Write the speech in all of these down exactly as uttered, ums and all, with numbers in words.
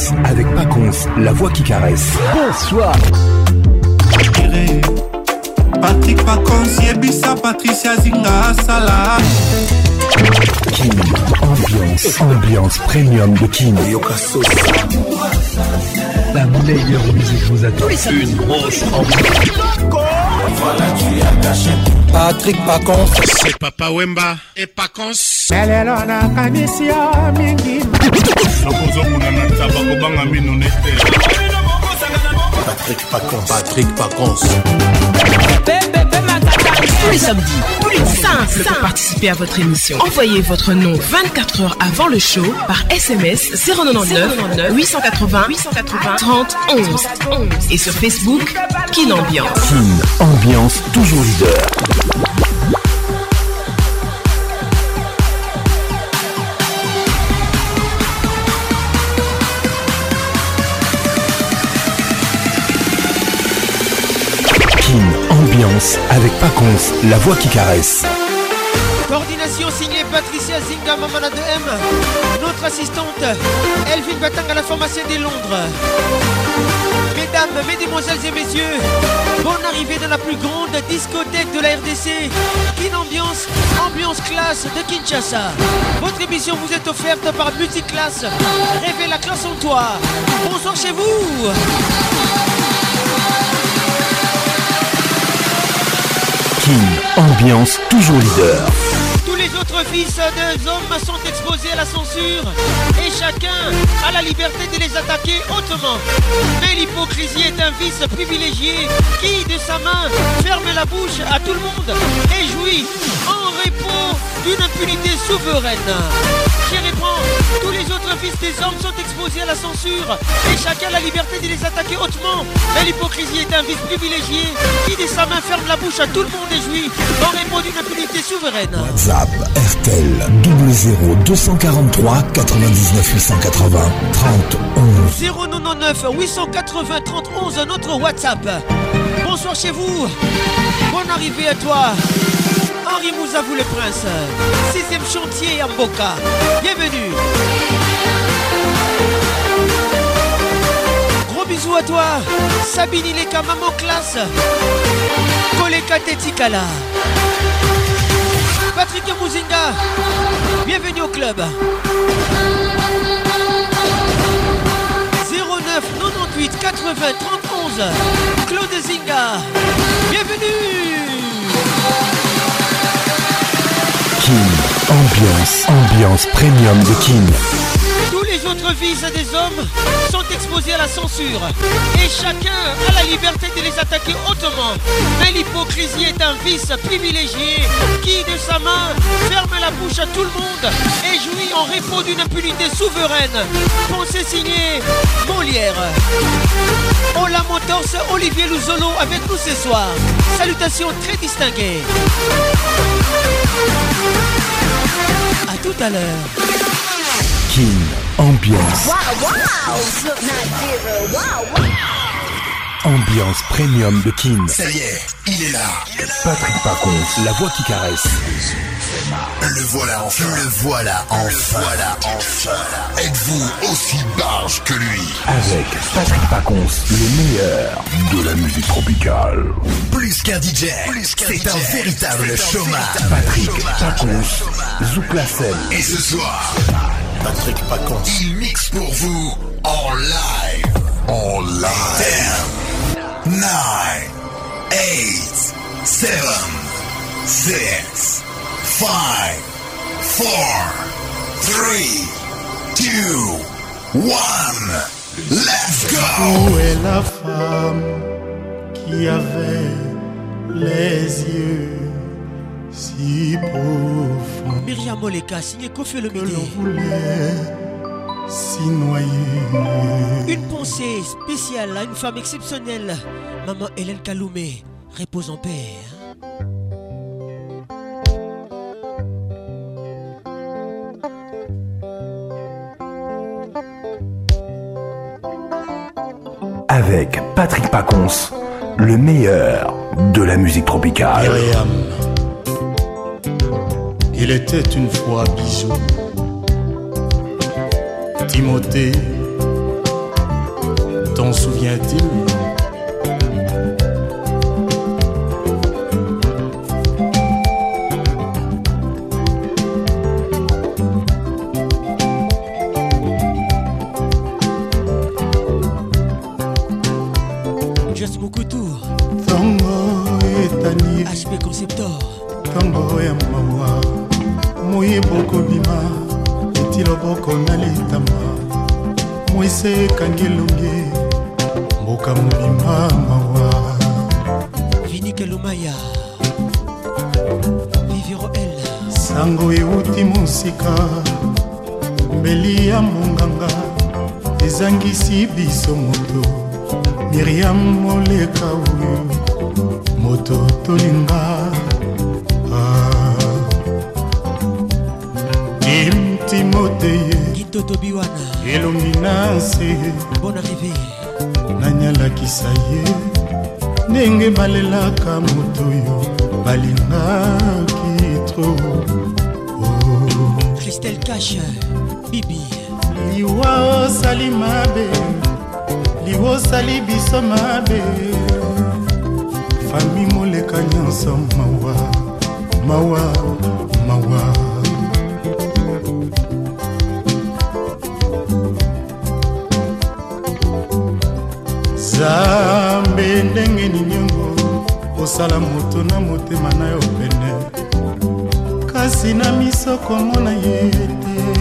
Ambiance avec Paconce, la voix qui caresse. Bonsoir. Patrick Paconce, Yebisa, Patricia Zinga, Salah. Kin, ambiance, ambiance premium de Kin. La meilleure musique vous attend. Une grosse ambiance. Voilà, tu as caché. Patrick Paconce. C'est Papa Wemba et Paconce. Patrick Paconce. Patrick Paconce. Tous les samedis, tous les simples pour participer à votre émission. Envoyez votre nom vingt-quatre heures avant le show par S M S zéro neuf huit cent quatre-vingts huit cent quatre-vingts trente onze et sur Facebook Kin Ambiance. Kin Ambiance, toujours leader. Ambiance avec Paconce, la voix qui caresse. Coordination signée Patricia Zinga, Mamana de M. Notre assistante, Elvin Batang à la formation des Londres. Mesdames, mesdemoiselles et messieurs, bonne arrivée dans la plus grande discothèque de la R D C. Kin Ambiance, ambiance classe de Kinshasa. Votre émission vous est offerte par Multiclass. Révèle la classe en toi. Bonsoir chez vous. Kin Ambiance, toujours leader. Tous les autres fils des hommes sont exposés à la censure et chacun a la liberté de les attaquer hautement. Mais l'hypocrisie est un vice privilégié qui, de sa main, ferme la bouche à tout le monde et jouit en repos d'une impunité souveraine. J'y réponds, tous les autres fils des hommes sont exposés à la censure et chacun a la liberté de les attaquer hautement. Mais l'hypocrisie est un vice privilégié qui, de sa main, ferme la bouche à tout le monde et jouit en repos d'une impunité souveraine. WhatsApp R T L double zéro deux cent quarante-trois quatre-vingt-dix-neuf huit cent quatre-vingts trente onze. zéro neuf huit cent quatre-vingts trente onze, notre WhatsApp. Bonsoir chez vous. Bonne arrivée à toi. Henri Mouzavou le Prince. Sixième chantier à Mboka. Bienvenue. Gros bisous à toi. Sabine Ileka, maman classe. Koleka Tetikala. Patrick Mouzinga. Bienvenue au club. zéro neuf quatre-vingt-huit quatre-vingts trente onze. Claude Zinga. Bienvenue. Kin Ambiance, ambiance premium de Kin. Tous les autres fils des hommes sont exposés à la censure et chacun a la liberté de les attaquer hautement. Mais l'hypocrisie est un vice privilégié qui, de sa main, ferme la bouche à tout le monde et jouit en repos d'une impunité souveraine. Pensée signée Molière. Ola Motors, Olivier Louzolo avec nous ce soir. Salutations très distinguées. A tout à l'heure. Kin Ambiance. Wow, wow. Ambiance premium de Kin. Ça y est, il est là. Patrick Paconce, la voix qui caresse. Le voilà enfin. Le voilà enfin. Le voilà enfin. Êtes-vous aussi barge que lui? Avec Patrick Paconce, le meilleur de la musique tropicale. Plus qu'un D J, c'est un véritable showman. Patrick Paconce, Zouk la scène. Et ce soir, Patrick Paconce, il mixe pour vous en live. En live. ten, nine, eight, seven, six, five, four, three, two, one. Let's go. Où est la femme qui avait les yeux si profonds? Myriam Moleka, signé Kofi le que l'on voulait s'y noyer. Une pensée spéciale à une femme exceptionnelle, maman Hélène Kaloumé. Repose en paix. Avec Patrick Paconce, le meilleur de la musique tropicale. Myriam, il était une fois Bijou, Timothée T'en souviens-t-il? Just Mokutu Tango etani H P Conceptor Tango ya mawa Moye boko bima Etilo boko nalitama Moise kangelonge Mboka mobima mawa Vinike Lumaya Viviro L Sango euti musika Mbeli ya monganga Ezangisi biso moto Miriam moleka uyu Moto tolinga ah. Kim Timothée Gito Tobiwana Elonginase Bonne arrivée Nanyala kisaye Nenge balelaka moto yo Balinga kitro oh. Christelle Cache Bibi Liwa osali mabe Liwa osali biso mabe Fami moleka nyonso mawa Mawa, mawa Zambe ndenge ninyongo Osala moto na motema na yo pene Kasi na miso komona yete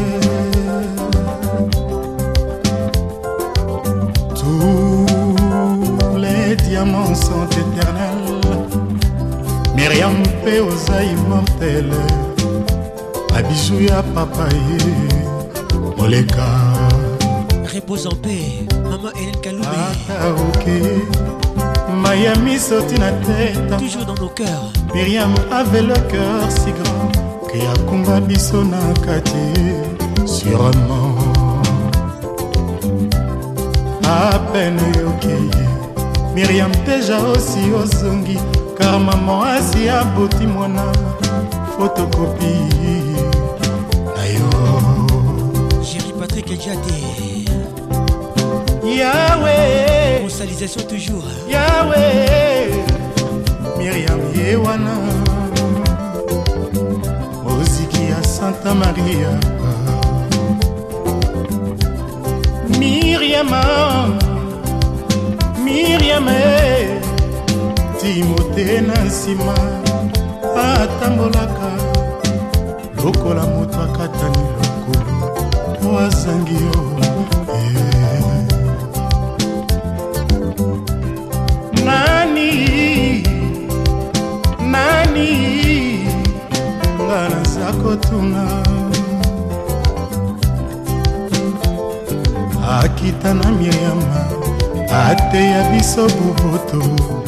Tous les diamants sont éternels Myriam pe oza immortel Abijou ya papa ye Moleka Repose en paix Maman Hélène Kaloumé Ata ok Miami sorti na tête Toujours dans nos cœurs Myriam avait le cœur si grand Que yakumba biso na kati Sûrement À peine yoki Myriam déjà aussi ozongi Car maman asi aboti mwana Photocopie Ayo Jerry Patrick Edjade Yahweh Consolidation toujours Yahweh Myriam Yewana Moziki ya Santa Maria Myriam Myriam Timothée na nsima atambolaka lokola moto akatani lokolo wazangi yo yeah. Nani Nani ngana zako tuna Akita na Myriam ate ya biso bubutu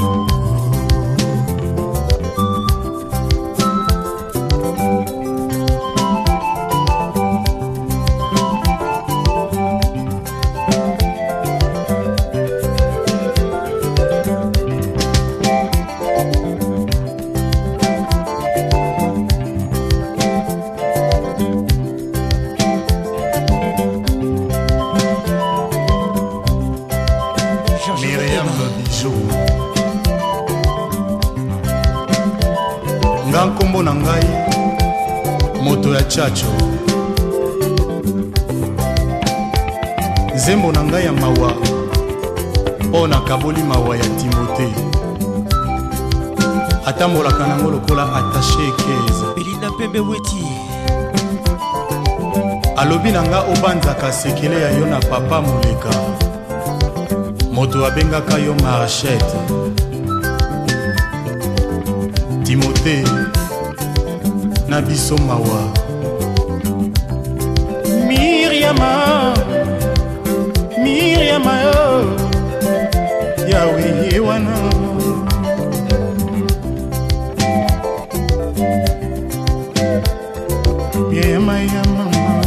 nkombo na ngai moto ya chacho nzembo na ngai ya mawa mpo na kaboli mawa ya Timothée atambolaka nango lokola attaché ekeza Belinda Pembe Weti alobi na nga obanzaka sekele ya yo na papa moleka moto abengaka yo Marchette Timothée na biso mawa Myriama Myriama yo Yahweh yewana Myriama ya mama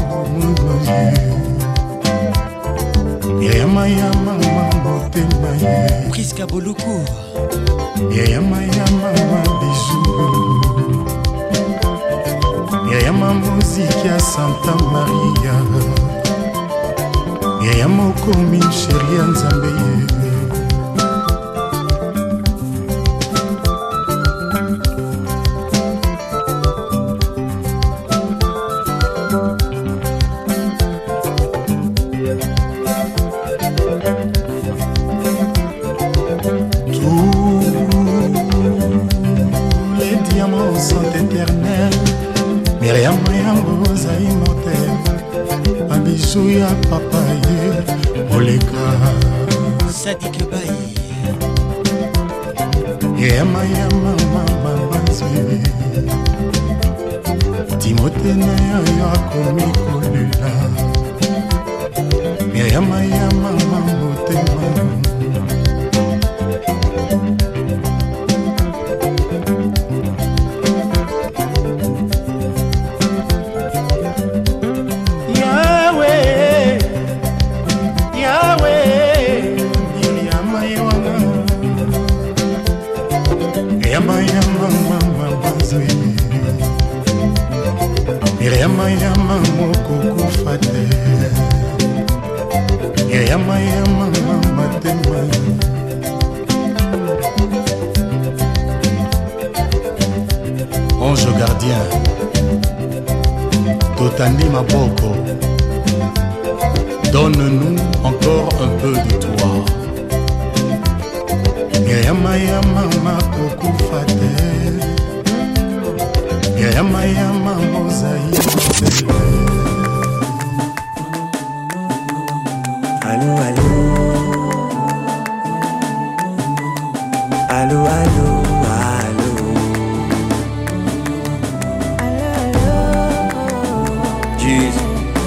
Myriama ya mama motema ye Priska Boluku Myriama ya mama bijou Myriam muziki ya Santa Maria yaya mokomi sheri ya nzambe ye. ya papa ye oleka Sadik Baye yama yama mama banzwe Timote na yo akomi kolela yama yama mama motema Yama yama moko kufate Yama yama mama tema Ange gardien Totani Maboko donne-nous encore un peu de toi Yama yama moko kufate Yama yama mozaï Allô, allô Allô, allô, allô Jesus.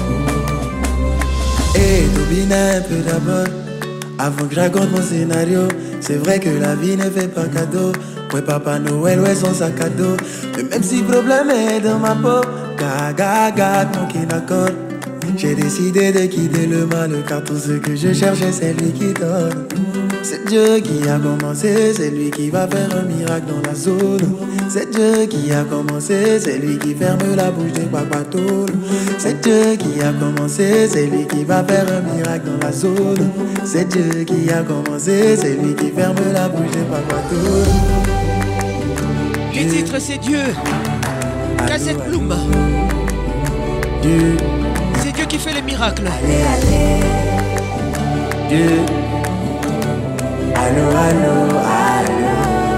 Hey, Tobina un peu d'abord avant que je raconte mon scénario. C'est vrai que la vie ne fait pas cadeau. Ouais, Papa Noël, ouais, son sac à dos. Mais même si le problème est dans ma peau, gaga, gaga, manqué d'accord. J'ai décidé de quitter le mal, car tout ce que je cherchais, c'est lui qui donne. C'est Dieu qui a commencé, c'est lui qui va faire un miracle dans la zone. C'est Dieu qui a commencé, c'est lui qui ferme la bouche des papatoules. C'est Dieu qui a commencé, c'est lui qui va faire un miracle dans la zone. C'est Dieu qui a commencé, c'est lui qui ferme la bouche des papatoules. Les titres c'est Dieu. Cassette Bloom. Dieu. C'est Dieu qui fait les miracles. Allez, allez. Dieu. Allô, allô, allô.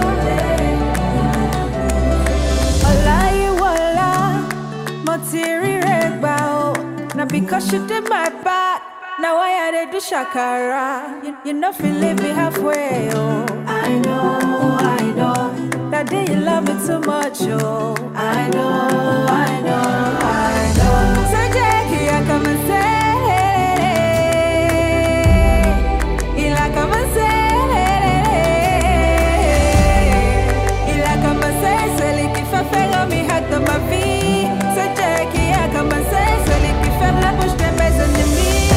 Ola you ola, motiri regbao. Now because you did my part, now I had to do shakara. You, you know feel leave me halfway, oh. I know, I know. That day you love me too much, oh. I know, I know, I know. So Jackie, I come and say, il a come and say. Faire mi hack dans ma vie. C'est Dieu qui a commencé, celui qui ferme la bouche de mes ennemis.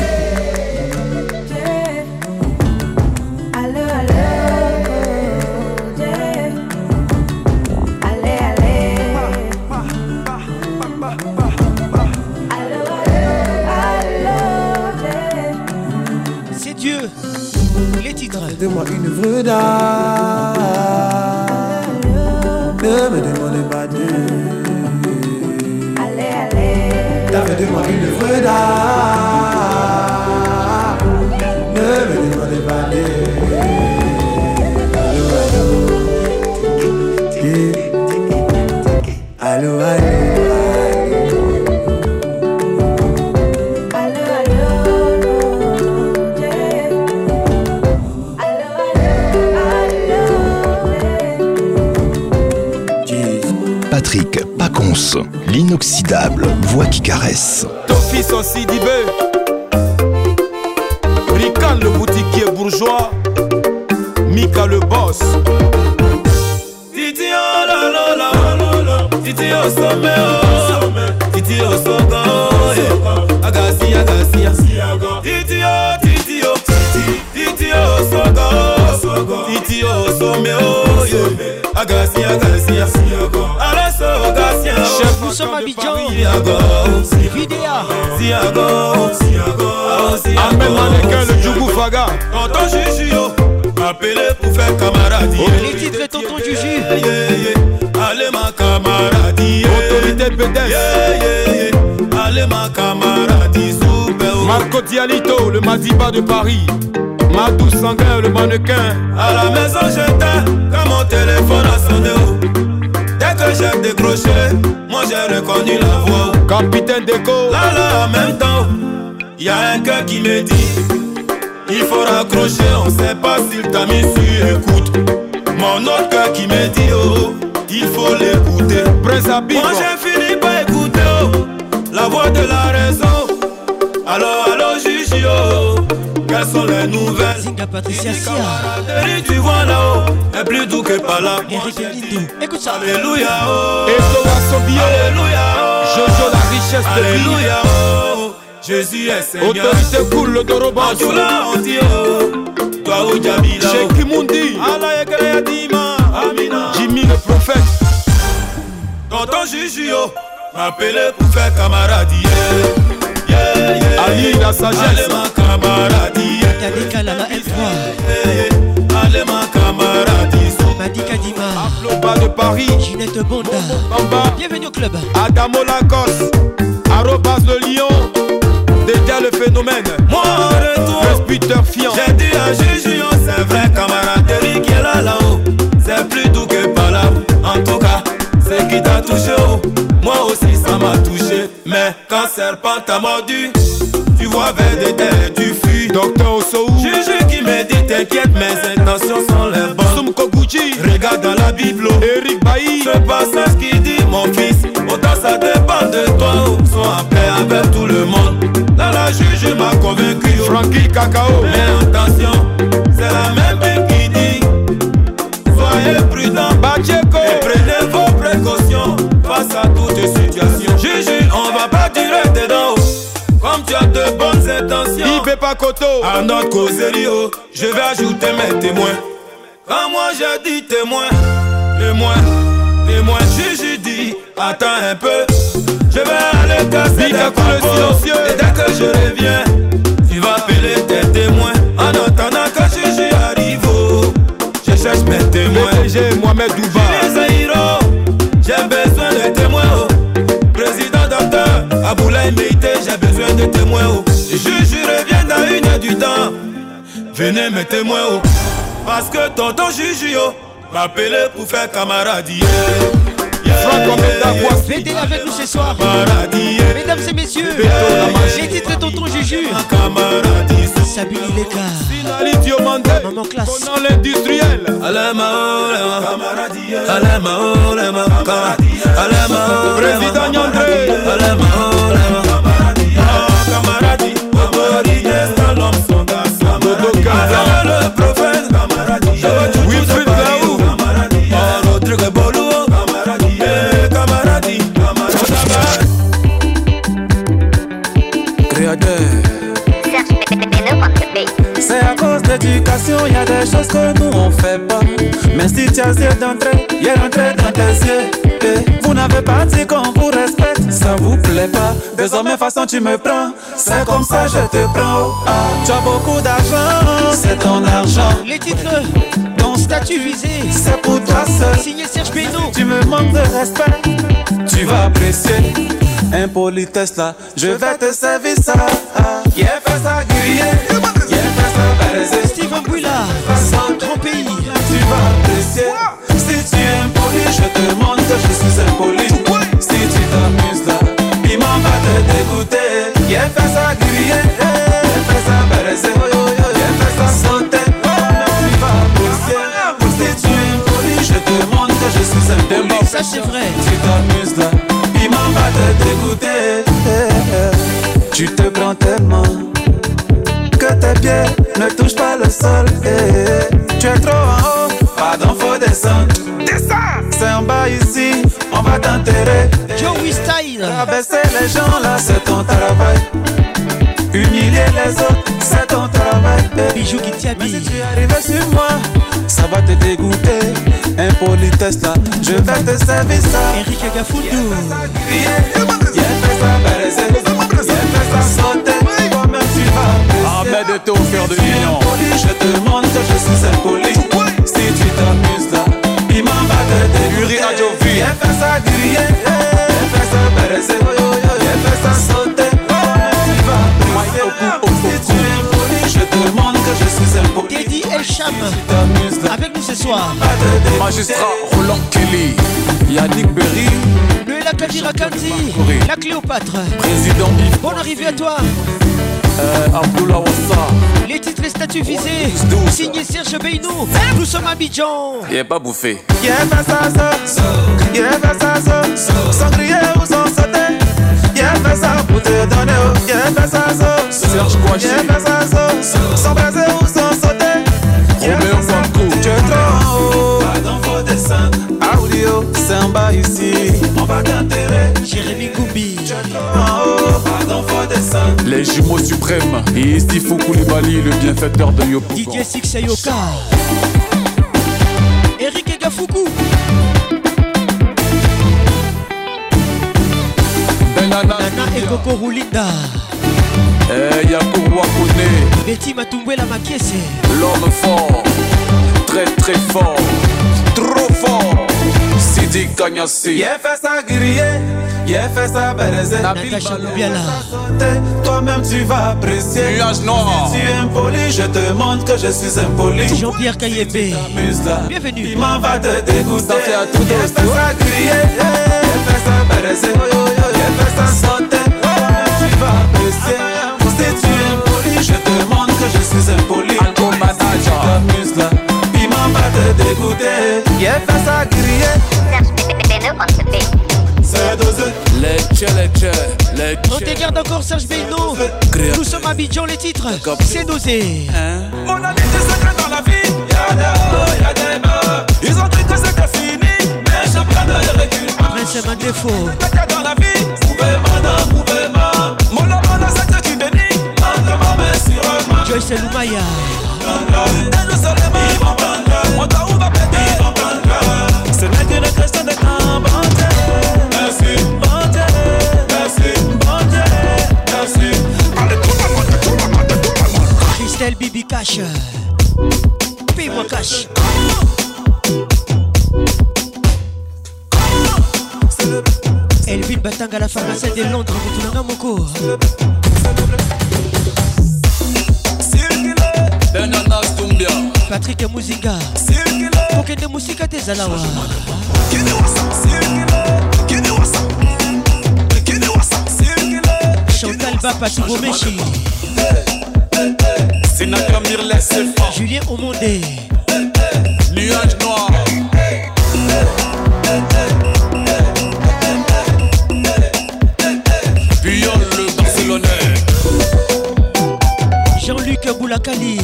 Dieu. Allô, allô, Dieu. Allez, allez. Allô, allô, Dieu. C'est Dieu. Les titres. De moi une œuvre d'art. Ne me demandez pas Dieu. Allez, allez. T'as fait de moi une œuvre d'art. Ne me demandez pas Dieu. Allô, allô. Allô, allô. Patrick Pacons, l'inoxydable voix qui caresse. Ton fils aussi Sidibé, Rican le boutiquier bourgeois, Mika le boss. Titi oh la la la la, Titi oh sommet oh, Titi oh sogo, Agasi Agasi, Titi oh Titi oh, Titi oh sogo, Titi oh sommet oh, Agasi Agasi. Chef, nous sommes à Abidjan. Vidéa. Waga. Tonton Juju, yo, m'appeler pour faire camarade. Les titres et tonton Juju. Yeah, yeah, yeah. Allez ma camarade. Yeah. Autorité P D S. Yeah, yeah, yeah. Allez ma camarade. Super. Marco Dialito, le Madiba de Paris. Madou Sanguin, le mannequin. À la maison j'étais, quand mon téléphone a sonné. Dès que j'ai décroché, moi j'ai reconnu la voix. Capitaine Déco. Là là en même temps, y'a un cœur qui me dit il faut raccrocher, on sait pas s'il t'a mis sur écoute. Mon autre cœur qui me dit oh, il faut l'écouter. Moi j'ai fini par écouter oh, la voix de la raison. Allô, allô Gigi oh, quelles sont les nouvelles? Zinga Patricia Sia. Tu vois là-haut, est plus doux que par là. Écoute ça. Alléluia oh, Alléluia oh, Jojo la richesse de vie. Alléluia oh, Jésus est Seigneur. Autorité cool, le Doroban. Tu l'as on dit oh, toi ou Jamila. Chez Kimundi. Allah Ekele Dima. Amina. Jimmy le prophète. Tonton Juju oh, m'appeler pour faire camarade. Yeah, yeah, yeah. Ali la sagesse. Allez ma camarade. Kadeka Lala L trois. Allez ma camarade. Madika Dima. Aploba de Paris. Ginette Bonda. Bamba. Bienvenue au club. Adamo Lacoste. Arrobas le lion. Déjà le phénomène. Moi en retour, Peter Fian. j'ai dit à Juju, c'est vrai camaraderie qui est là là-haut. C'est plus doux que par là. En tout cas, c'est qui t'a touché oh. Moi aussi ça m'a touché. Mais quand serpent t'a mordu, tu vois vers des terres, tu fuis. Docteur Osou. Juju qui me dit t'inquiète, mes intentions sont les bonnes. Sumko Gucci. Regarde dans la Bible. Eric Bailly. Ce passage qui dit mon fils, autant ça dépend de toi. Oh. Sois en paix avec tout le monde. Dans la juge m'a convaincu oh. Frankie Cacao. Mais attention, c'est la même Bible qui dit soyez prudents Bacheko. et prenez vos précautions face à toutes situations. Juju, on va pas tirer dedans oh. Comme tu as de bonnes intentions. Ibe Pakoto. À notre causerie oh, je vais ajouter mes témoins. Quand moi j'ai dit témoin, témoin, témoin, Juju dit attends un peu, je vais aller casser des silencieux. Et dès que je reviens, tu vas appeler tes témoins. En attendant que Juju arrive oh, je cherche mes témoins. P D G Mohamed Douba. J'ai besoin de témoins oh. Président docteur Aboulaye Meïté, j'ai besoin de témoins oh. Juju revient dans une heure du temps. Venez mes témoins oh. Parce que tonton Juju oh, m'appeler pour faire camarade. Yeah, yeah, fêtez avec nous ce soir. Mesdames et messieurs, les titres de tonton Juju. Sabine Leka. Finali Diomandé. Maman classe. Pendant l'industriel. Président Nyandré. Camaradi, l'homme son garçon. Dodo Kaza. Le prophète. Wilfried Laou. Rodrigue Bolou. Camaradi. Créateur. C'est à cause de l'éducation, y a des choses que nous on fait pas. Mais si tu as yeux d'entrée, y est rentré dans tes yeux. Et vous n'avez pas dit qu'on vous respecte, ça vous plaît pas. Désormais façon tu me prends, c'est comme ça je te prends. Ah, tu as beaucoup d'argent, c'est ton argent. Les titres, ton statut visé, c'est pour toi seul. Signé Serge Beno. Tu me manques de respect, tu vas apprécier. Impolitesse là, je vais te servir ça. Yeah, fais ça griller, yeah, fais ça baiser. Steven Bouila, grand pays. Tu vas apprécier. Si tu es impoli, je te montre que je suis impoli. Si tu t'amuses là, piment va te dégoûter. Yeah, fais ça griller, yeah, fais ça baiser. Yeah, fais ça sauter, tu vas apprécier. Si tu es impoli, je te montre que je suis impoli. Ça c'est vrai. Tu t'amuses là, piment va te dégoûter. Tu te prends tellement que tes pieds ne touchent pas le sol. Tu es trop en haut, pardon, faut descendre. C'est en bas ici, on va t'enterrer. Joey Style. Abaisser les gens là, c'est ton travail. Humilier les autres, c'est ton travail. Bijou qui t'y Mais si tu arrives sur moi, ça va te dégoûter. Impolitesse là, je vais te servir ça. Eric Agafoudou. Yeah, fais ça baiser. Yeah, fais ça sauter. Toi-même tu vas apprécier. l'aide est offerte de l'union. Je te montre que je suis impoli. Si tu t'amuses là, il m'en va te dégoûter. Viens faire ça griller, viens faire ça baiser, viens faire ça sauter. Tu vas briser. Si tu es impoli, je te montre que je suis impoli. Teddy El Cham avec nous ce soir. Magistrat Roland Kelly, Yannick Berry, le La Kadira Kanzi, la Cléopâtre. Président Yves. Bonne arrivée à toi. Euh, Abdullah Wassa. Les titres et statuts visés. Signé Serge Beynou. Nous sommes à Abidjan. Il n'est pas bouffé. Y'a fait ça, ça, y'a fait ça, ça, sans crier ou sans sauter. Y'a fait ça pour te donner, y'a fait ça, ça, Serge Kouachi. y'a fait ça, ça, sans braiser ou sans sauter. Roméo Fanco. Tu es trop en haut, pardon, faut descendre. Audio, c'est en bas ici, on va t'enterrer. Jérémy Goubi. Tu es trop en haut, pardon, faut descendre. Les jumeaux suprêmes. Et Istifou Koulibaly, le bienfaiteur de Yopougon. D J Six Ayoka. Eric Egafuku. Benana Nana et Coco Roulinda. Eh, Yakou Wakone. Betty Matumbela Makiese. L'homme fort. Très très fort. Trop fort. Sidi Kanyasi. Y'a fait ça griller, y'a fait ça baiser. Natacha Loubiala. Toi-même tu vas apprécier. Nuage noir. Si tu es impoli, je te montre que je suis impoli. Jean-Pierre Kayembe. Bienvenue. Il m'en va te dégoûter. Ça fait à tout Y'a fait ça griller, y'a fait ça baiser. Y'a fait ça sauter. Tu vas apprécier. Si tu es impoli, je te montre que je suis impoli. Alco Manager. T'amuses là, il m'en va te dégoûter. Y'a fait ça griller. C'est dosé. Les tchè, les tchè, les On te garde encore Serge Beynou. Nous sommes à Abidjan, les titres. C'est dosé. Mon ami, tu sais que dans la vie, y'a des hauts, y'a des bas. Ils ont dit que c'était fini, mais je prends de recul. Mais c'est un défaut. Dans la vie, pouvez-moi, non, pouvez-moi. Mon amour, c'est que tu bénis. Entre ma main sur moi. Joyce Lumaya. Et je serai ma mon temps où va péter. Ce n'est qu'une question de temps, bon Dieu. Merci, bon Dieu. Merci, bon Dieu. Merci. Allez, tout le monde, tout le monde, tout le monde. Christelle Bibi Cash. Paye-moi cash. Elvin Batanga, la pharmacienne de Londres, Moutounanga Moko. Benana Stumbia. Patrick Mouzinga. Pokende Moussika Tezalawa. Chantal Bapa Toubomechi. Sinatra Mirles Sefa. Julien Omondé. Nuage noir. Puyol le Barcelonais. Jean-Luc Boulakali.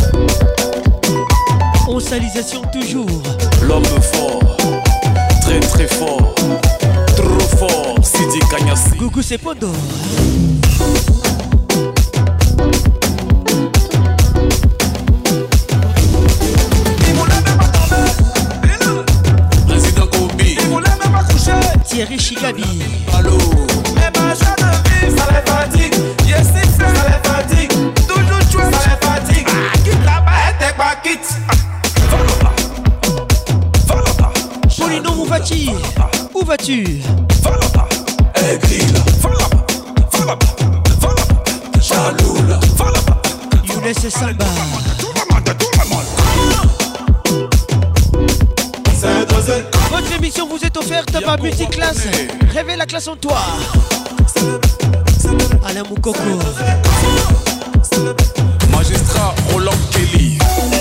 Onsalisation toujours. L'homme fort. Très très fort. Trop fort. Sidi Kanyasi. Gougou Sepondo. Président Kobi. Thierry Chigabi. Allô. Mais ma joie de vivre, ça les fatigue. Yes, c'est ça les fatigue. Toujours jouer, ça les fatigue. Ah, quitte là-bas, t'es pas quitte. Polino, où vas-tu? Où vas-tu? Younes Samba. Votre émission vous est offerte par Multiclass. Réveille la classe en toi. Alain Moukoko. Magistrat Roland Kelly.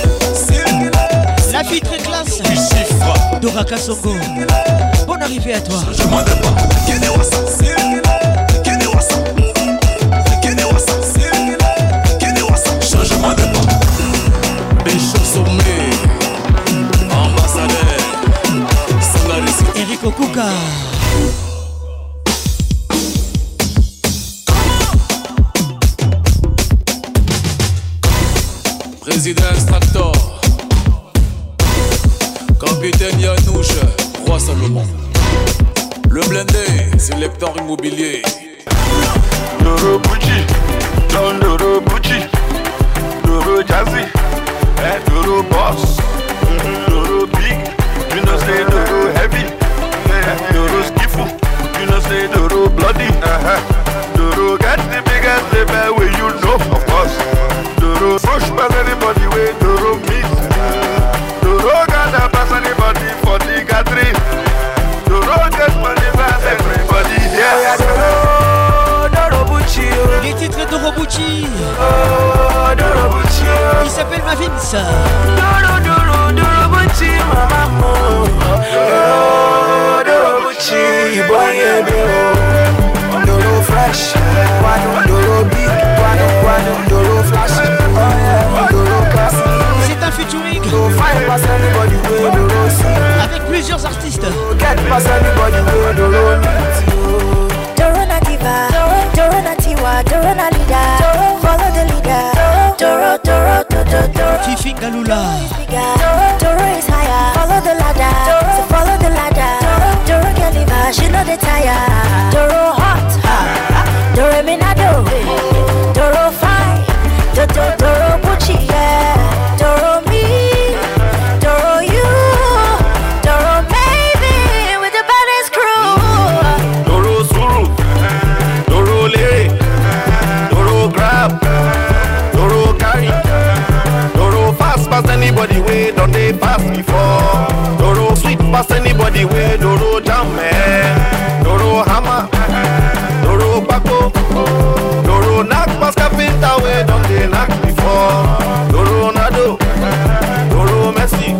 La fille très classe. Du chiffre. Dora Kassongo. Bonne arrivée à toi. Je m'en pas. Changement de pas. Bishop Sommet. Ambassadeur. Sangarisi. Eric Okuka. Président Extractor. Capitaine Yanouche. Roi Salomon. Le blindé, sélecteur immobilier. Loro Bucci, Don Loro Bucci, Calma Vince. Doro doro doro buchi mama. Doro doro buchi boy doro. Doro fresh, guano doro big, guano guano doro flash. Oh yeah, doro classic. C'est un featuring Doro fire pass anybody way doro see. Avec plusieurs artistes. Get pass anybody way doro meet. Doro na diva, Doro na tiwa, Doro na leader. Follow the leader. Doro Doro Doro Doro. Fifi Galula. Doro is higher. Follow the ladder. So follow the ladder. Doro can leave her, she know the tire. Doro hot, ha. Doro minado. Doro fine. Doro Doro Gucci, yeah. Doro me. Doro you. Doro baby with the baddest crew. Doro Suru. Doro Lere. Doro grab. Doro carry. Doro fast past anybody way don't they pass before. Doro sweet past anybody way Doro jam man. Doro hammer. Doro bako. Doro knock past carpenter way don't they knock before. Doro nado. Doro Messi.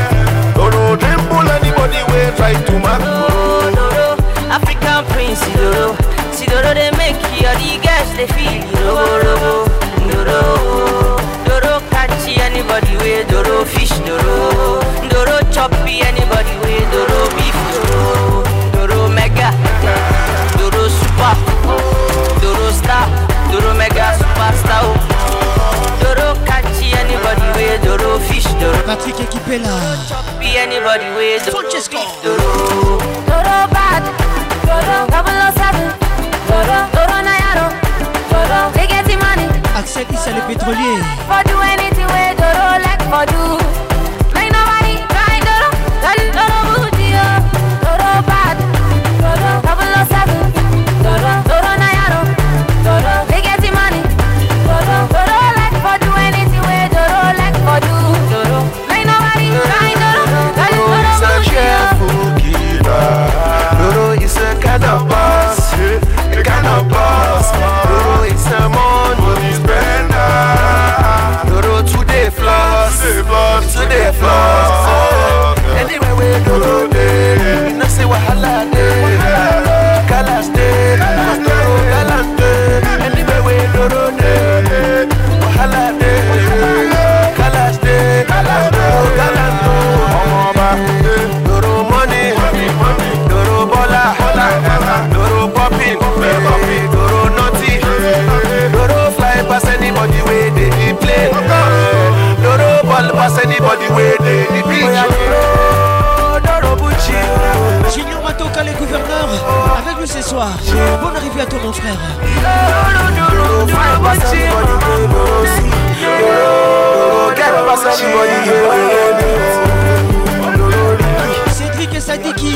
Doro dribble anybody way try to mark. Doro, Doro, African Prince, Doro. See Doro they make you all the guys they feel you. Doro, Doro, Doro catchy anybody way Doro fish. Doro, Doro choppy anybody way Doro beef. Doro, Doro mega, Doro super, Doro star, Doro mega superstar. Doro catchy anybody way Doro fish. Doro Patrick Ekipela. choppy anybody way Doro Francesco. beef. Doro. Doro bad. Doro double oh seven. Doro Doro Nayaro. Doro they get the money. Axel Issa le pétrolier. For do anything way Doro like for do. Make nobody try Doro. Doro Doro booty oh. Doro bad. Doro double oh seven. Doro Doro Nayaro. Doro they get the money. Doro Doro like for do anything way Doro like for do. Doro make nobody try Doro. Doro Doro is a booty cheerful giver. Doro is a kind of boss, a kind of boss. Doro is a money spender. Doro today floss, today floss. Anyway we Doro day, we no say wahala day. Galas day, Doro galant day. Anyway we Doro day, wahala day. Galas day, Doro galant day. Doro money, Doro bola, Doro popping, Doro naughty, Doro fly past anybody way they dey play. Doro ball pass anybody way they dey beat. Doro Bucci, Junior Matoka les gouverneurs avec nous ce soir. Bonne arrivée à toi mon frère. Doro fly pass anybody way Doro see. Doro get pass anybody way. Cédric et Sadiki.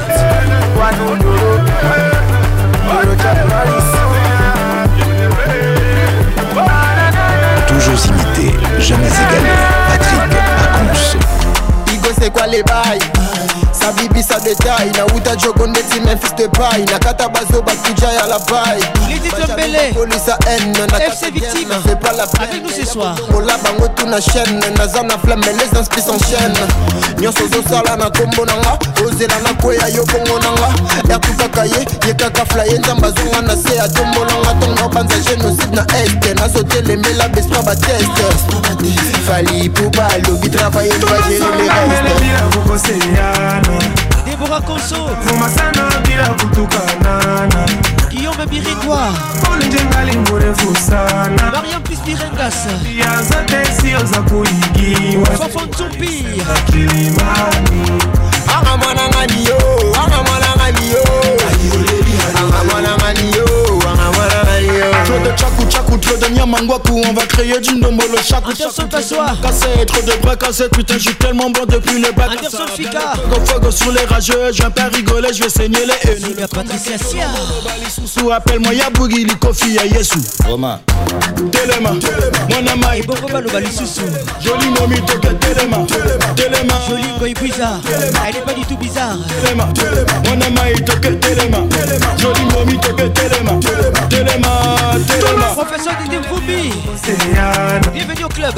Toujours imité, jamais égalé. Patrick Pacons. Igo c'est quoi les bails? Sa bibi sa détail. Na uta jogonde si Memphis te paille. Na kata bazo bakuja ya la paille. Lydie Tombele. Police à haine. F C Victime. C'est pas la peine. Avec nous ce soir. Mola bango tout na chaîne. Naza na flamme les inspi s'enchaînent. Nyonso zo sala na kombo nanga. Ozela na koya yo bongo nanga. Ya kukaka ye. Ye kaka flyer. Nzamba zonga na se a tombo nanga. Tonga banza génocide na est. Na sote les mela bestra ba test. Fali pouba lobby travailler. Va gérer les restes. Déborah Conso. Fumasana bila kutukanana. Guillaume Birindois. Ulinjengali mrefu sana. Mariam Pispirengas. Ya zote sio za kuigiwa. Fafon Tsumpi. Kilimani. Anga mwana ngani yo. Anga mwana ngani yo. Anga mwana ngani yo. Anga mwana ngani yo. Trop de tchakou tchakou, trop de nyamangwaku. On va créer du ndombolo chakou. Anderson Passoir. Cassé, trop de bras cassés. Putain, je suis tellement bon depuis le bac. Anderson Fika. Go fogo sur les rageux. Je viens pas rigoler, je vais saigner les haines. Zélia Patricia Sia. Sous appelle-moi Yabougi, li Kofi, ya Yesu. Romain. Telema. Mon ama. Et Bobo Balo Balisusu. Joli momi toke Telema. Telema. Joli Goy bizarre. Elle est pas du tout bizarre. Telema. Mon ama il toke Telema. Joli momi toke Telema. Telema. Telema. Professeur Didi Mfumbi. Bienvenue au club.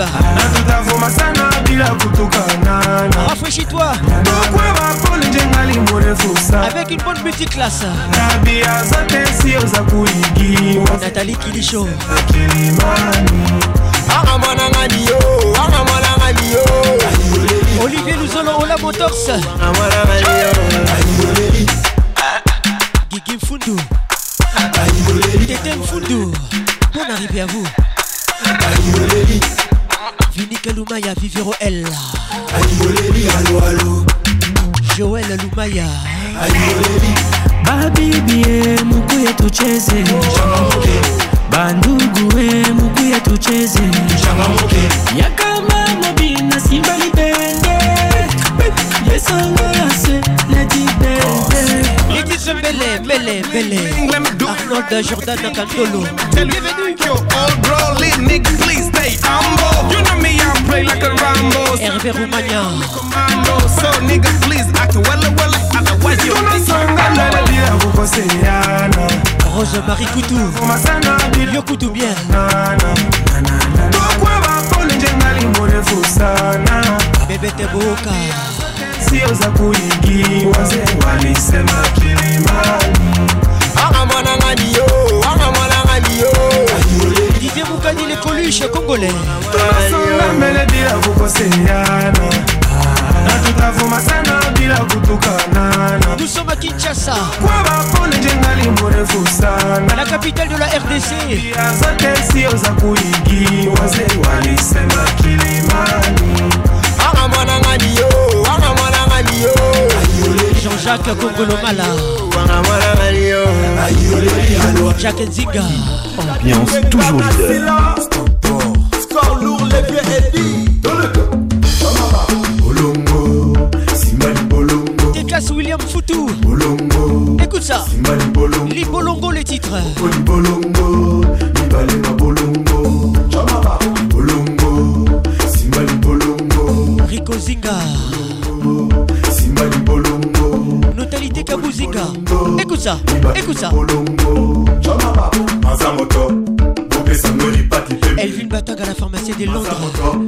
Rafraîchis-toi avec une bonne multiclasse. Nathalie Kilicho. Olivier Louzolo, Ola Motors. Guigui Mfundu. Tété Mfundu. Bonne arrivée à vous. Vinica Lumaya, Vivero L. Joël Lumaya. Babibie mukuye tucheze bandugue mukuye tucheze yakama mobina simba libende yesangase lady bende Lady Zembele, Bele, Bele Arnold Jordan Cantolo. Bienvenue. Old bro, lit nigga, please stay humble. You know me, I play like a Rambo. Hervé Roumania. So nigga, please act well, well, otherwise you don't Rose Marie Coutou. Yo Coutou bien. Bébé Teboka. Si oza kuigi waze walisema kilimani. Akamwana ngani yo, akamwana ngani yo. Didier Moukani les Coluches congolais. Tunasonga mbele bila kukoseana. Na tutavuma sana bila kutukanana. Nous sommes à Kinshasa. Kwa bapone jengali mrefu sana. La capitale de la R D C. Zote si oza kuigi waze walisema kilimani. Akamwana ngani yo, akamwana ngani yo. Jean-Jacques Kongolomala. Jacques Nzinga. Ambiance toujours leader. Score lourd, les pieds et dit. Bolongo, Simbali Bolongo. Teklas William Foutou. Bolongo. Écoute ça. Simbali Bolongo. Li Bolongo les titres. Boli Bolongo, Nibale ma Bolongo. Chamaba. Bolongo, Simbali Bolongo. Rico Zinga. Simbali Bolongo. Notalité Kabouzinga. Écoute ça. Écoute ça. Elvin Batang à la pharmacie de Londres.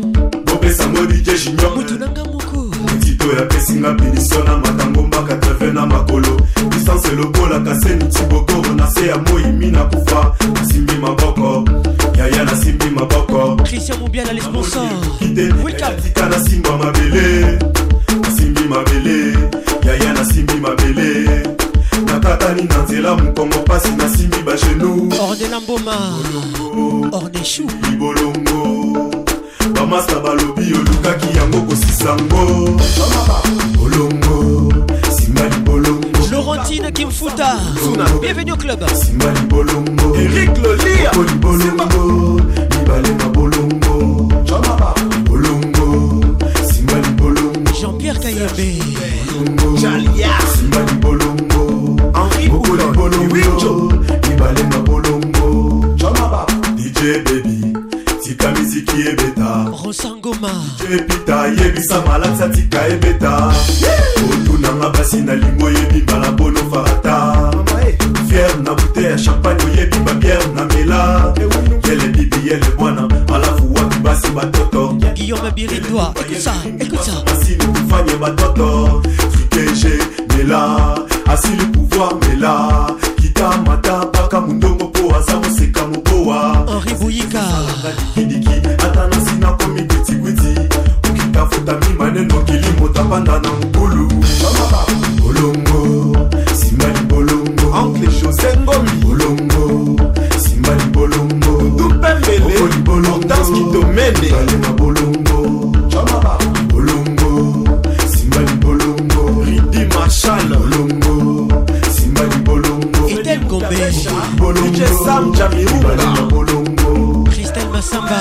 Moutounanga Moko. Tito ya pesinga binisona matango mbaka treve na makolo. Distance lokola kaseni tiboko na se ya moimi na kufa. Simbi maboko. Yaya na simbi maboko. Christian Moubiala les sponsors. Welcome. Tika na simba mabele. Simbi mabele. Yaya na simbi mabele. Nakatani na nzela mukongo pasi na simbi ba genou. Ornella Mboma. Ornechou. Bolongo. Bamasta balobi olukaki yango kosisango. Bolongo. Simali Bolongo. Laurentine Kimfuta. Bienvenue au club. Simali Bolongo. Eric Lolia. Bolongo. Nibale ma Bolongo. Bolongo. Simali Bolongo. Jean-Pierre Kayembe. Jalia. Simali Bolongo. Henri Bolongo. Nibale ma Bolongo. D J Baby. Tika miziki ebeta. Rosangoma. D J Pita yebisa malaksa tika ebeta. Otunanga basi na lingo yebimba na bono farata. Fier na bouteille ya champagne yebimba bière na mela. Yele bibi yele bwana alafu watu basi batoto. Guillaume Birindois. Écoute ça. Écoute ça. Asili kufanye batoto. Frikeje mela. Asili pouvoir mela. Kita mata baka mundongo po azamo seka moboa. Henri Bouyika. Kidiki atana sina komi gwiti gwiti. Ukitafuta mimaneno kilimo tapanda na mkulu. Bolongo, Simbali Bolongo. Oncle José Ngomi. Bolongo, Simbali Bolongo. Dupembele, Bolongo. Dans qui domene. Balema Bolongo. Bolongo, Simbali Bolongo. Ridi Marshall. Bolongo, Simbali Bolongo. Etel Gombe. Bolongo. D J Sam Jamiruga. Bolongo. Christelle Massamba.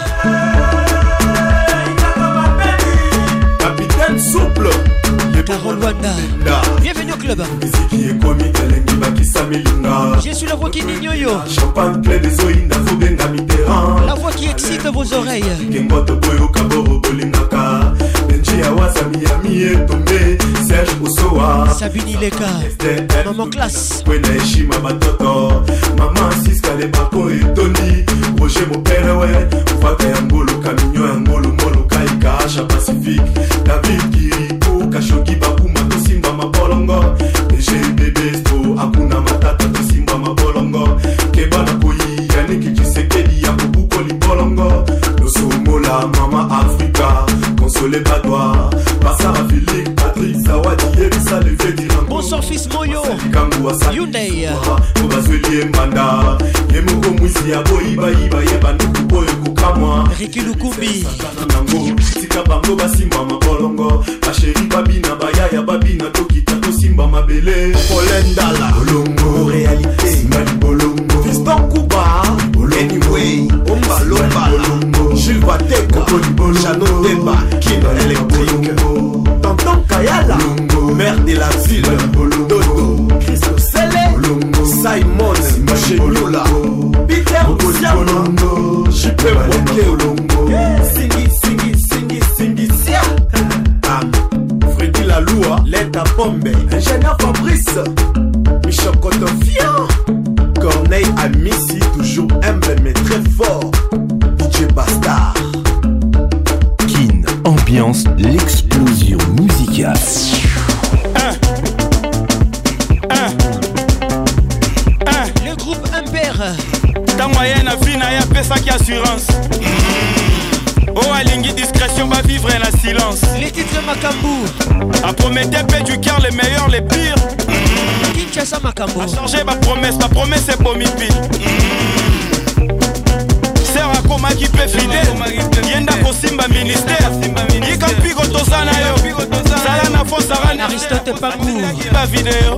Capitaine souple. Carole Wanda. Bienvenue au club. Je suis la voix qui n'ignore. La voix qui excite vos oreilles. Sabine Ileka. Maman classe. Maman Siska les Bako et Tony. Roger mon père ouais. Faka Yambolo. Nosomola, Mama Africa, Consolé Badois, Bassara Philippe, Patrick Zawadi, Ebisa Levé d'Irango. Bonsoir fils Moyo, Hyundai, Obazweli Mbanda, Yemoko Mwisi Aboiba Iba Yeba Nukubo Yokukamwa, Ricky Lukumbi, Tika Bango Basimba Mabolongo, Basheri Babina Bayaya Babina Tokita Tosimba Mabele, Polendala, Bolongo, réalité, Simbali Bolongo, Fiston Kuba, Anyway, Omba Lomba, Jules Wateka, Chano Deba, Kino Electric, Tonton Kayala, Mère de la ville, Dodo, Christo Sele, Simon, Macheniola, Peter Siamo, Jipe Moke, Singi, Singi, Singi, Singi, Sia, Freddy Laloua, Leta Pombe, Ingénieur Fabrice, Michel Cotofian, Corneille Amissi, toujours humble mais très fort, D J Bastard. Kin, ambiance, l'explosion musicale. Le groupe Impair. Ta moyenne a vie n'a pesa qui assurance. Oh alingi discrétion va vivre en silence. Les titres Makambu. A promettre paix du cœur les meilleurs les pires. Kinshasa Makambu. A changé ma promesse, ma promesse c'est Bomipi. Sert à Koma qui peut fidèle. Yenda Kosimba ministère. Yika Pigo Tosana yo. Sala na Fosara Aristote Pangou. La vidéo.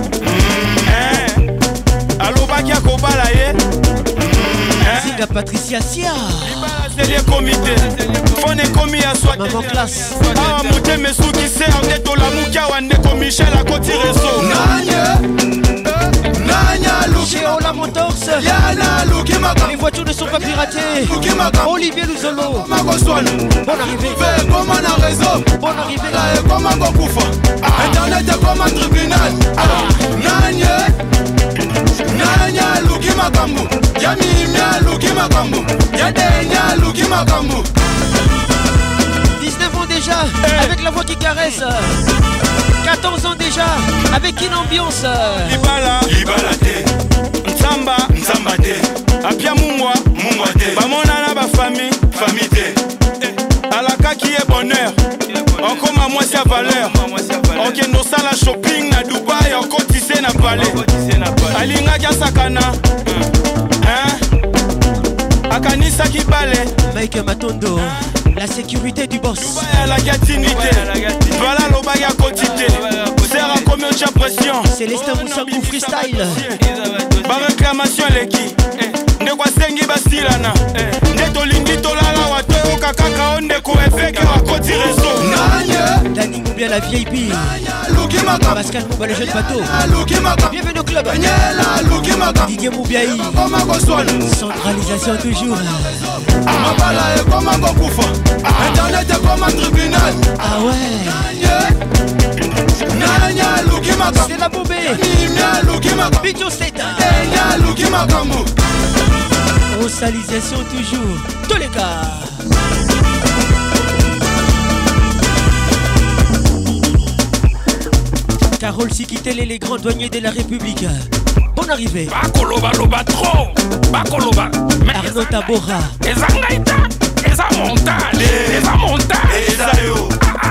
Allo Bakia Kobala ye. Zinga Patricia Sia. C'est des comités. Fone komi à soi. Maman classe. Ah mouté mesu qui sert de tola mukia wande ko Michel à côté réseau. Nanya. Nanya Luki. Chez Ola Motors. Yana Luki Maka. Les voitures ne sont pas piratées. Luki Maka. Olivier Luzolo. Magoswan. Bonne arrivée. Fais comme un réseau. Bonne arrivée. Là est comme un Gokufa. Internet est comme un tribunal. Nanya. Nanya Luki Makambu. Yami Mia Luki Makambu. Yadenya Luki Makambu. dix-neuf ans déjà, avec la voix qui caresse. quatorze ans déjà, avec une ambiance. Libala, Libala te. Nzamba, Nzamba te. Apia Mungwa, Mungwa te. Bamona na ba famille, famille te. Alaka qui est bonheur. Encore ma moitié à valeur. Ok, nos salles shopping na Dubaï, encore tissé na palais. Alinga kia sakana. Hein? Akanisa qui balait. Mike Matondo, la sécurité du boss. Dubaï à la gatinité. Voilà l'obaya quotité. Serra combien de pression. Célestin Moussangou freestyle. Ba réclamation l'équipe. Ndekwa sengi basilana. Ndeto tolala wato kakaka ondeko efeke wakoti réseau. Dani Moubia la V I P. Pascal Mouba le jeune bateau. Bienvenue au club. Didier Moubiaï. Centralisation toujours. Mabala est comme un Gokufa. Internet est comme un tribunal. Ah ouais. Nanya Luki Makambu. C'est la bombée. Nanya Luki Makambu. Bijo Seta. Nanya Luki Makambu. Rosalisation toujours. Tous les cas. Carole Sikitele, les grands douaniers de la République. Bonne arrivée. Bakoloba loba trop. Bakoloba. Arnaud Tabora. Eza ngaita. Eza montale. Eza montale. Eza yo.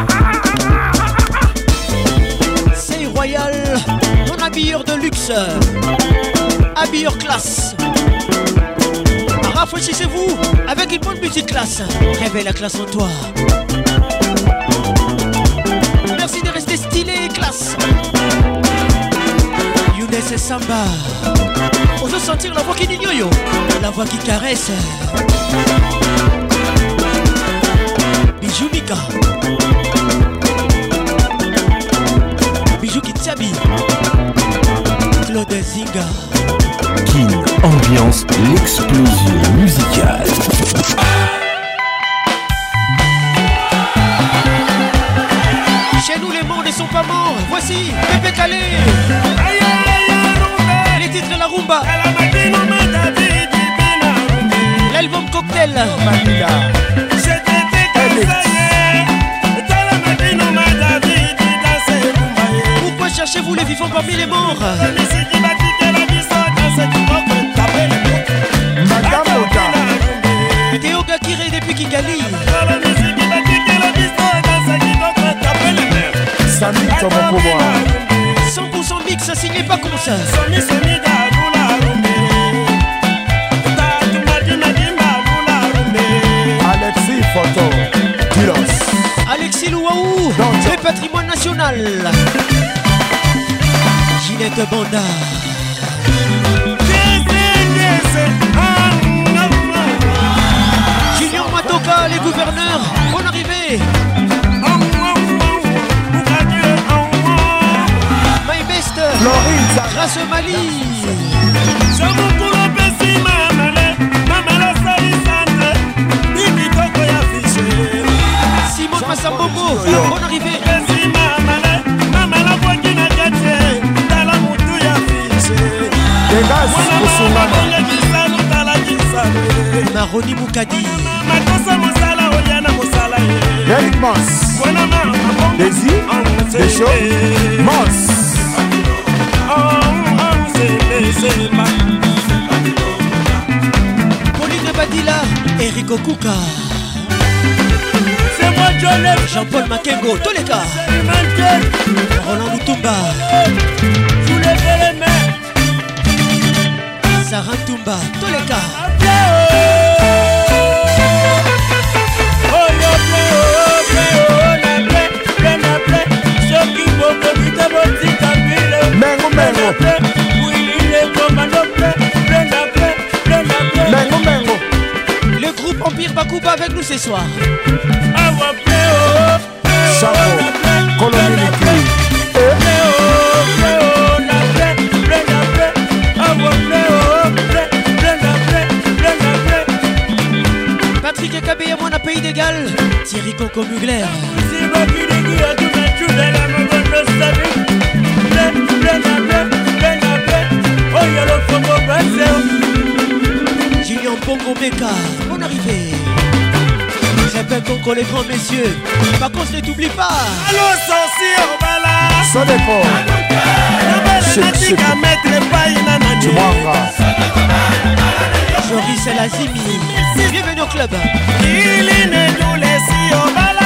C'est royal. Mon habilleur de luxe. Habilleur classe. Rafraîchissez-vous avec une bonne musique classe. Réveille la classe en toi. Merci de rester stylé et classe. Younes et Samba. On veut sentir la voix qui dit yo-yo. La voix qui caresse. Bijou Mika. Bijou Kitsabi. Claude Zinga. Kin, ambiance, l'explosion musicale. Chez nous les morts ne sont pas morts. Voici Pépé Calé. Les titres La Rumba. L'album Cocktail. Pourquoi cherchez-vous les vivants parmi les morts? Théo Gaki Tiré depuis Kigali. Samy Thomas pour moi. cent pour cent mix, signé pas comme ça. Alexis Photo. Dilos. Alexis Louaou, le patrimoine national. Ginette Banda. Julien Matoka, les gouverneurs, bonne arrivée. My best, grâce au Mali. Simone Massambobo, bonne arrivée. Maroni Moukadi. Eric Moss. Daisy. Deschaux. Moss. Pauline Badila. Eric Okuka. Jean-Paul Makengo, tous les cas. Roland Mutumba. Sarah Tumba, tous les cas. Mengo Mengo. Mengo Mengo. Le groupe Empire Bakuba avec nous ce soir. Chapeau, colonie Patrick Kabé, mon pays d'égal. Thierry Coco Mugler. Julien Pongo Meka, bonne arrivée. J'appelle Conco les grands messieurs. Par contre, ne t'oublie pas. Allô, sorcier, au bala. Ça dépend. Joris et Lazimi. Bienvenue au club. Il ne nous laisse au bala.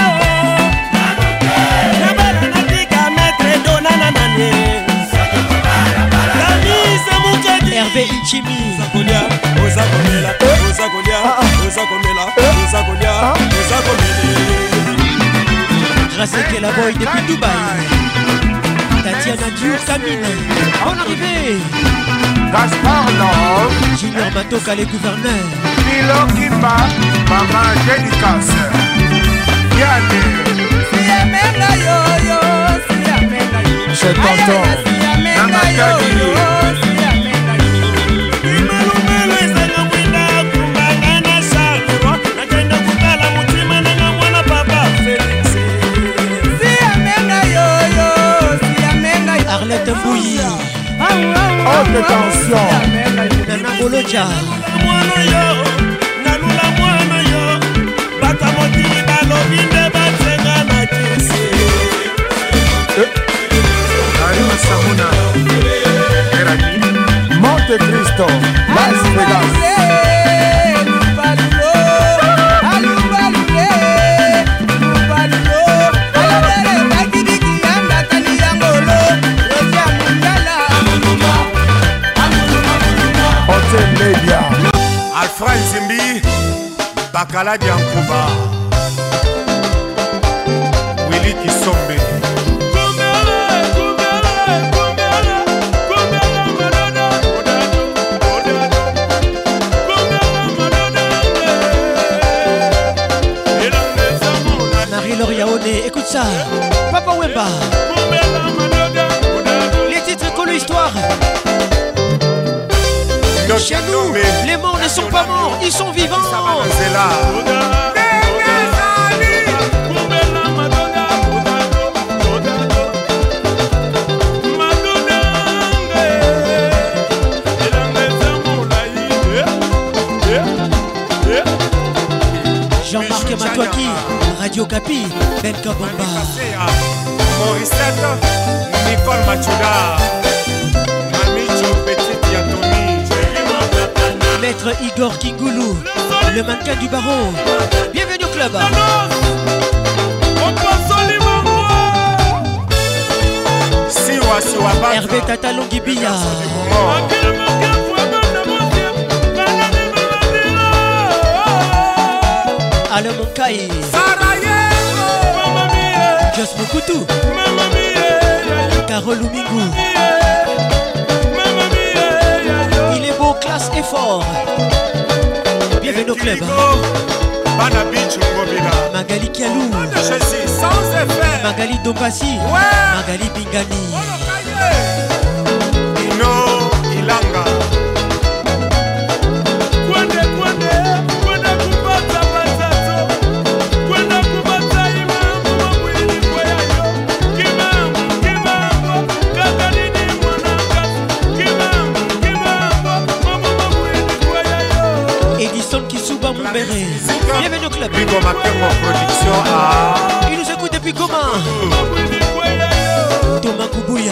Hervé Ichimi. Grâce à la boy depuis Dubaï. Tatiana Diouf Camine. Bonne arrivée. Gaspard Love. Junior Matoka les gouverneurs. Milo Kimba. Maman Dédicace. Yanné. Je t'entends. Namakadi. Arlette Mbouyi. Haute tension. Nana Boloja. Monte Cristo. Las Vegas. Alfred Zimbi, Bakala Diankuba, Willy Kisombe. Marie-Laure Yaoné, écoute ça. Papa Wemba. Les titres que l'histoire. Chez nous, les morts ne sont pas morts, ils sont vivants. Jean-Marc Matouaki, Radio Capi, Ben Kabamba. Morissette, Nicole Machuda, Mami Petit Yatoni. Maître Igor Kingoulou, le mannequin du baron. Bienvenue au club. Hervé Tata Longibia. Alain Monkai. Jos Mokutu. Carole Lumingou. Il est beau, classe et fort. Bienvenue au club. Magali Kialou. Magali Dombassi. Magali Bingani. Ino Ilanga. Kwende kwende kwende kupata patato. Kwende kupata imamu mwili kwa yayo. Kimamu kimamu kakalini mwanakazi. Kimamu kimamu mama mwili kwa yayo. Edison Kisuba Mumbere. Bienvenue au club. Bigo Makengo Production à. Il nous écoute depuis comment? Thomas Koubouya.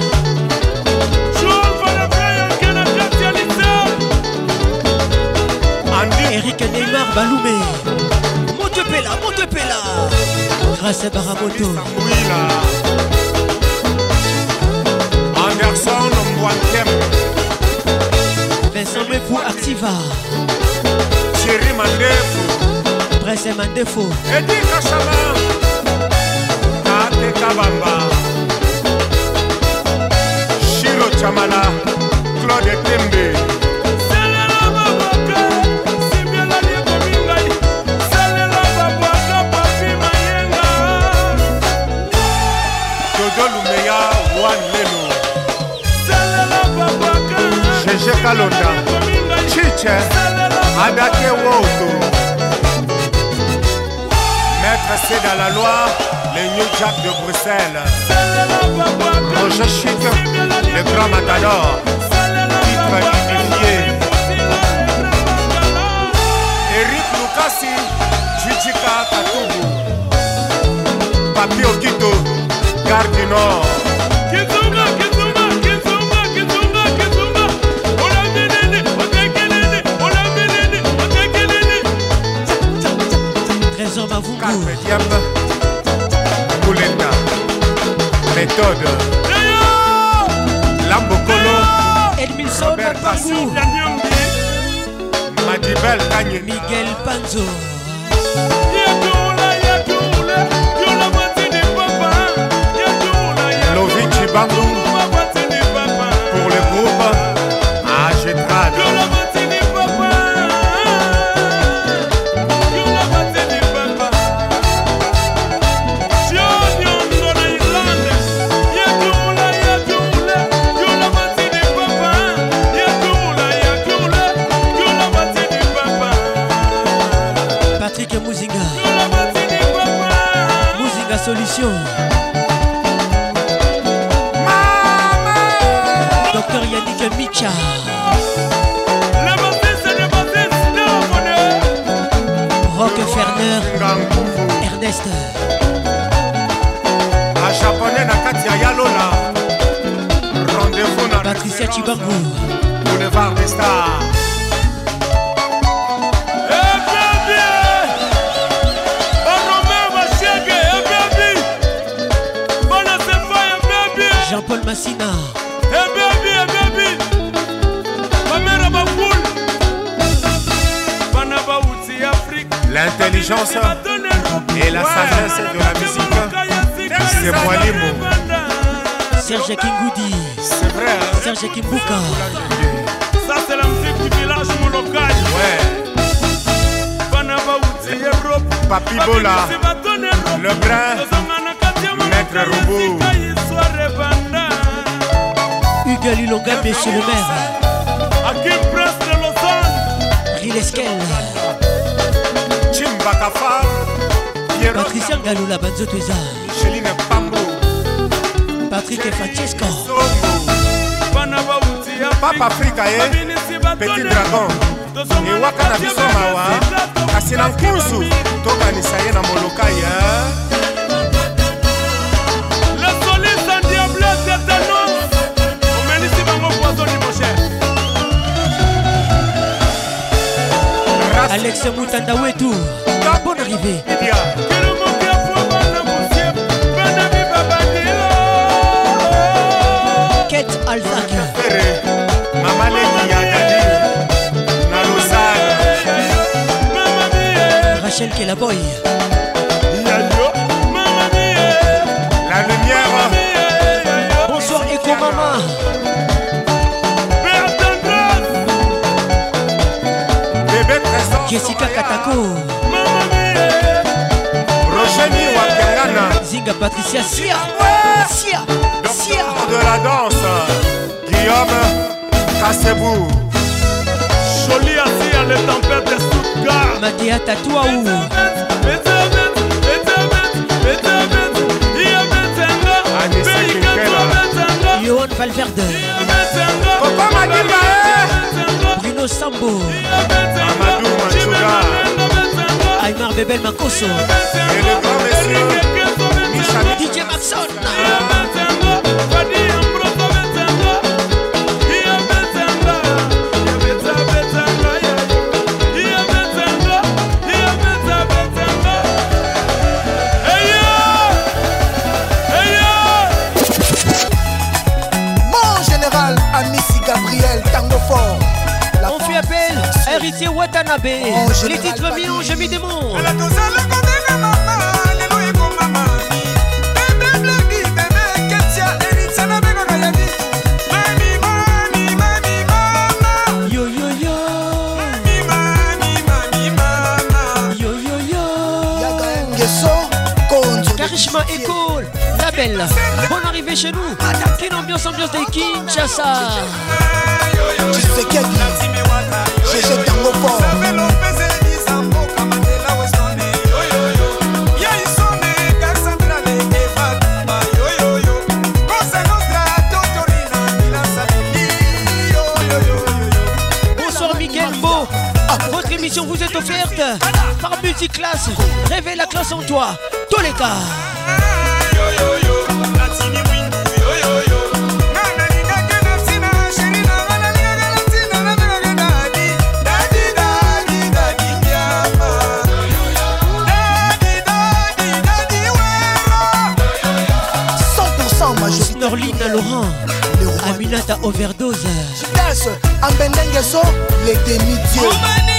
Eric Neymar Baloumé. Montepela, Montepela. Grâce à Baramoto. Anderson Mwankem. Vincent Mepou Activa. Thierry Mandefo. Presse Mandefo. Eddie Kachama. Ate Kabamba. Shiro Chamala. Claude Tembe. Cheche Kalonda, Chiche, Adake Woto. Maître C dans la loi, les New Jack de Bruxelles. Roger Chic, le grand matador. Titre unifié. Eric Lukasi, Jujika Katubu. Papi Okito, Gare du Nord. Boulenda, méthode, Lambokolo, Edmilson Papou, Madibel Kanye, Miguel Panzo, Lovici Bangou, pour le groupe Agetrad. Solution. Docteur Yannick Micha. Rock Ferner. Ernest. A japonais na Katia Yalola. Rendez-vous na Patricia Chibangu. Boulevard des Stars. Jean-Paul Massina. Hey baby, hey baby. Mamera Bakoul. L'intelligence et la sagesse de la musique, c'est moi Limo. Serge Kingoudi. C'est vrai, hein? Serge Kimbuka. Ça c'est la musique du village mon local. Ouais. Papi Bola. Le brin. Maître Roubou. Hugues Lilonga, monsieur le maire. Hakim Prince de Lausanne. Rileskel. Chimbakafa. Patricia Ngaloula Banzotweza. Micheline Pambo. Patrick Francesco. Papa Africa, eh? Petit dragon. Et waka na biso mawa. Kasi na nkusu. Toka ni saye na molokai, eh? Le soliste en diable, c'est un nom. On mène ici bango poisson ni mon cher. Alex Moutanda Wetou, bonne arrivée. Kate Alzac, Maman Leki Yagadi, Naloussal, Rachel Kelaboy, La lumière. Bonsoir Eco Mama. Bébé Trésor. Jessica Katako. Rocheni Wakangana. Zinga Patricia Sia. Sia. Sia. De la danse. Guillaume Kassebou. Jolie assis à les tempêtes de Stuttgart. Matéa Tatouaou. Johan Valverde. Papa Madimba. Bruno Sambo. Amadou Machuga. Aymar Bebel Makoso. Et le grand monsieur Michel D J Maxon. Gabriel Tango Fort. On fait appel à Héritier Watanabe. Les titres millions, je m'y démonte. Yo yo yo. Yo yo yo. Karishma École. La belle. Bonne arrivée chez nous. Quelle ambiance, ambiance de Kinshasa. Tu sais qu'elle dit, j'ai jeté un mot fort. Bonsoir Miguel Beau. Votre émission vous est offerte par Multiclass. Réveille la classe en toi. Tous les cas. Norline Laurent, Aminata Overdose. Chitas, Ambendengeso, les demi-dieux.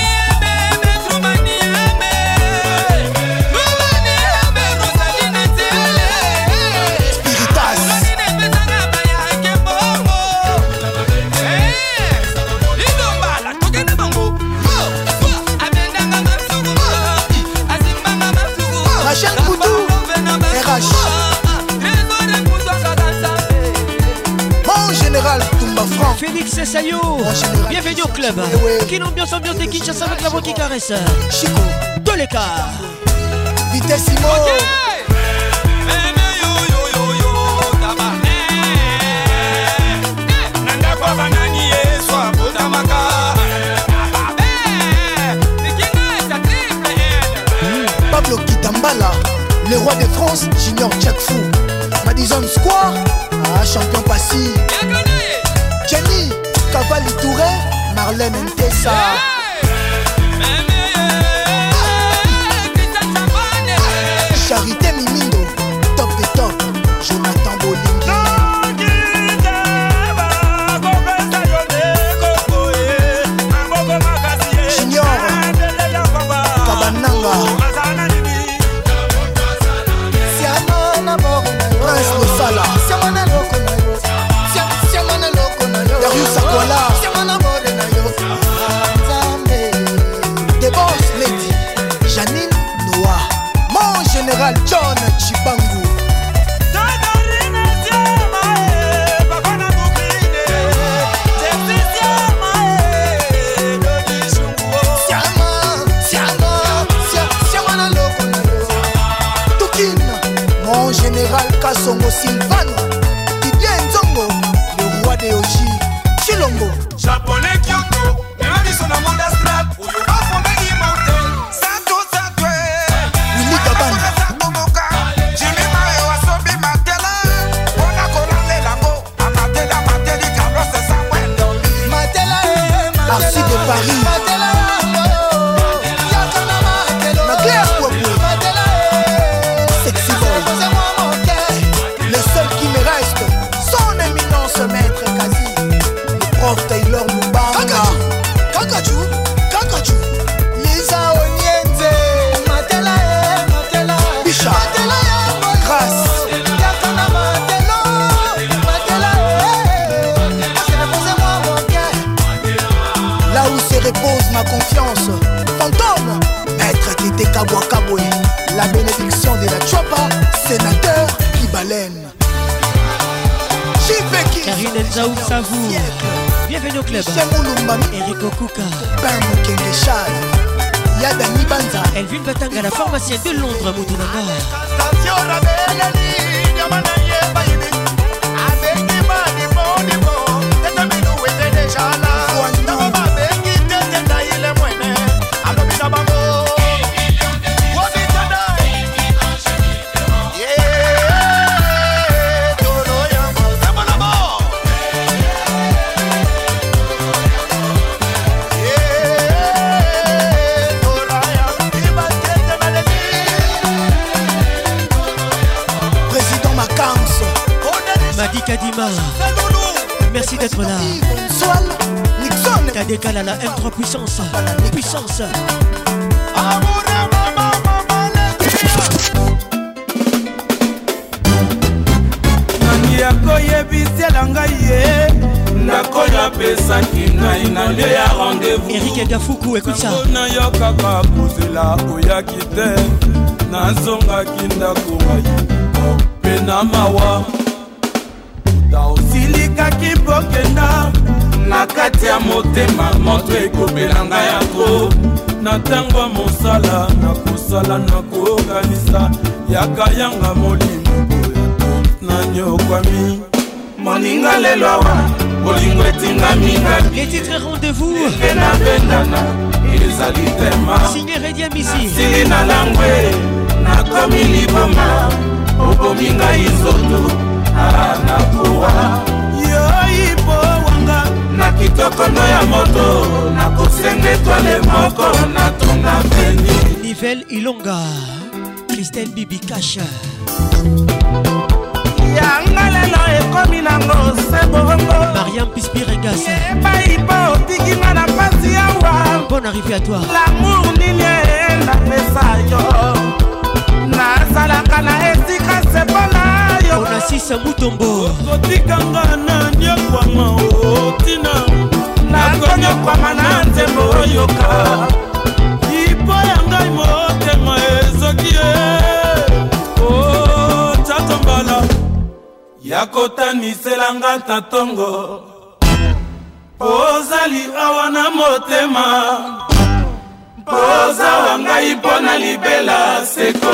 Rachel Koudou, R H. Général Toumba Franck. Félix Sayo, bienvenue au club. Quelle ambiance, ambiance de Kinshasa avec la voix qui caresse. Chico, tous les cas. Vitessimo. Pablo Kitambala, le roi de France, Junior Jack Fou. Madison Square, ah, champion passif. Jenny, Cavalli Touré, Marlène Ntessa. Charité Mimindo, top de top, Jonathan Bolingi. Junior, Kabananga. Prince Losala. Darius Akwala. The Boss Lady Janine Noah. Mon général John Chibangu. Mon général Kassongo Sylvano. Didier Nzongo, le roi de Oji. Chilongo. Japonais Kyoto, même ils sont dans mon astral. Où you are for the immortel. Sato Satwe. Willy Gabana. Jimmy Mayo Asobi Matela. Ona Kolande Lambo. Amatela Mateli Carlos Samuel. Matela. Arcy de Paris. Zaou Savou. Bienvenue au club. Eric Okuka. Yadani Banza. Elvin Batanga, la pharmacienne de Londres, Moutounanga. Kadima, merci d'être là. Kadekala la M trois puissance. Puissance. Nani akoyebisela ngai ye nakoya pesaki ngai na lie ya rendez-vous. Eric Gafuku, écoute ça. Nayokaka kozela oyaki te nazongaki ndako ngai mpe na mawa silikaki bokenda na kati ya motema moto ekobela ngai yango na ntango ya mosala nakosala nakokanisa yaka yanga molimo boya na nyokwami moninga lelo awa bolingo etingami ngai les titres rendez-vous eke na bendana ezali tema signé Redia Misi sili na langwe nakomi liboma obomi ngai nzoto anakuwa yoipo wanga na kitokono ya moto na kosenge twale moko na tonga peni Nivelle Ilonga Christelle Bibi Kasha yanga lelo ekomi nango se bongo Mariam Pispiregasa ebaipo otikinga na pasi yawa bonne arrivée à toi l'amour nini enda pesa yo nazalaka na esika se bona Onasisa Mutombo kotikanga na nyokwama otina nakonyokwama na nzembo oyoka ipo ya ngai motema ezoki e o tatombala ya kotaniselanga tatongo ozali awa na motema poza wa ngai mpo na libela seko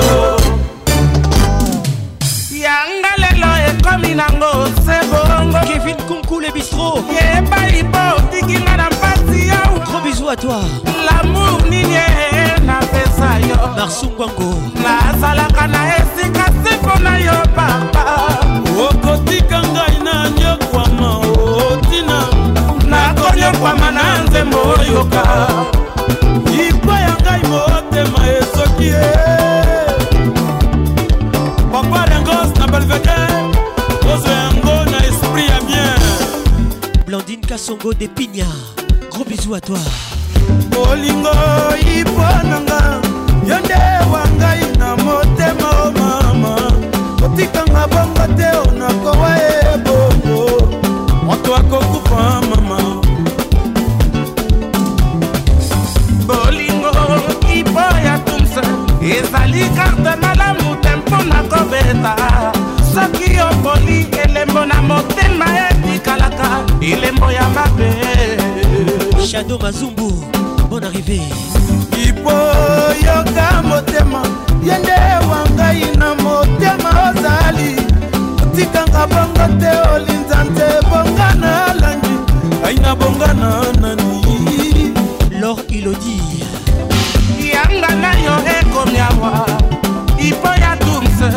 yanga lelo ekomi nango se bongo Kevin Kunku le bistrot yebalipo otikinga na mpasi yawa gros bisous à toi l'amour nini napesa yo Marsungwango nazalaka na esika se mpona yo papa okotika ngai na nyokwama otina nakonyokwama na nzembo oyoka ipo ya ngai motema esoki e papa dengos na balveke ozo yango na esprit ya bien Blandine Kassongo de Pigna gros bisous à toi bolingo ipo nanga yo nde wa ngai na motema o mama otikanga bongo te onakowa e bongo moto akokufa mama bolingo ipo ya tumsa ezali karte malamu te mpona kobeta soki opoli elembo na motema etikalaka elembo ya mabe Shadow Mazumbu bonne arrivée ipo yoka motema yende wangai na motema ozali otikanga bongo te olinza nte bongana langi aina bongana nani Laure Ilodi yanga na yo ekomi awa ipo ya tumse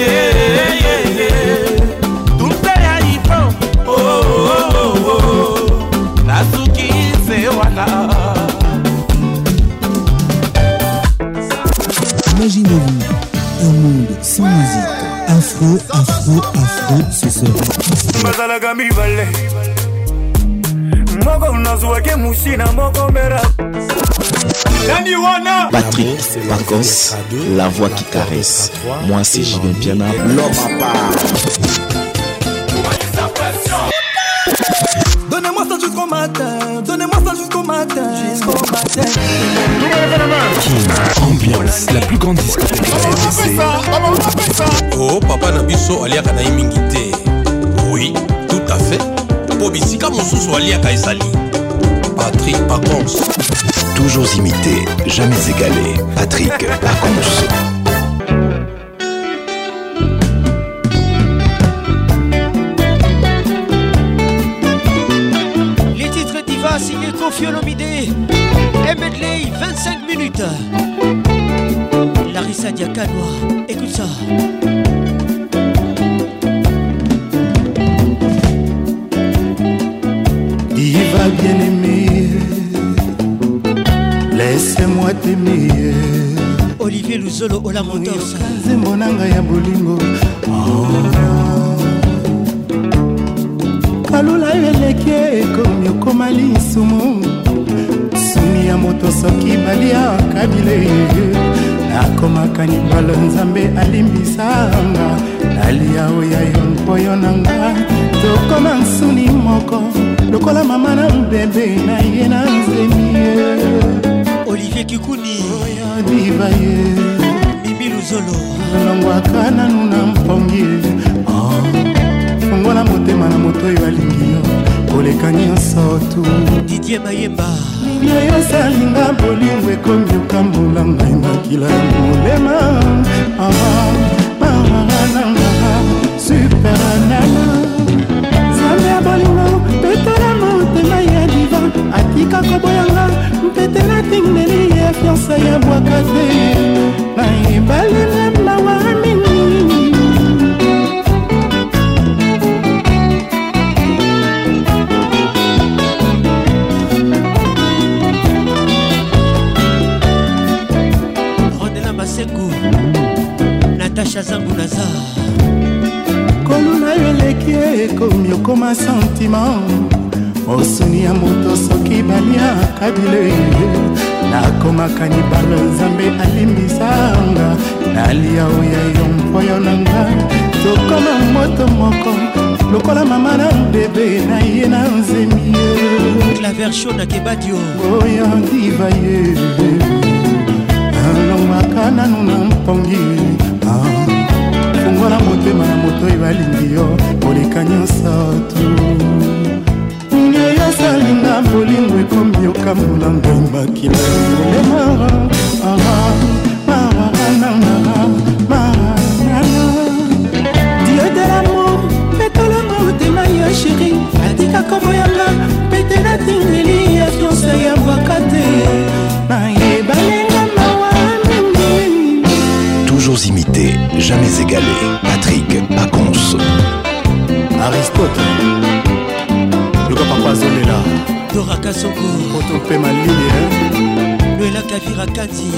tumse ya ipo nasuki se wana. Imaginez-vous un monde sans musique. Afro, afro, afro, ce sera. Patrick Pacos, la voix qui caresse. Moi c'est Julien Piana, l'homme à part. Donnez-moi ça jusqu'au matin, donnez-moi ça jusqu'au matin, jusqu'au matin. Ambiance, la plus grande discothèque. Oh, papa Nabiso aliaka na imingité. Oui, tout à café po bisika mosusu aliaka ezali. Patrick Pacons. Toujours imité, jamais égalé. Patrick Pacons. Les titres Diva signé Koffi Olomide. Medley, vingt-cinq minutes. Larissa Diakanoa, écoute ça. Diva bien-aimé, laisse-moi t'aimer. Olivier Luzolo Olamondos. Zemonanga ya bolingo. Kalula eleke ekomi okoma lisumu. Suni ya moto soki balia kabile. Nakomaka nibalo nzambe alimbisanga. Nalia oya yo mpoyo nanga. Tokoma nsuni moko. Lokola mama na bébé na ye na nzemie. Olivier Kikuni oya diva ye Mimi Luzolo longwaka nanu na mpongi fongola motema na moto oyo alingi yo koleka nyonso tu. Didier Mayemba milio yosalinga bolingo ekomi okambola ngai makila ya molema super nana zambe ya bolingo petola motema ya diva atika koboyanga mpete na tingeli ya fiansa ya bwaka te na ebale na mawa mingi. Rondela Masengo Natasha Zangu Naza koluna eleki ekomi okoma sentiment osuni ya moto soki baliaka bile nakomaka nibalo nzambe alimbisanga nalia oya yo mpoyo nanga tokoma moto moko lokola mama na bebe na ye na nzemie Claver Shona Kebadio oya diva ye alongwaka nanu na mpongi fongola motema na moto oyo alingi yo koleka nyonso tu. Nini yosalinga bolingo ekomi okambola ngai makila molema Dieu de l'amour petola motema yo chéri atika koboyanga pete na tingeli ya fiansa ya bwaka te na yebalenga mawa mingi. Toujours imité, jamais égalé. Patrick Pacons. Aristote Luka Papa Zolela Dora Kasongo Otope Maline Luela Kavira Kati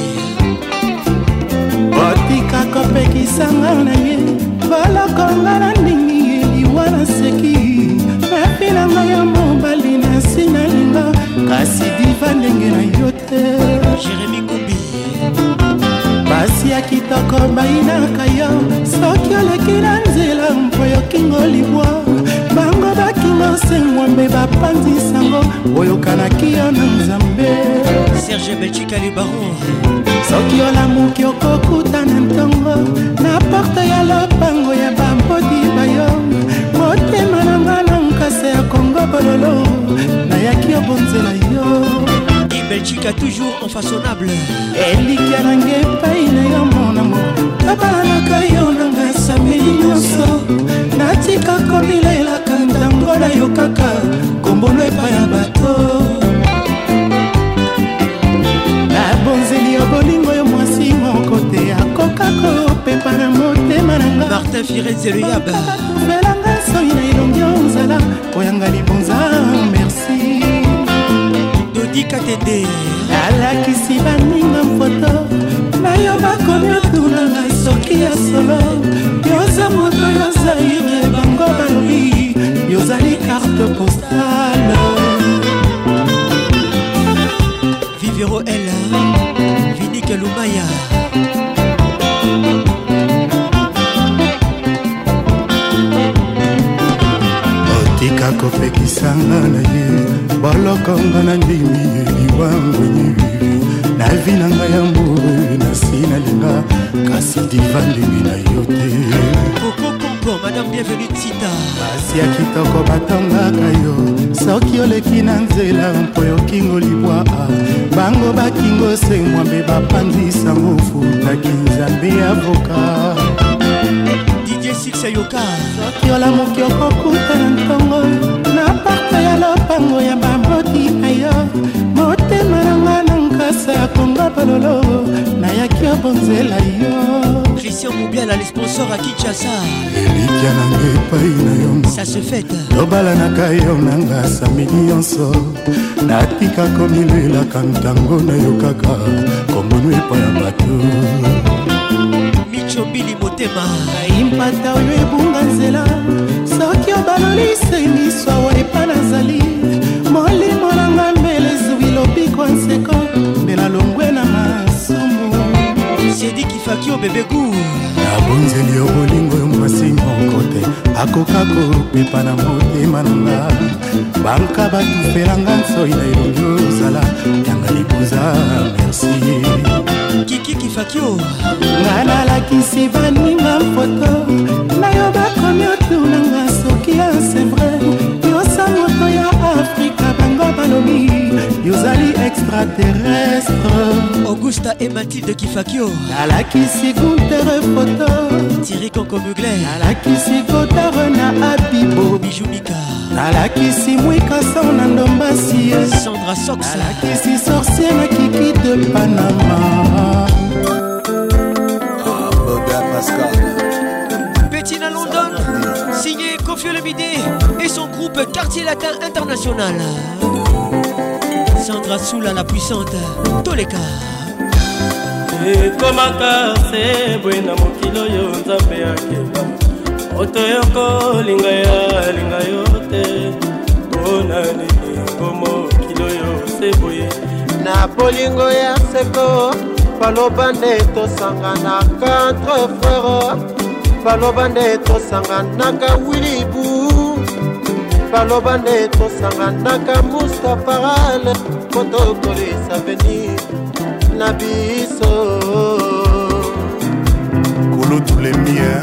Otika kopekisanga na ye balokonga na ndingi eliwa na seki napinanga ya mobali na sinalinga kasi diva ndenge na yo te. Jérémy Kumbi basi ya kitoko bayinaka yo soki oleki na nzela mpo yokingo libwa bango bakingo sengwambe bapanzisango oyokanaki yo na nzambe. Serge Belchika le baron soki olamuki okokuta na ntongo na porte ya lopango ya bambodi bayo motema na nga na nkasa ya kongo bololo nayaki obonzela yo. Belgique toujours infaçonnable elikia nange epai na yo monamo tabalanaka yo nanga sameli nyonso natika komilelaka ntango na yo kaka kombono epai ya bato nabonzeli yo bolingo yo mwasi moko te akokako pepa na motema nanga. Martin Firenze le yaba tuvelanga soi na elongi ozala oyanga libonza merci. Katende alakisi baninga mfoto na yo bakomi otunanga soki ya solo yoza moto yozaire bango balobi yozali carte postale. Vivero Ella Vinike Lumaya otika kopekisanga na ye bolokonga na ndimi eliwangwenyi na vi na ngai ya mburu na si nalinga kasi diva ndenge na yo te. Coco Conco Madame bienvenue Tita. basi ya kitoko batongaka yo soki oleki na nzela mpo yokingo libwa bango bakingo se mwambe bapanzisango futaki nzambe avoka Didier Six Ayoka soki olamuki okokuta na ntongo na parte ya lopango ya bamboti ayo motema nanga na nkasa ya konga palolo nayaki obonzela yo Christian Moubiala, les sponsors à Kinshasa. Elikia nanga epai na yo ça se fête lobalanaka yo nanga samedi nyonso natika komilelaka ntango na yo kaka kombonu epai ya bato Micho Bili Motema aimpata oyo ebunga nzela soki obalolise miso awa epa nazali molimo nanga mbele ezwi lobiko nseko mbela longwe na masumu Sedi Kifakio bebe gu nabonzeli yo bolingo yo mwasi moko te akoka kopepa na motema nanga banka batufelanga nsoi na elongi ozala yanga libuza merci Kiki Kifakio nga nalakisi baninga foto na yo bakomi otunanga soki ya c'est vrai yosa moto ya afrika bango balobi yozali extraterrestre Augusta et Mathilde Kifakio nalakisi guntere foto Thierry Konko Mugler nalakisi kotare na abibo Bijoumika nalakisi mwikaso na ndombasi Sandra Sox nalakisi sorcier na kiki de Panama Bettina London signé Kofi Olomide et son groupe Quartier Latin International. Sandra Soula la puissante Toleka ekomaka se bwe na mokilo yo nzambe akeba moto yoko linga ya linga yo te mpona nini ngo mokilo yo se boye na bolingo ya seko baloba nde tosanganaka entre frere baloba nde tosanganaka wilibu baloba nde tosanganaka mustafarale kotokolisa veni na biso kolo tulemie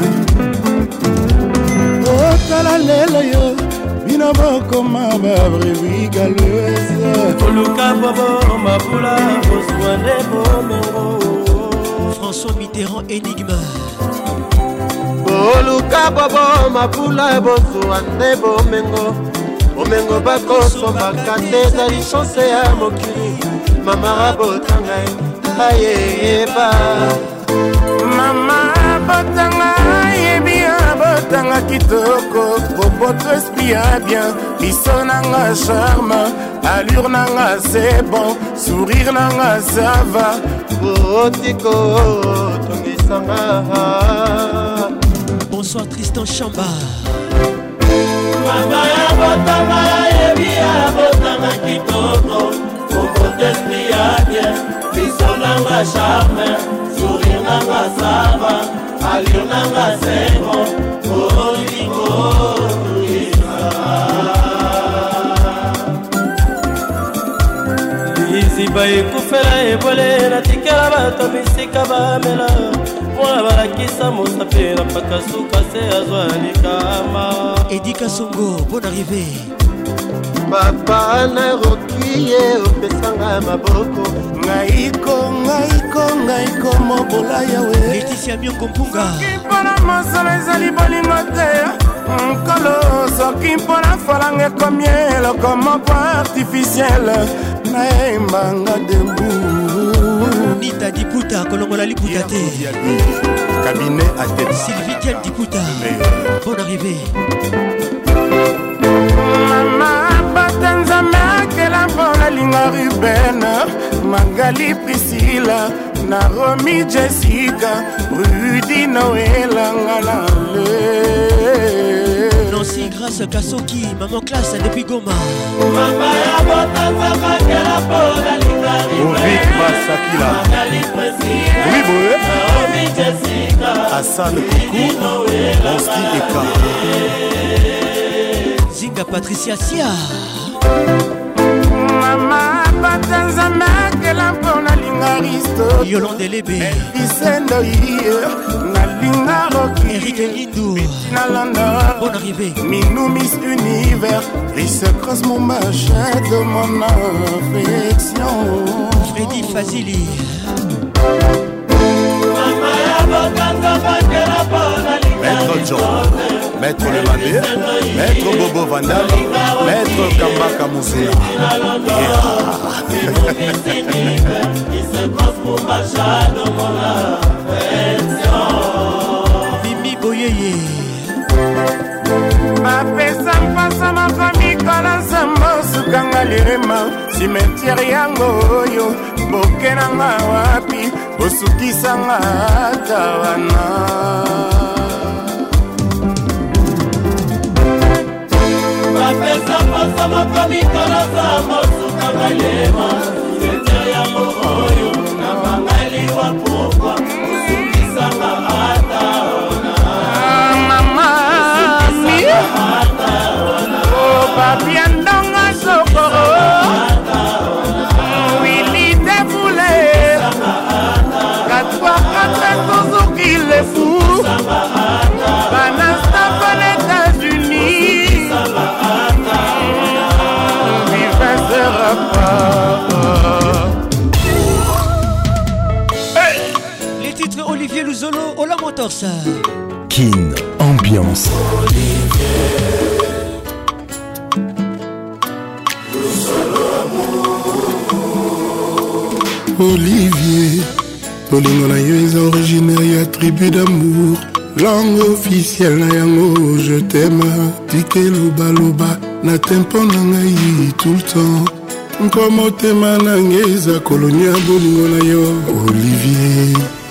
otala lelo yo bino bokoma babrevi galese koluka bobo mabula bozwa nde bomengo François Mitterrand énigme boluka bobo mabula bozwa nde bomengo bomengo bakosombaka te ezali chance ya mokili mama botanga ayeba mama botanga yebi botanga kitoko boboto esprit ya bien biso nanga charme allure nanga c'est bon sourire nanga ça va botiko tongisanga. Bonsoir Tristan Chamba mama ya botanga yebi botanga kitoko boboto esprit ya bien biso nanga charme sourire nanga ça va allure nanga c'est bon botiko liziba ekufela ebole natikela bato bisika bamela mpona balakisa mosape na mpaka suka se azwa likama Edika Songo, bonne arrivée papa naroki ye opesanga maboko ngaiko ngaiko ngaiko mobola yawe Laetitia Miongo Mpunga mpona mosolo ezali bolingo te nkolo soki mpona falanga ekomi eloko moko artificiele nayembanga dembu Nita Diputa kolongola liputa te cabinet à tête Sylvie Diane Diputa bonne arrivée mama batanzame akela mpona linga Ruben Magali Priscilla Naomi Jessica Rudy Noël Ngalale Nancy Grâce Kasoki Maman Classe depuis Goma mama ya botanzama kela mpona linga Ovic Masakila Magali Priscilla oui boye Naomi Jessica Hassan Koukou Bonski Eka Zinga Patricia Sia Mama batanzame akela mpona linga Aristote Yolande Lebe Elvisendo iye nalinga Rocky Eric Lindou Bettina Landa Bonne arrivée Minou Miss Univers Risse Cross mon machin de mon affection Freddy Fazili Maître John, Maître Lemandé, Maître Bobo Vandal, Maître Kambaka Moussela. Mimi Boyeye bapesa mpasa mafami kala nsambo sukanga lirema simetiere yango oyo boke nanga wapi osukisanga ata wana bapesa mpasa mafami kala nsambo sukanga lirema simetiere yango oyo nabangaliwa pokwa osukisanga ata wana papi andonga sokoro wili defoule katwa katre tozoki le fou banastapa l'États-Unis vive sera pas les titres Olivier Luzolo Ola Motors Kin Ambiance Olivier, Tolingo na yo est originaire ya tribu d'amour. Langue officielle na yango, je t'aime. Tike loba loba, na tempo na ngai tout le temps. Nkomo tema na ngeza kolonia bolingo na yo, Olivier.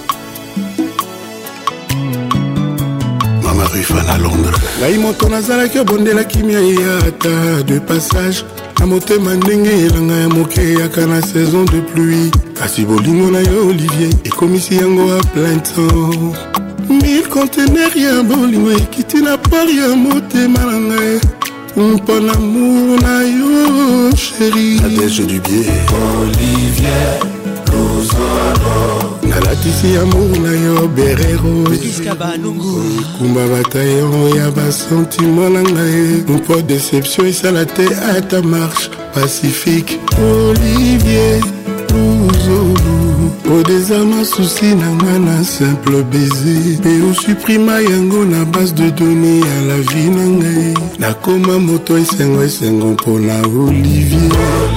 Mama Rufana à Londres. Ngai moto nazalaki obondelaki mia yata de passage. Na motema ndenge elanga ya moke yaka na saison de pluie. Kasi bolingo na yo Olivier ekomisi yango a plein temps. Mille conteneurs ya bolingo ekiti na port ya motema na ngai. Mpo l'amour na yo chéri. Nadège du biais Olivier Luzolo. Nalatisi amour na yo berero. Kumba bataillon ya basentiment na ngai. Mpo déception esala te à ta marche pacifique. Olivier Luzolo. Au désarme souci na ngana simple baiser. Pe o supprima yango na base de données à la vie na ngai. Nakoma moto esengo esengo mpona Olivier.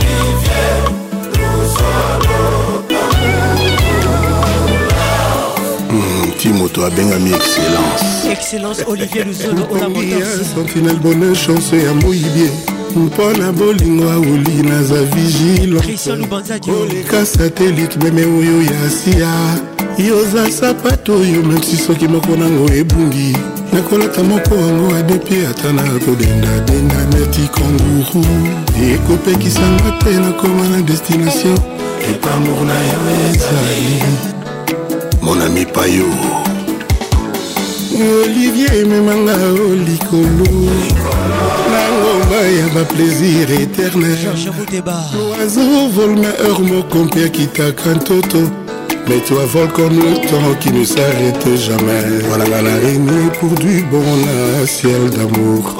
Timoto abengami excellence. Excellence Olivier Luzolo Ola Motors Sentinelle bonheur chance ya moyibie. Mpona bolingo aoli naza vigile. Christian Lubanzadio oleka satellite meme oyo ya sia. Yoza sapato oyo memsi soki moko nango ebungi. Nakolata moko yango adepi ata na kodenda denda neti kanguru. Ekopekisanga te nakoma na destination. Etamour na yo ezali mon ami Payo. Olivier memanga o likolo na ngomba ya ba plaisir éternel. L'oiseau vole ma heure moko mpe akitaka ntoto. Mais toi vole comme le temps qui ne s'arrête jamais. Voilà la réunion pour du bon là, ciel d'amour.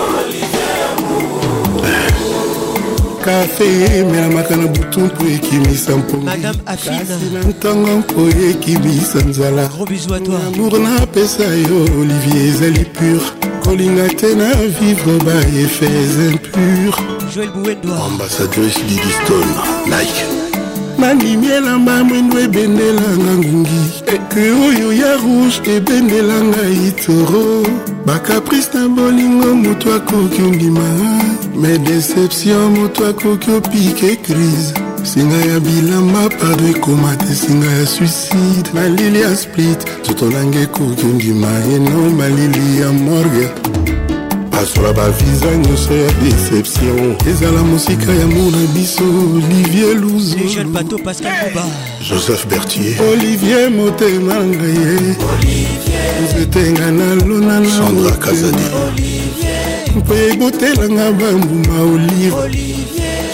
Café, mais la makana bouton pour ekimisa mpongi. Madame Affine kasi na ntango mpo ekimisa nzala. Gros bisous à toi. Amour na pesa yo Olivier ezali pur. Kolinga te na vivre ba effets impurs. Joël Bouendoa ambassadrice Didiston Nike. Manimi elamba mwendo ebendelanga ngungi. Eke oyo ya rouge ebendelanga itoro. Bakaprice na bolingo moto akoki ondima. Mes déceptions moto akoki opike crise. Singa ya bilamba pardon ekomate singa ya suicide. Malili ya split zoto nange ekoki ondima. Eno malili ya morgue. Pasola ba visa nyonso ya déception. Ezala musika ya mona biso Olivier Luzolo. Les jeunes bateaux Pascal Bouba Joseph Berthier Olivier Motema ngaye Olivier Nzetenga na lona na Sandra Kazadi Olivier Mpo ebotelanga bambuma Olivier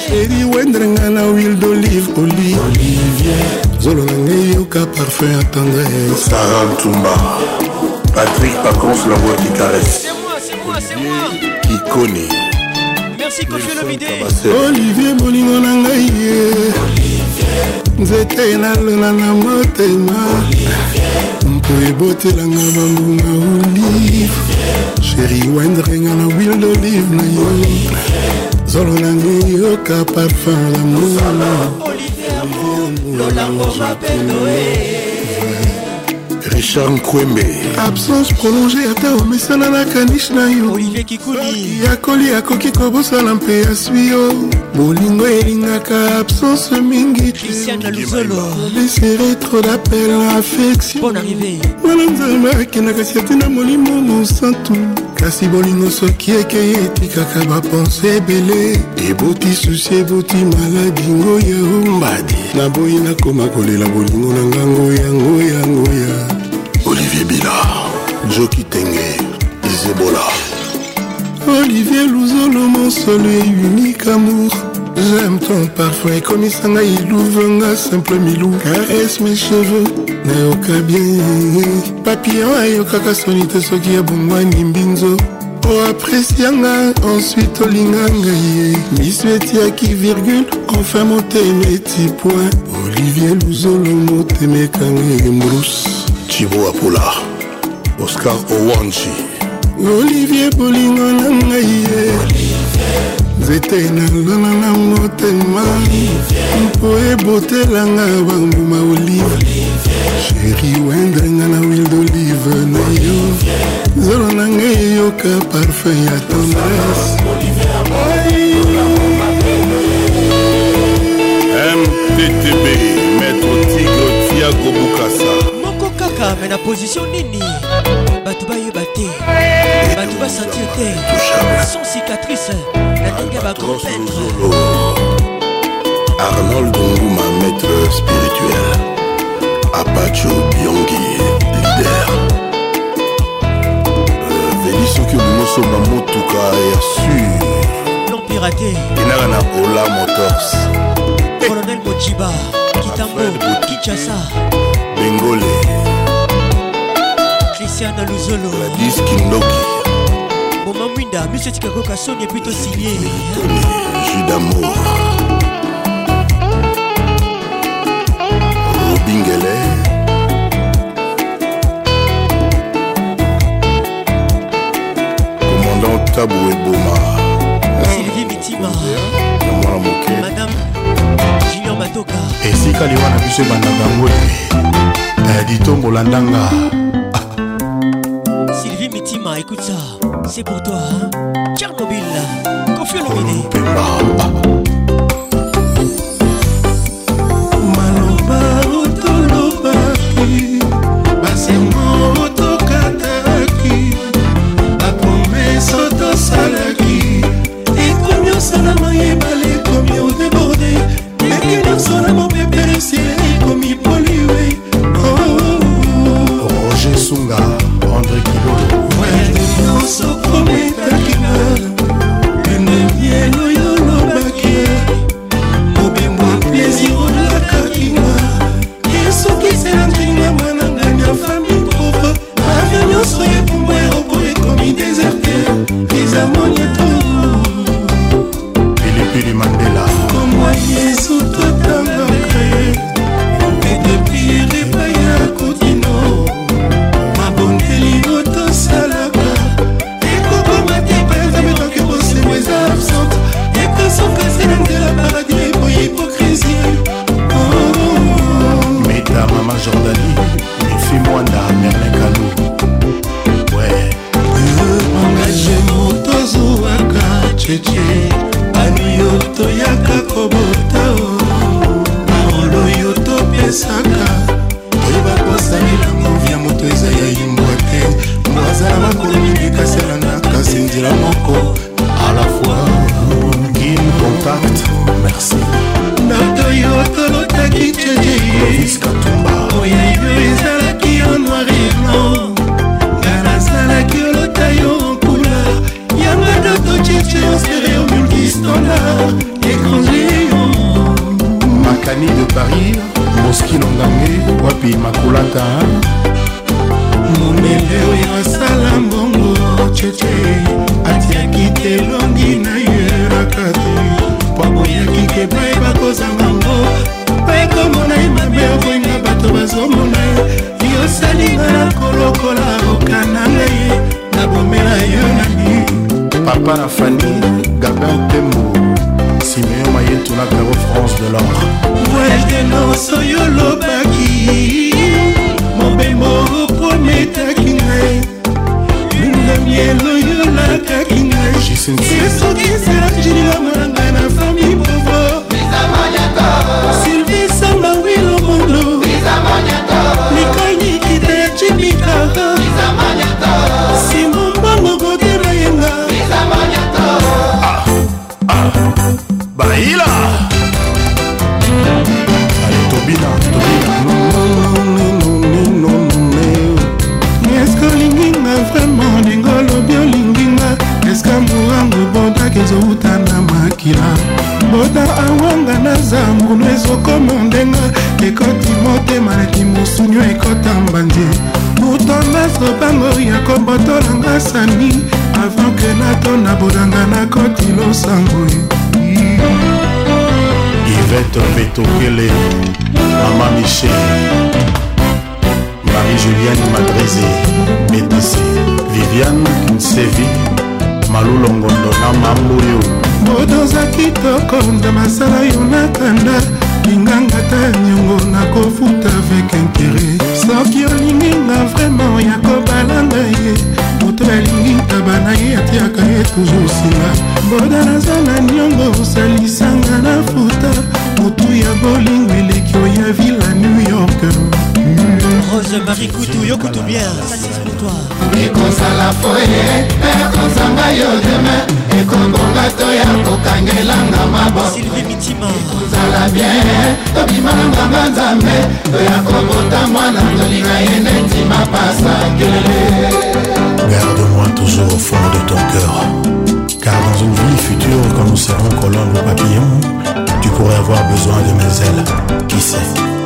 Eri wendrenga na huile d'olive, olive. Olivier. Zolo nange yoka parfum à tendresse. Sarah Tumba. Patrick Pacons, la voix qui caresse. C'est moi, c'est moi, c'est moi. Qui connaît. Merci Kofi Lomide. Olivier bolingo na ngai ye. Nzete nalona na motema. Mpo ebotelanga bambuma olive. Chéri wendrenga na huile d'olive na yo. Zolo nange yoka parfum l'amour. Olivier Lolango m'appelle Richard Nkwembe. Absence prolongée ata omesana na kanish na yo. Olivier Kikuli. Yakoli akoki kobosala mpe aswi yo. Bolingo elingaka absence mingi. Christiane Luzolo. Laisserai trop d'appel à affection. Bonne arrivée. Mwana nzambe akendaka siati na molimo mosantu. Kasi bolingo soki ekei etikaka bapense ebele. Eboti susi eboti maladi ngoya ombadi. Naboyi nakoma kolela bolingo na ngango ya ngoya ngoya. Olivier Bila, Joki Tenge, Isebola. Olivier Louzolo, mon seul et unique amour. J'aime ton parfum et comme Isanga Ilouvanga, simple milou. Caresse mes cheveux, nayoka bien. Papillon ayoka kasonite soki ya bongwa nimbinzo. Oh apprécianga, ensuite olinganga ye. Misueti aki virgule, enfin monter mes petits points. Olivier Louzolo, motemekanga mbrousse. Chibo Apula, Oscar Owanchi. Olivier bolingo na ngai ye. Nzete nalona na motema. Mpo ebotelanga bambuma olive. Chéri wendrenga na huile d'olive na yo. Zolo na ngai yoka parfum ya tendresse. M T T B, Maître Tigre Tiago Bukasa. Kaka mais na position nini batu bayeba te batu basentir te sans cicatrice na ndenge ya bagrand peintre. Arnold Nguma, maître spirituel. Apacho Biongi, leader. euh, Vélisoki Bimoso Mamotuka est sûr. Non piraté Inara na Ola Motors. Colonel Mochiba Kitambo Kinshasa Bengole Christiane Luzolo Gladys Kindoki Moma Mwinda Monsieur Tikako Kassoni est plutôt signé Jus d'amour Robingele Commandant Tabou et Boma Sylvie Mitima Madame Junior Matoka esika liwana biso bandanga ngoli ditombola ndanga. Sylvie Mitima, écoute ça, c'est pour toi, hein? Tchernobyl, Kofi Olomide. Maloba otolobaki, basengo otokataki, bapromese otosalaki, ekomi osalama yebale ekomi odeborde, eki nyonsolama peperesi ekomi poliwe. Roger Sunga, André Kibolo. Wende nyonso kometakina, ene bieno yolobaki, mobimwa plaisir olakakina, esokisela ndringa mwanangani ya famille pauvre, avio nyonso epumbwa eroko ekomi déserte, ezamonieto Pilipili Mandela komwa Yesu totangaka ye, edepli repai ya kotino, mabondeli otosalaka, ekokoma te paezame toke bosembo eza absente, ekosokasela ndela paradis eboyi hypocrisie. Meta Mama Jordani, Mifi Mwanda, Merlin Kalou. Ouais. Engagé motozuwaka cheche, bani yoto yaka kobota o, marolo yoto pesaka, oyeba kosalilango via moto eza ya yimbwa te, mwazala makolo mingi kaselanga kasi nzela moko à la fois. Kin Contact, merci. Nato yoto lotaki cheche, Clovis Katumba, oyeyo ezalaki en noir et blanc, ngana zalaki olota yo en couleur, yanga doto cheche en stéréo multistandard, étranger Samantha momele oyo asala mbongo cheche atiaki te longi na ye rakate paboyaki ke baye bakozanga ngo baye komona ye mabe okoinga bato bazomona ye yosalinga na kolokola okananga ye nabomela yo nani papa na Fanny Gabin Tembo Siméon Mayetou na Caro France de l'or Welde so yolo baki Mobembo prometaki ngai Lunda mielo yola kaki ngai Yeso kisera jininga mwananga na fami povo Sylvie Samba wilo mondo Mikani kite chimikaka Simon bango kote mayenga Baila Allez Tobina, Tobina Est-ce que linginga vraiment dingolo bio linginga Est-ce que mourango boda kezo utana makila Boda awanga na zambu nwezo komondenga Ekoti motema na kimusunyo ekota mbanje Utona sobango ya kobotola nga sani Avant que nato na bodanga na koti lo sango Yvette Vetokele, Mama Michel, Marie-Julienne Madrézé, Médicé, Viviane Kinsevi, Malou Longondo na Mamboyo. Bodoza kitoko nda masala yo nakanda linganga ta nyongo nakofuta avec intérêt soki olinginga vraiment ya kobalanga ye moto alingi tabana ye atiaka ye toujours singa boda naza na nyongo osalisanga na futa motu ya bolingo eleki oya ville à New York. Rose Marie Coutou, yo Coutou bien, ça c'est pour toi. Ekozala foye, ekozanga yo demain, ekobonga toya kokangelanga mabo. Sylvie Mitima. Ekozala bien, tobimalanga nzambe, toya kobota mwana tolinga yene tima pasa kelele. Garde-moi toujours au fond de ton cœur, car dans une vie future, quand nous serons colombe ou papillon, tu pourrais avoir besoin de mes ailes, qui sait.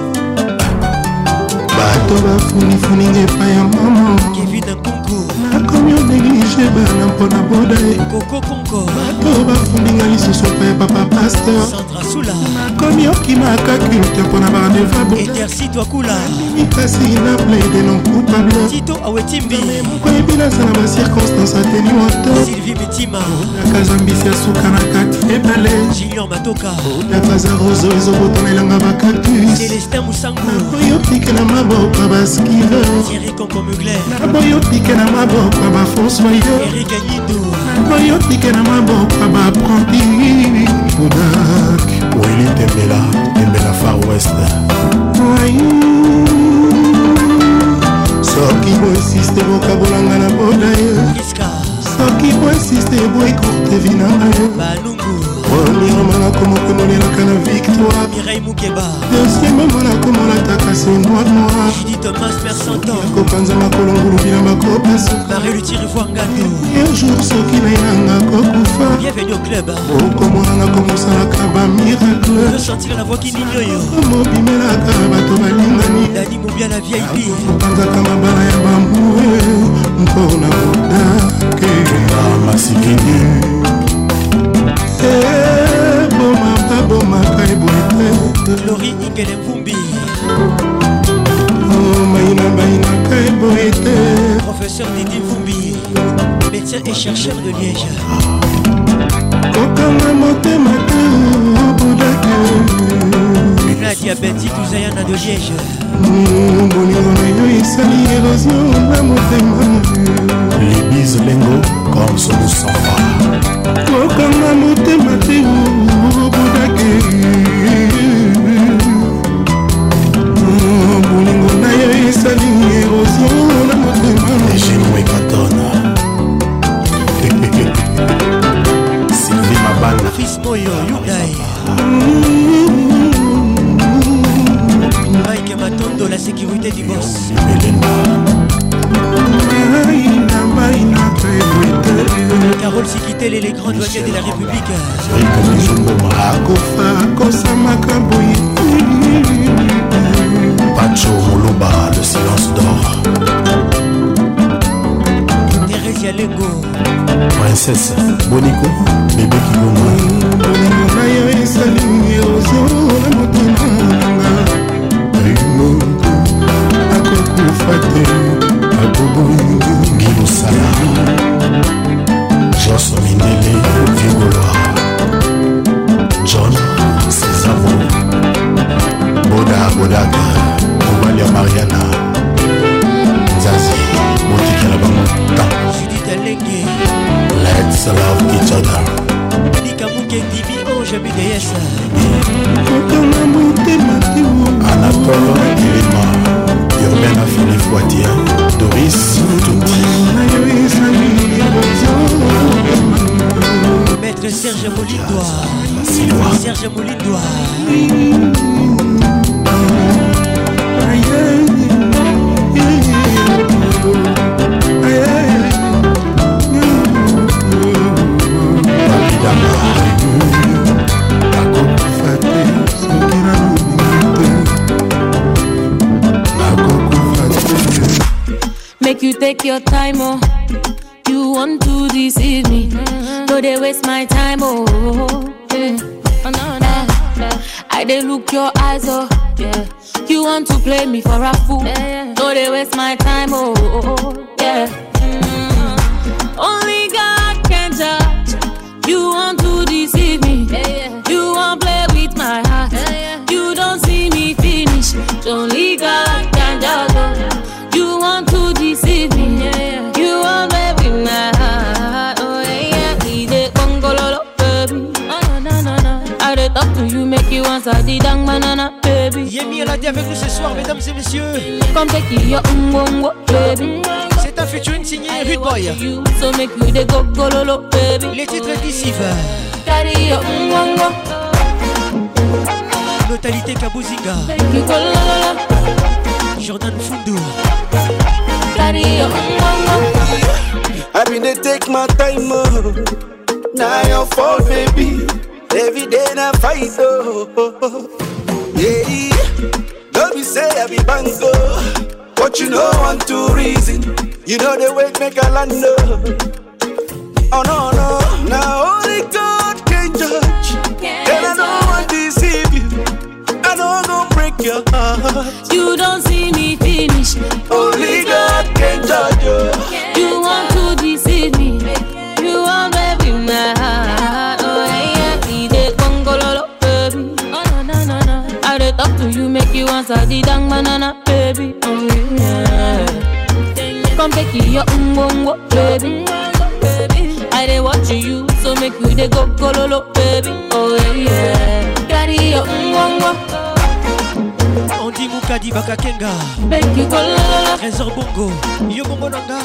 Bato bafunifuni ngepa ya mama Kevin Nkunku nakomi onéglige bana mpona boda ye Koko Konko bato bafuninga lisusu mpe ya papa pasteur Sandra Sula nakomi okimaka culte mpona barandeva boda Edersi Twakula mikasi na plaide non coupable Tito Awetimbi mokoyebi naza na bacirconstance ateni moto Sylvie Mitima nakazambisi ya suka na kati ebale Junior Matoka nakaza roso ezobotonelanga bacactus Celestin Moussango nakoyotike na maboka baskive Thierry Kombo Mugler nakoyotike na maboka bafonsoyer Eric Agnido nakoyotike na maboka baapprenti bodak Willy Tembela, Tembela Far West. soki boinsiste bokabolanga na boda ye soki boinsiste boekourte vinanga ye oliromana komokomonelaka na victoire Mireille Moukeba deuxième mona komolataka se noir noir Judith Thomas Mersanton kopanza makolo ngulubila makopasuka Marie Lutiri Fwangando un jour soki nainanga kokufa Bienvenue au club okomonanga komosalaka bamiracle ressentir la voix qui nignoyo mobimelaka bato balingani Dani Moubia la V I P kopanzaka mabala ya bambue mpona kodake Masikini boma babomaka eboete Glory Ingele Mvumbi maina mainaka eboete Professeur Didi Mvumbi médecin et chercheur de Liège kokanga motema te bodake Nadia Betty Touzayana de Liège bolingo na yo esali érosion na motema Libis Lengo comme son sang. kokanga motema te bodake bolingo na yo esali érosion na motema Ejimwe Katona Sylvie Mabana Fils Moyo Hyundai Mike Matondo la sécurité du boss Carole Sikitele les grands douaniers de la République Pacho Moloba le Princesse Bonico, bébé Kibongo. Bolingo na yo esalingi ozola motema nanga. Ayumoko akokufa te akoboyingi. Guido Sala, Jos Mindele, Vigoloa, John Césaro, Boda Bodaga, Obalia Mariana, Zazie, Motika la Bamota, Judith Alenge, Let's love each other. Nika Mukendi, oh jamais de yes. Anatole Kilima, Urbain Affili Fouatia, Doris Touti. Maître Serge Molindois, Serge Molindois. Make you take your time, oh. You want to deceive me. No, they waste my time, oh. Yeah. Oh, no, no. I they look your eyes, oh. Yeah. You want to play me for a fool. Yeah. No, they waste my time, oh. Yeah. Mm. Only God can judge. You want to deceive me. Yeah. You want to play with my heart. Yeah. You don't see me finish. Only God can judge. You want to deceive me, yeah. You want baby my heart, oh yeah. He dey gongololo, baby. Oh no no no no. I dey talk to you, make you answer the dang banana, baby. Yemi Alade avec nous ce soir, mesdames et messieurs. Come take your umbongo, baby. C'est un featuring signé Rude Boy. So make you dey gogololo, baby. Les titres d'Issif. Carry your umbongo. Notalité Kabuzinga. Make you golololo. Jordan Fundo. I've been to take my time, oh. Now your fault, baby. Every day I fight, oh. Yeah, don't be say I be bango, but you know one two reason. You know the way make a land, oh. Oh no no, now only God can judge, and I don't want to deceive you. I don't gonna break your heart. You don't see me finish. Only God can judge you. You want to deceive me. You want baby my heart. Oh yeah, he dey gongololo, baby. Oh no no no no. I dey talk to you, make you answer the dang banana, baby. Oh yeah. Come take your umbongo, baby. I dey watch you, so make you dey gogololo, baby. Oh yeah. Carry your umbongo. Andy Moukadi Bakakenga. Make you go la la la. Trésor Bongo. Yo Bongo Nanga.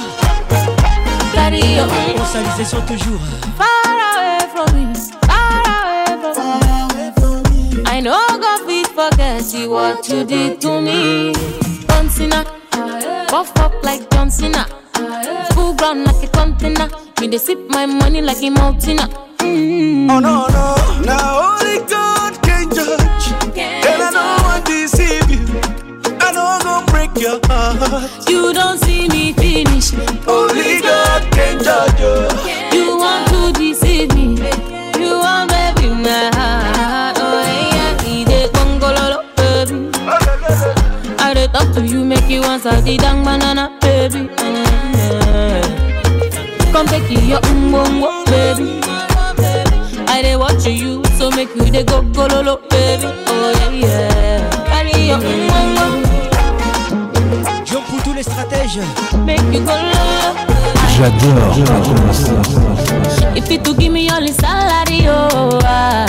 Carry your on salisation toujours. Far away from me. Far away from me. I know God fit forget you what you did to me. John Cena. Buff up like John Cena. Full ground like a container. Me they sip my money like a mountain. Mm. Oh no no. Now only God can judge. And I don't want to deceive you. I don't gonna break your heart. You don't see me finish. Only God can judge you. You want to deceive me. You want baby my heart. Oh yeah, he dey gongololo, baby. I dey talk to you, make you answer the dang banana, baby. Yeah. Come take your umbongo, baby. I dey watch you, so make you dey go gololo, baby. Oh yeah, yeah. Carry your umbongo. Jean pour tous les stratèges. Make you go lolo. J'adore. If you to give me all the salary, oh ah.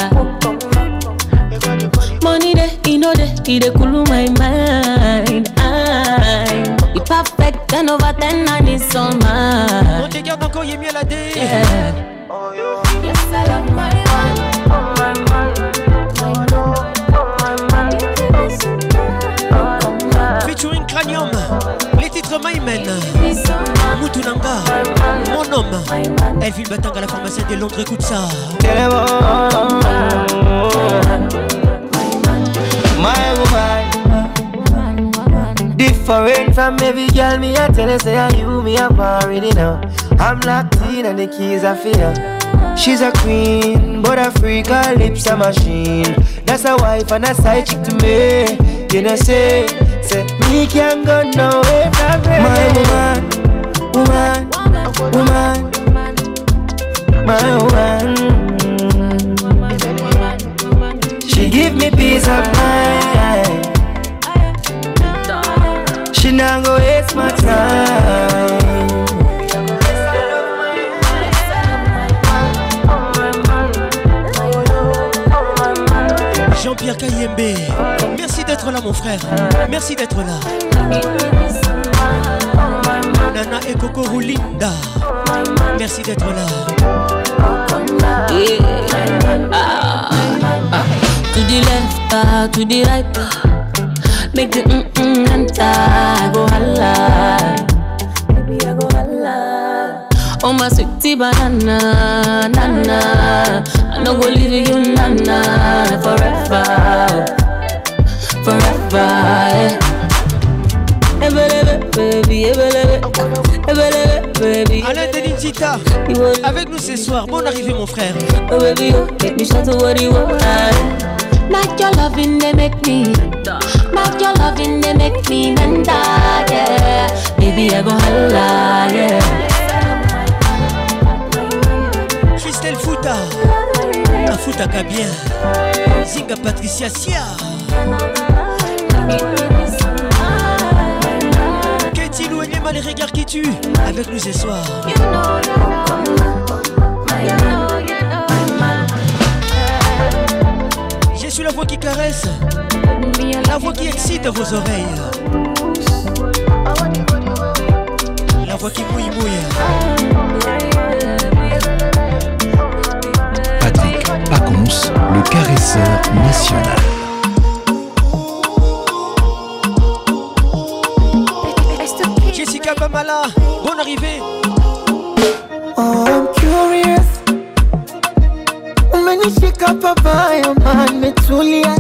Money there, you know there, it dey cool my mind. I'm the perfect ten over ten and it's all mine. On te garde encore Yemi Alade. Yeah. Yes, I love my man. Oh my man. Featuring Cranium. Les titres Maïmen. Moutounanga. Mon homme. Elvin Batanga, la pharmacienne de Londres, écoute ça. My woman, different from every girl. Me I tell her say I you me up already now. I'm locked in and the keys are fear. She's a queen, but a freak, her lips a machine. That's a wife and a side chick to me. You know say, say me can't go nowhere from her. My woman, woman, woman, my woman. She give me peace of mind. She not go waste my time. Jean-Pierre Kayembe, merci d'être là mon frère, merci d'être là. Nana et Coco Roulinda, merci d'être là. Yeah. Ah. Ah. To the left, uh, to the right, uh, make the mm-mm enter, go holla. Baby I go holla. Oh my sweetie banana, nana, I no go leave you nana, forever, forever, yeah. Baby, baby. Alain Denitita, avec nous ce soir. Bonne arrivée mon frère. Oh baby, make me shout to what you want. Not your loving, they make me. Not your loving, they make me menda, yeah. Baby, I go holla, yeah. Christelle Fouta, la Fouta Kabien, Zinga Patricia Sia. Katie Louenema, les regards qui tuent, avec nous ce soir. Je suis la voix qui caresse, la voix qui excite vos oreilles, la voix qui mouille mouille. Patrick Pacons, le caresseur national. Jessica Bamala, bonne arrivée. Oh, I'm curious. Umenishika papaya man metulia.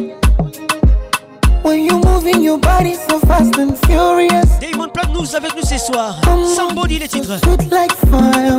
When you moving your body so fast and furious. Damon Platnous avec nous ce soir. Somebody les titres. Sweet like fire.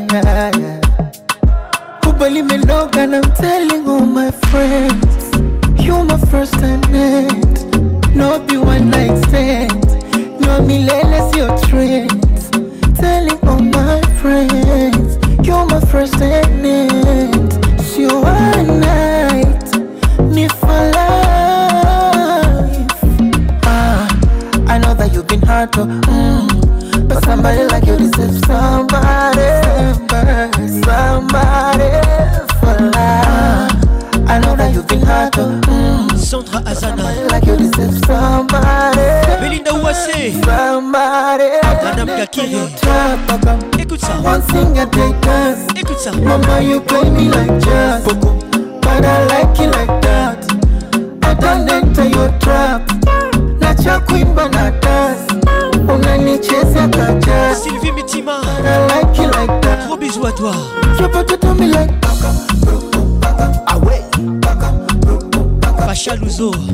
Who believe me no and I'm telling all my friends. You my first and end. No be one night stand. No me let's your trends. Telling all my friends. You're my first and end. You one night, me for life. Ah, I know that you've been hard to, mm, but somebody like you deserves somebody, somebody for life. I know that you've been hard to, mm, Sandra Azana, somebody like you deserves somebody, Belinda Ouassé, somebody. Madame Gakiri. Écoute ça. One thing I take us. Écoute ça. Mama, you play me like jazz, but I like it like that. I don't enter your trap. Not your queen, but not us. Unanichezea kaja. Sylvie Mitima, but I like it like that. Gros bisous à toi. You put it to me like ah ouais. Pacha Louzo. Oh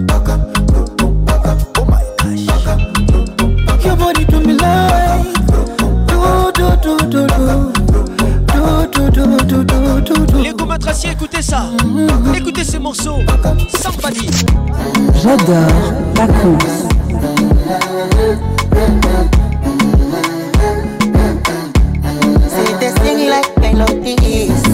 my gosh. Your body to me like do do do do do. Les Gomatraciers, écoutez ça. Écoutez ces morceaux. Somebody. J'adore Pacons. Say they sing like melodies.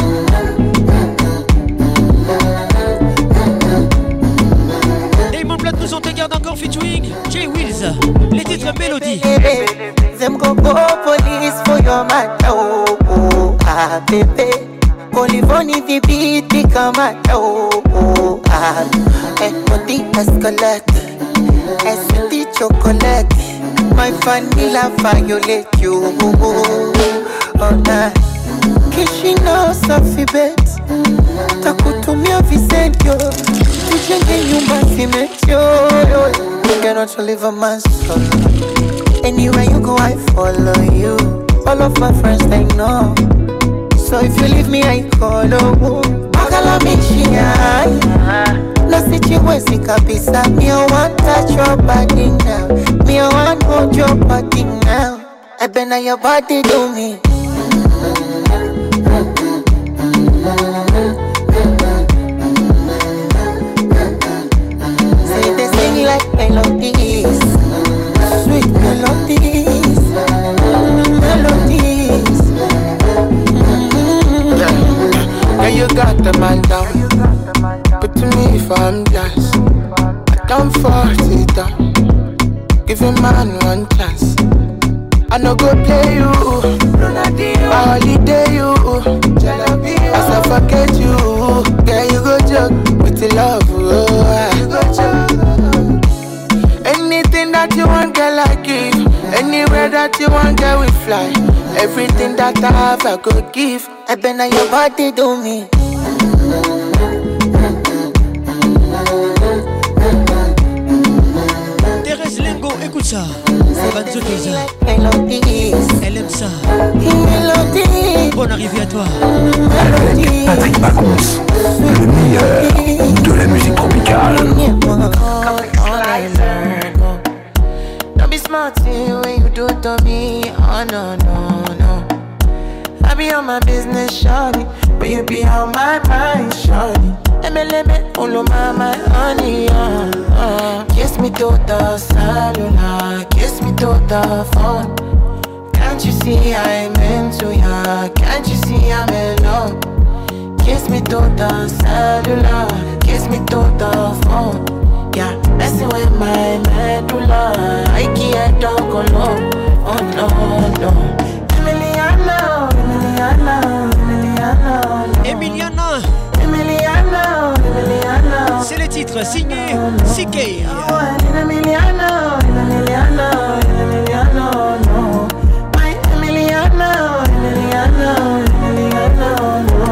Damon Platnous, on te garde encore featuring Jay Wills. Les titres Mélodie. Them go go police for your man. Oh, oh, ah, baby. Colivoni vi beat come out. Oh, oh, ah. And on the escalate. Es the chocolate. My vanilla violate you. Oh, nah. Kishino safi bet. Takutumia visentio. Tujenge nyumba simetio. You cannot live a man's soul. Anywhere you go, I follow you. All of my friends, they know. So if you leave me, I call you. Magala mishia. No sichiwezi kabisa. Me I want touch your body now. Me I want hold your body now. I been on your body do me. Say they sing like melodies, sweet melodies, melodies. Mm-hmm. Yeah. Yeah, you got the man down. But to me, if I'm blessed, I don't force it down. Give a man one chance. I no go play you, I holiday you. As I forget you, girl you go joke with the love. Oh, you go joke. Anything that you want, girl I give. Anywhere that you want, girl we fly. Everything that I have, I go give. I been on your body do me. Thérèse Lengo, écoute ça. Banzo Keza. Elle aime ça. Bonne arrivée à toi. Avec Patrick Pacons, le meilleur de la musique tropicale. Don't be smart when you do it to me. Oh no, no, no. I be on my business, shawty, but you be on my mind, shawty. M L M, follow my, my honey, uh, uh. Kiss me to the cellular, kiss me to the phone. Can't you see I'm into ya? Can't you see I'm in love? Kiss me to the cellular, kiss me to the phone. Yeah, messing with my medulla, I can't talk alone. Oh no, no. Emiliano, Emiliano, Emiliano, Emiliana. Emiliano, Emiliano. C'est le titre signé C K. Emiliano, Emiliano, Emiliano, no. My Emiliano, Emiliano, Emiliano, no.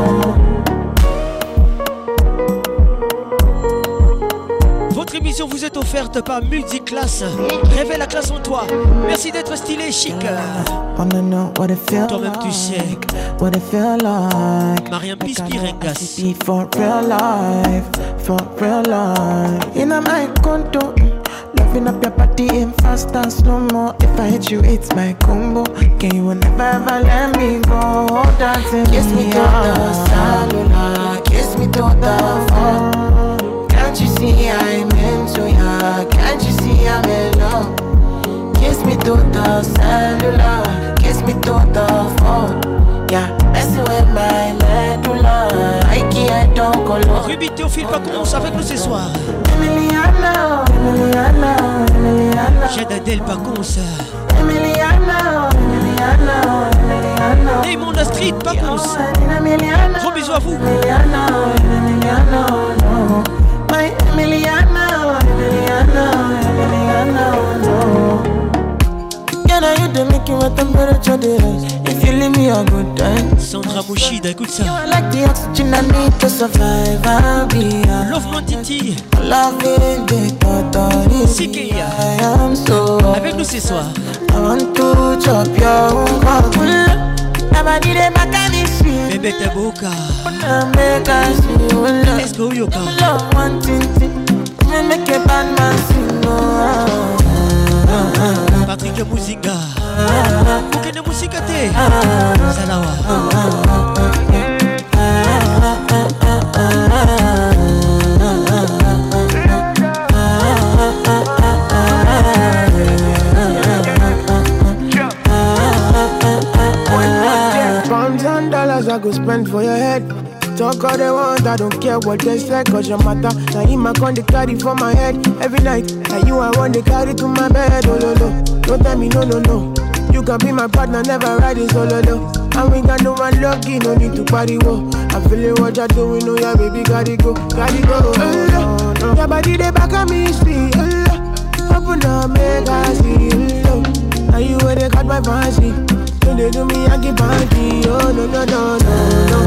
Votre émission vous est offerte par Multiclass. Révèle la classe en toi. Merci d'être stylé, chic. Toi-même tu sais. What it feel like. Mariam Pispirengas. For real life, for real life. In a my condo, loving up your body in fast and slow mo. If I hit you, it's my combo. Can you never ever let me go? Dancing kiss me to the cellular, kiss me to the phone. Can't you see I'm into ya? Can't you see I'm in love? Kiss me to the cellular, kiss me to the phone. Yeah, messing with my medulla, I can't talk alone. Ruby Théophile Pacons avec nous ce soir. Emiliano, Emiliano, Emiliano. Jade Adèle Pacons. Emiliano, Emiliano, Emiliano. Raymond Street Pacons. Gros bisous à vous. Emiliano, Emiliano, no. My Emiliano, Emiliano, Emiliano, no. Can I you the making what temperature is? If you leave me a good time. Sandra Mouchida, écoute ça. You are like the oxygen I need to survive. I'll be a Love Mon Titi. loving the totally. C K. I am so. Avec nous ce soir. I want to chop your heart. Nobody dey back at me shit. Bébé Taboka. Let's go Yoka. Love one thing, me make a bad man sing. Patrick Mouzinga. Bouquet Mousikate. Salawa. Pounds and dollars I go spend for your head. Talk all they want, I don't care what they say, cause your matter. Now him I con the carry for my head every night. Now you I want to carry to my bed, oh no no. Don't tell me no no no. You can be my partner, never ride it solo no. And we got no one lucky, no need to party whoa. I'm feeling what you're doing, oh yeah baby, gotta go, gotta go. Oh, no, no. Your body they back at me, see, oh, open up, make I see, oh. Now you where they got my fancy. Don't they do me, I get party, oh no no no no no.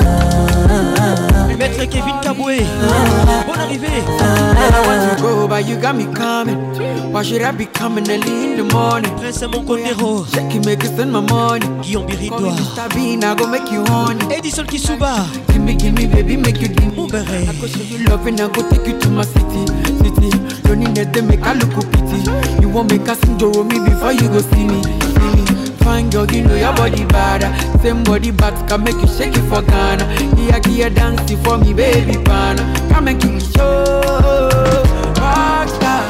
Maître Kevin Kaboué. Bonne arrivée. And I want to go by you got me coming. Why should I be coming early in the morning? Prince mon Condero. Shake it, make it spend my money. Guillaume Biridois. Stabina, go make you honey. Edison Kisuba. Give me, give me, baby, make you give me. I go show you love and I go take you to my city, city. Don't need them, make a look pity. You won't make a sing to me before you go see me, see me. Fine girl, you know your body bad. Same body but can make you shake it for Ghana. Here, here, dancing for me, baby, pana. Come and give me show. Rockstar.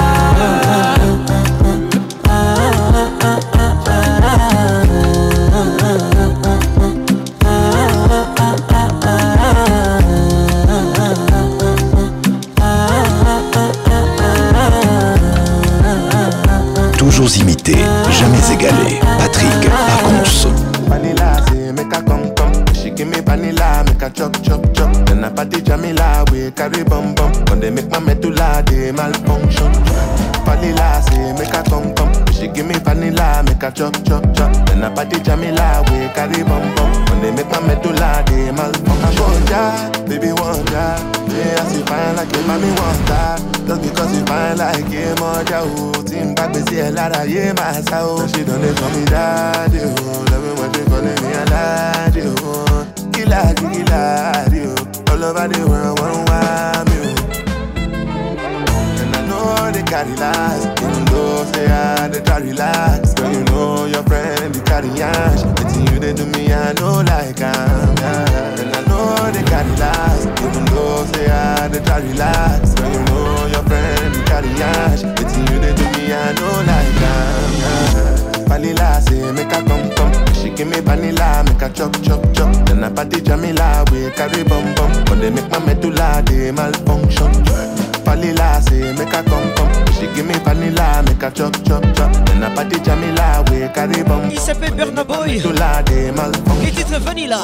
Toujours imité, jamais égalé. Patrick Pacons. Vanilla, say make a come come. She give me vanilla, make a chop chop chop. Then I party Jamila, we carry bum bum. When they make my medulla, they malfunction. Vanilla, say make a come come. She give me vanilla, make a chop chop chop. Then I party Jamila, we carry bum bum. When they make my medulla, they malfunction. Wonder, baby wonder. Yeah, I see fine like a mommy wonder. Just because you fine like a mother. Team back, we see a lot of yeah, my soul. She don't let me daddy. Love me when they calling me a daddy. Killer, killer, all over the world, one want me. And I know they carry last, even though say I they try relax. Girl, you know your friend they carry ash. It's you they do me, I know like I'm. Yeah. And I know they carry last, even though say I they try relax. Girl, you know your friend they carry ash. It's you they do me, I know like I'm. Yeah. Vanilla say make a come come. She give me vanilla, make a chop chop chop. Then I party Jamila, we carry bum bum. When they make my medulla, they malfunction. Vanilla say make a come come. She give me vanilla, make a chop chop chop. Then I party Jamila, we carry bum. Il s'appelle Burna Boy. Les titres Vanilla.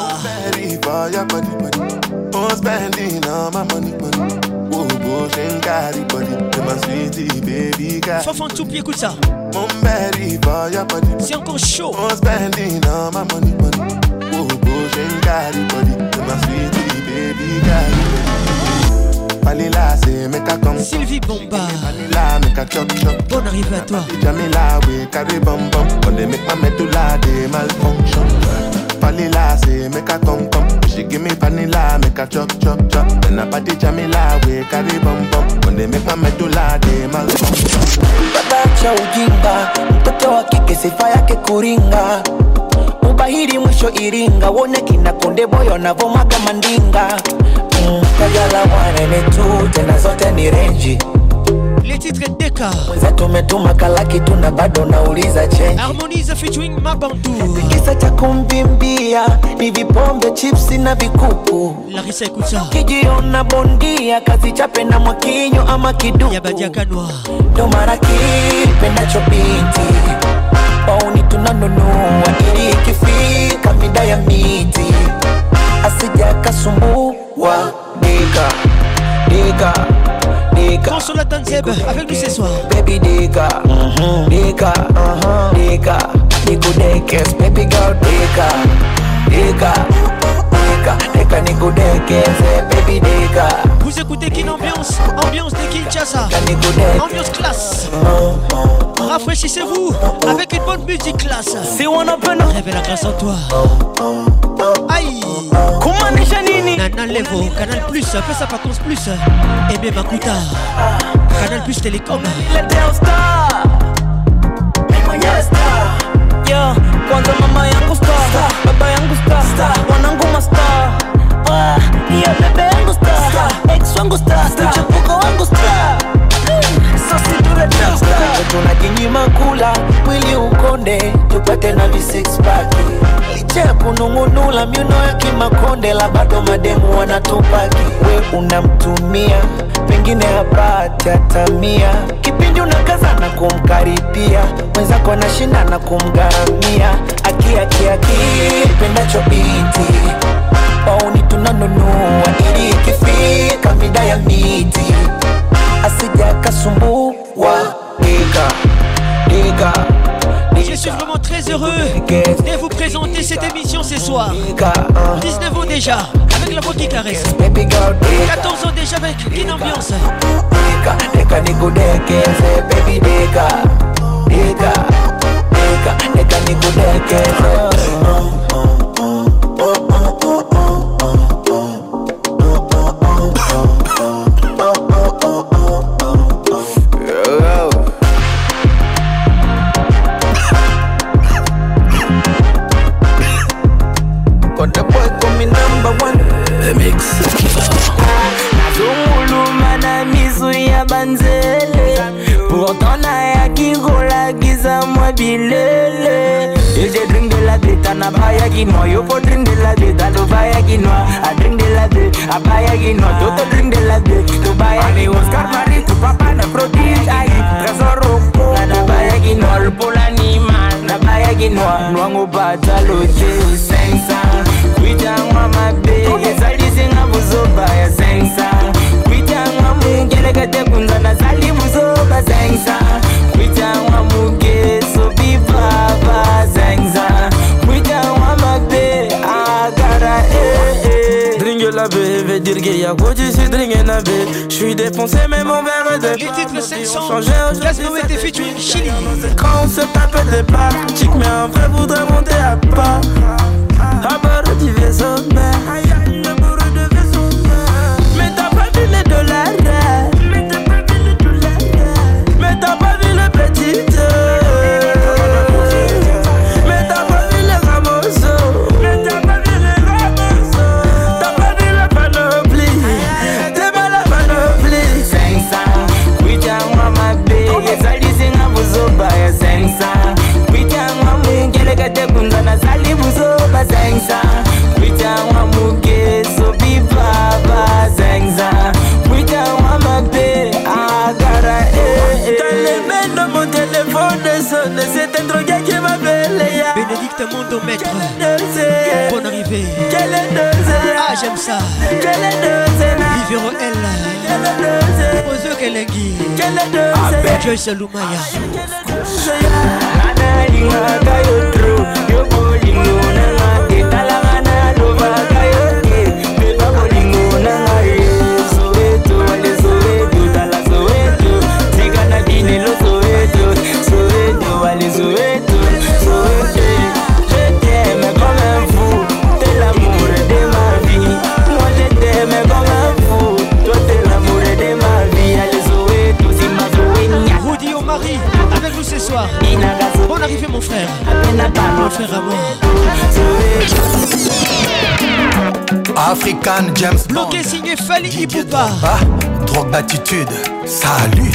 Oh, spending all my money, money. Oh, bush and carry body. To my sweetie baby girl. Fafan tout pied, écoute ça. C'est encore chaud. Oh, spending all my money, money. Oh, bush and carry body. To my sweetie baby girl. Vanilla, say make a come. Sylvie Bomba. Vanilla, make a chop chop. Bonne arrivée à toi. Jamila, we carry bum bum. When they make my medulla, they malfunction. Vanilla, say make a come come. She give me vanilla, make a chop chop chop. Then I party Jamila, we carry bum bum. When they make my medulla, they malfunction. Baba ujinga, mtoto wa kike sifa yake kuringa. Ubahiri mwisho Iringa, wone kina Konde Boy wanavomaga mandinga. Mm, kajala wane ni tu, tena zote ni renji. Les titres Deka. Mwenzetu umetuma kalaki tuna bado nauliza change. Harmonize featuring Mabandu. Kisa cha kumbimbia ni vipombe, chipsi na vikuku. Larissa Ekuta. Kijiona bondia kazi chape na mwakinyo ama kiduku. Yabadia Kanwa. Ndo mara kipenda chobiti. Pauni tunanunua ili ikifika mida ya miti. Asija kasumbua. Deka, Deka, Deka. Consola Tanzeb avec nous ce soir. Baby Deka, mm-hmm. Deka, uh-huh. Deka, Nico Dekes, baby girl Deka, Deka, Deka, Deka, Nico Dekes, baby Deka. Vous écoutez Kin Ambiance, ambiance de Kinshasa, ambiance classe. Rafraîchissez-vous avec une bonne musique classe. Si on a peine, révèle la grâce en toi. Aïe, comment nini? Nana Levo, Canal Plus, fais ça par contre plus. Et bien Makuta, Canal Plus Télécom. Yo, kwanza mama yangu star, baba yangu star, wanangu mastar. Ah, hiyo bebe yangu star, ex wangu star, mchepuko wangu star. Sasa tunataka star, tunajinyima kula, mwili ukonde, tupate na vi six pack. Licha kunungunula miuno ya kimakonde, la bado mademu wanatupaki. We unamtumia, pengine hapati atamia. Kipindi unakaza na kumkaribia, mwenzako anashinda na kumgaramia. Aki aki aki, penda chobiti. Pauni tunanunua ili ikifika mida ya miti. Asija kasumbua. Deka, Deka, Je suis vraiment très heureux de vous présenter cette émission ce soir. dix-neuf ans déjà, avec la voix qui caresse. quatorze ans déjà avec une ambiance. Pourtant na yaki gola giza mwa bilele. If they drink de la beta na baya ginoa. You go drink de la beta to baya ginoa. I drink de la beta, I baya ginoa. Toto drink de la beta to baya ginoa. Oscar Marie to papa na prodige. Ayi, tresor roko na baya ginoa. Lupola ni man na baya ginoa. Nwango bata lote sensa. Kuita mama be, yesali singa buzo baya sensa. Kuita mama ngele kate kunza na sali buzo ba sensa. Kuita mama ke so bi baba sensa. Kuita mama be agara eh eh. Dringue la be, veut dire qu'il y a quoi tu sais dringue na be. J'suis défoncé mais mon verre de. Les titres cinq cents, Gasmo était featuring Chili. Quand on se tape des parties, mais en vrai voudrait monter à pas. À bord du vaisseau mère. À bord du vaisseau mère. Mais t'as pas vu les dollars. Mais t'as pas vu les dollars. Mais t'as pas vu le petit deux. Mais t'as pas vu les ramosos. Mais t'as pas vu les ramosos. T'as pas vu la panoplie. T'es pas la panoplie. cinq cents. Oui t'as maman bé. Sali singa buzo baya cinq cents. Oui t'as maman gele kate kunzana sali buzo. Zengza, wita wamuke so bi baba Zengza, wita wamabe agara eh. Dans les mains de mon téléphone sonne, c'est un drogué qui m'appelle. Bénédicte Mondo maître. Bonne arrivée. Quelle est deuxième? Ah j'aime ça. Quelle est deuxième? Vivero elle. Quelle est deuxième? Ozo Kelengi. Quelle est deuxième? Joyce Lumaya. Nana linga kayo true, yo bolingo na. Avec nous ce soir. Bonne arrivée mon frère. Mon frère à moi. African James Bond. Bloqué signé Fali Ipupa. Drogue d'attitude. Salut.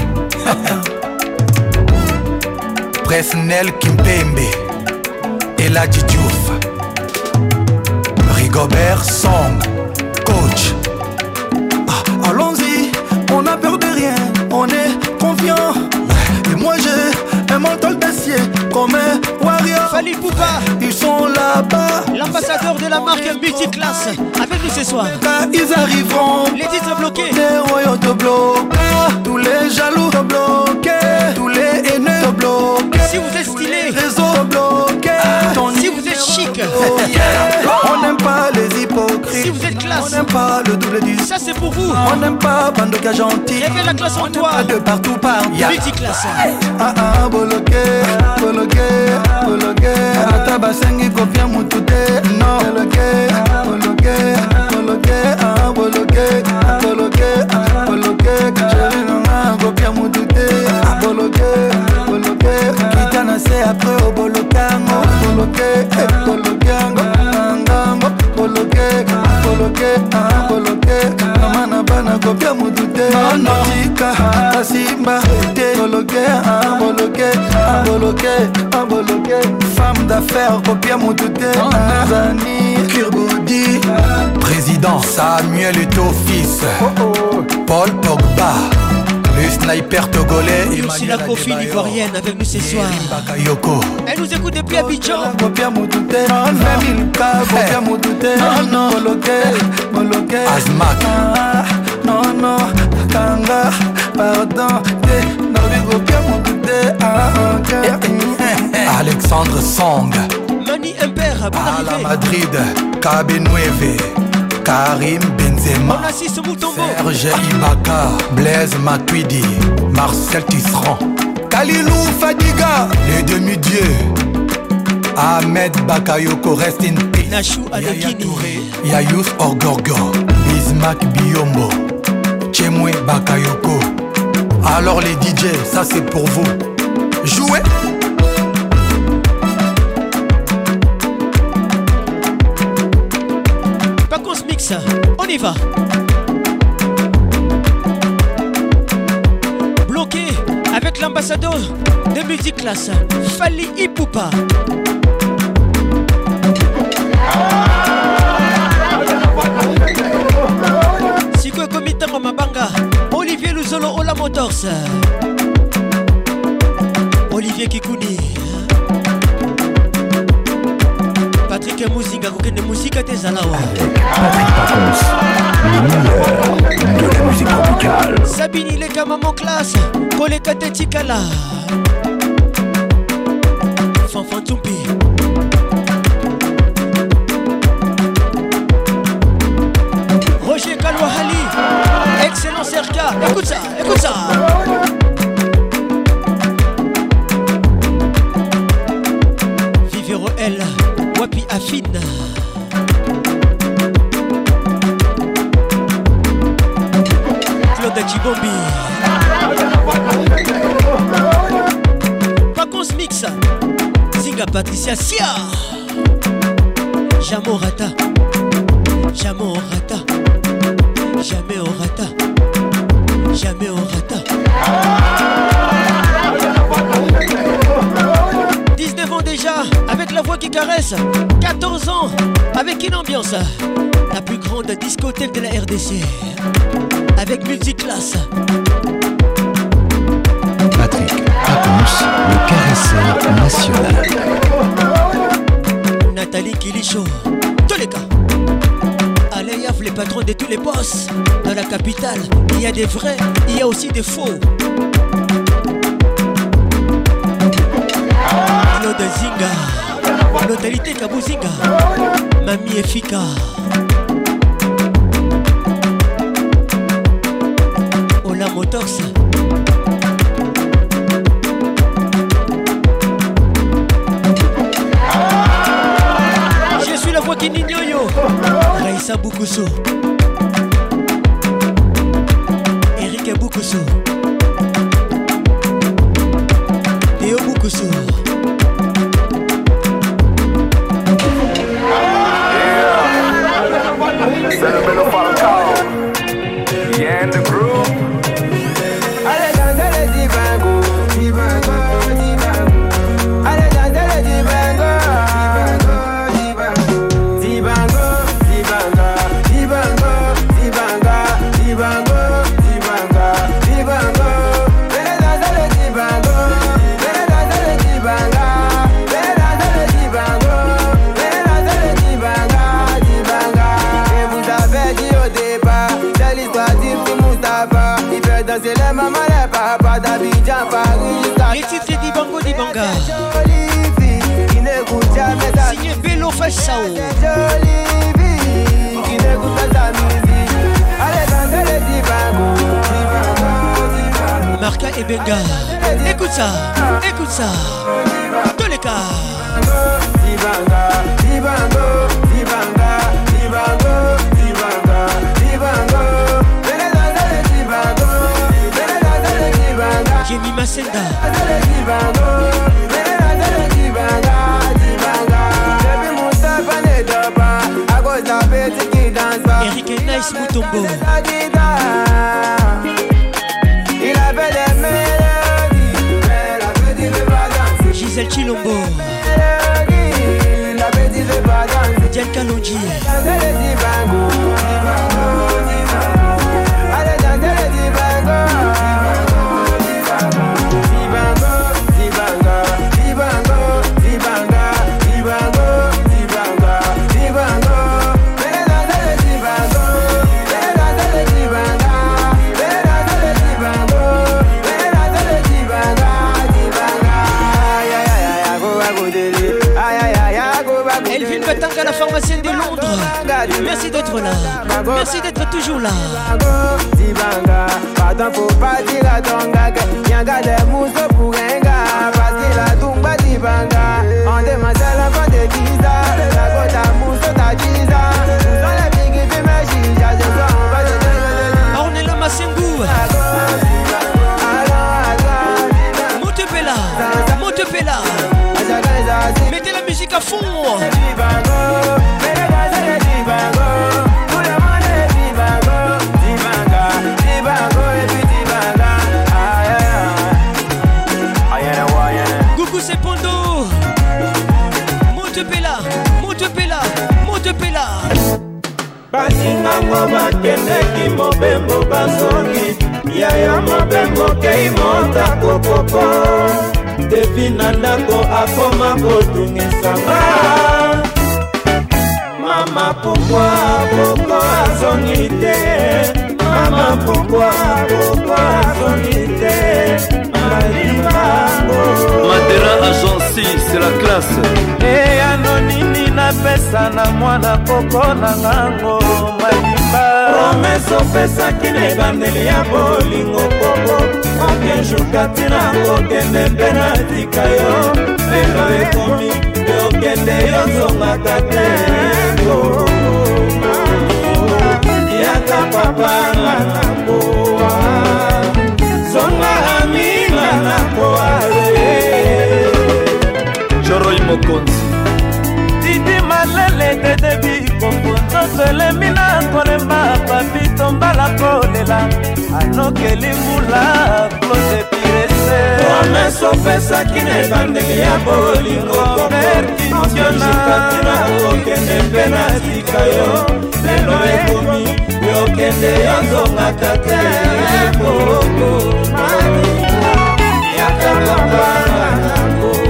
Presnel Kimpembe. Eladji Diouf. Rigobert Song. Coach. Ah, allons-y, on n'a peur de rien, on est confiant. Et moi j'ai un mental d'acier comme un warrior. Fali Ipupa. Ils sont là-bas. L'ambassadeur de la marque multiclasse. Avec nous ce soir. Quand ils arriveront, les titres bloqués. Les royaux te bloquent. Tous les jaloux te bloquent. Tous les haineux te bloquent. Si vous êtes stylé, réseau te bloquent. Si vous êtes chic, on n'aime pas les hypocrites. Si vous êtes classe, on n'aime pas le double du. Ça c'est pour vous. On n'aime pas Bandoka gentil. Révèle la classe en toi. De partout par multiclasse. Ah ah boloké, boloké, boloké. Arata basengi kopia mutute. Non. Boloké, boloké, boloké. Ah boloké, boloké, boloké. Chérie nana kopia mutute. Boloké, boloké. Kitana se après au bolokango. Boloké, boloké, ango, boloké, boloké, ah boloké. Namana bana kopia mutute. Notika, kasimba, te boloké, ah boloké, ah boloké, ah boloké. Femme d'affaires kopia mutute. Zani, Kirboudi. Président Samuel Eto'o-Fils. Paul Pogba. Le sniper togolais. Et aussi la Kofi ivoirienne avec nous ce soir. Elle nous écoute depuis Abidjan. Azmak. Non, non, Kanga, pardon. Alexandre Song, Mani Imbert, bon à la arrivée. Madrid, Kabenueve, Karim Benzema, On assiste Moutombo, Serge Ibaka, Blaise Matuidi, Marcel Tisserand, Kalilou Fadiga, les demi-dieux, Ahmed Bakayoko, rest in peace, Nachou Adekini, Yayous Orgorgo, Bismack Biombo, Chemwe Bakayoko. Alors les D J, ça c'est pour vous. Jouez. Pacons Mix, on y va. Bloqué avec l'ambassadeur de Musique Classe, Fali Ipupa. Siko Komitango Mabanga, Olivier Luzolo Ola Motors, Olivier Kikouni, Patrick Mouzinga, Kokene Mousika Tezalawa, Patrick Pacons, le meilleur de la musique tropicale. Sabini Leka Maman Classe, Koleka Tetikala, Fanfan Tumpi. Roger Kalouahali, excellent Serka, écoute ça, écoute ça. Vivero L, Wapi Affine. Claude Chibombi. Pacons Mix, Zinga Patricia Sia. Jamo Rata, Jamo Rata. Jamais au rata, jamais au rata. dix-neuf ans déjà, avec la voix qui caresse. quatorze ans, avec une ambiance. La plus grande discothèque de la R D C. Avec Multiclasse. Patrick Pacons, le caresseur national. Nathalie Kilicho, tous les cas. Aléaf, les patrons de tous les boss. Dans la capitale, il y a des vrais, il y a aussi des faux. Claude Zinga, Notalité Kabouzinga, Mami Efika. Ola Motors. Je suis la voix qui n'ignore. Raïssa Boukousso, Eric Boukousso, Théo Boukousso. C'est le Melo Falcao. Yeah, in the groove. Allez danser le dibango, dibango, dibango. Allez danser le dibango, dibango, dibango, dibango, dibango, dibango, dibango, dibango, dibango. Allez danser le dibango, allez danser le dibango, allez danser le dibango, allez danser le dibango, dibango. Et vous avez dit au départ, c'est l'histoire d'Ibn Moustapha. Il fait danser les mamans, les papas d'Abidjan, Paris. Les titres d'Ibango Dibanga. Jolie fille qui n'écoute jamais sa Signé Bello Fachao. jolie fille qui n'écoute pas sa musique. Allez danser le dibango, dibango, dibango. Marca et Benga. Écoute ça, écoute ça. Tous les cas. Dibanga, dibango, dibanga, dibango, dibanga, dibango. Venez danser le dibango, venez danser le dibango. Jimmy Masenda. Danser le dibango, venez danser le dibango, dibango. Depuis Moustapha ne dort pas, à cause d'un petit qui danse pas. Eric et Nice Moutombo. Il avait des mélodies, mais la petite veut pas danser. Gisèle Chilombo. La petite veut pas danser. Diane Kalonji. Danser le dibango, dibango, dibango. Allez danser le dibango, dibango, dibango, dibango, dibango, dibango, dibango, dibango. Venez danser le dibango, venez danser le dibango, venez danser le dibango, venez danser le dibango, dibango. Ya ya ya ya go Elvin Batanga, la pharmacienne de Londres. Merci d'être là. Merci d'être toujours là. Dibanga, pardon pour pas dire à ton gars que y'a des mousses pour un gars. Parce qu'il a tout bas Dibanga. On demande à la fin de dix ans. La côte à mousse, t'as dix ans. Nous on les big et puis magie. J'ai besoin, on va te dire. Ornella Massengou. Montepela. Montepela. Mettez la musique à fond. Coucou c'est Pondo. Montepela. Montepela. Montepela. Basingango bakendeki mobembo bazongi yaya mobembo kei monta kokoko depi na ndako akoma kotungisanga mama pourquoi boko azongi te mama pourquoi boko azongi te Madera Agency, c'est la classe. E anonini na pesa na mwana koko na ngango malimba promeso pesa kine bandeli ya bolingo koko okenjo katina kokende pena tika yo lelo ekomi yokende yozonga tate yaka papa na koa zonga amina na koa Choroy Mokonzi Didi malele de debi Komponzo sele mina kolemba Papi tomba la kolela Anokeli mula Close pirese Promeso pesa kine bandeli ya bolingo Perkitiona Katina kokende pena sikayo Lelo ekomi Yokende yonzonga tate Koko Mamina Yaka kapana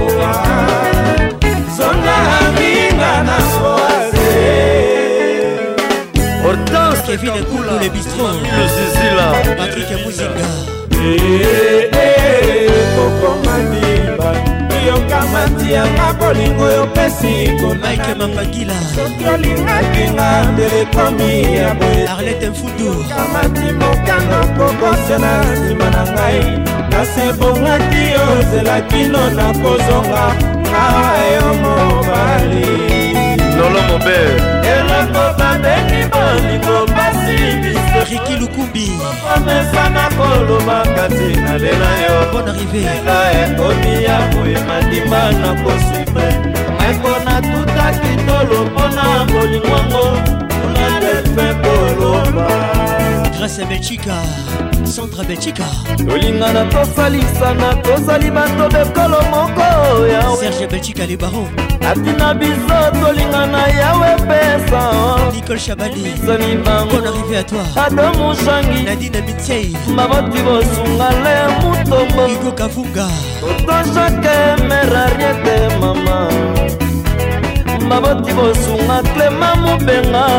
Hortense Kevin et Koulou les bistrots le zizi là Patrick et Mouzinga Eh eh Koko Mandimba Yokamati ya mabolingo yopesi Mike Mapangila Sotolinga kinga telekomi ya bwe Arlette Mfudu Yokamati mokano koko sena sima na ngai Nasebongaki ozela kino na kozonga Ayo mobali Lolo Mobert Eloko babeni bolingo basi biso Riki Lukumbi Omesana koloba kati na lela yo Bonne arrivée Ela ekomi ya boye mandimba na kosuibre Ekona tuta kitolo pona bolingwango Una delfe koloba Grâce à Belchica Centre Belchica Tolingana tosalisana tosali bato bekolo moko ya Serge Belchica les barons Atina biso tolingana yawe pesa Nicole Chabali Soni bango Bonne arrivée à toi Ado Mushangi Nadine Mitsei Maboti bosunga le mutombo Hugo Kafunga Toto shake merariete mama Maboti bosunga Clema Mubenga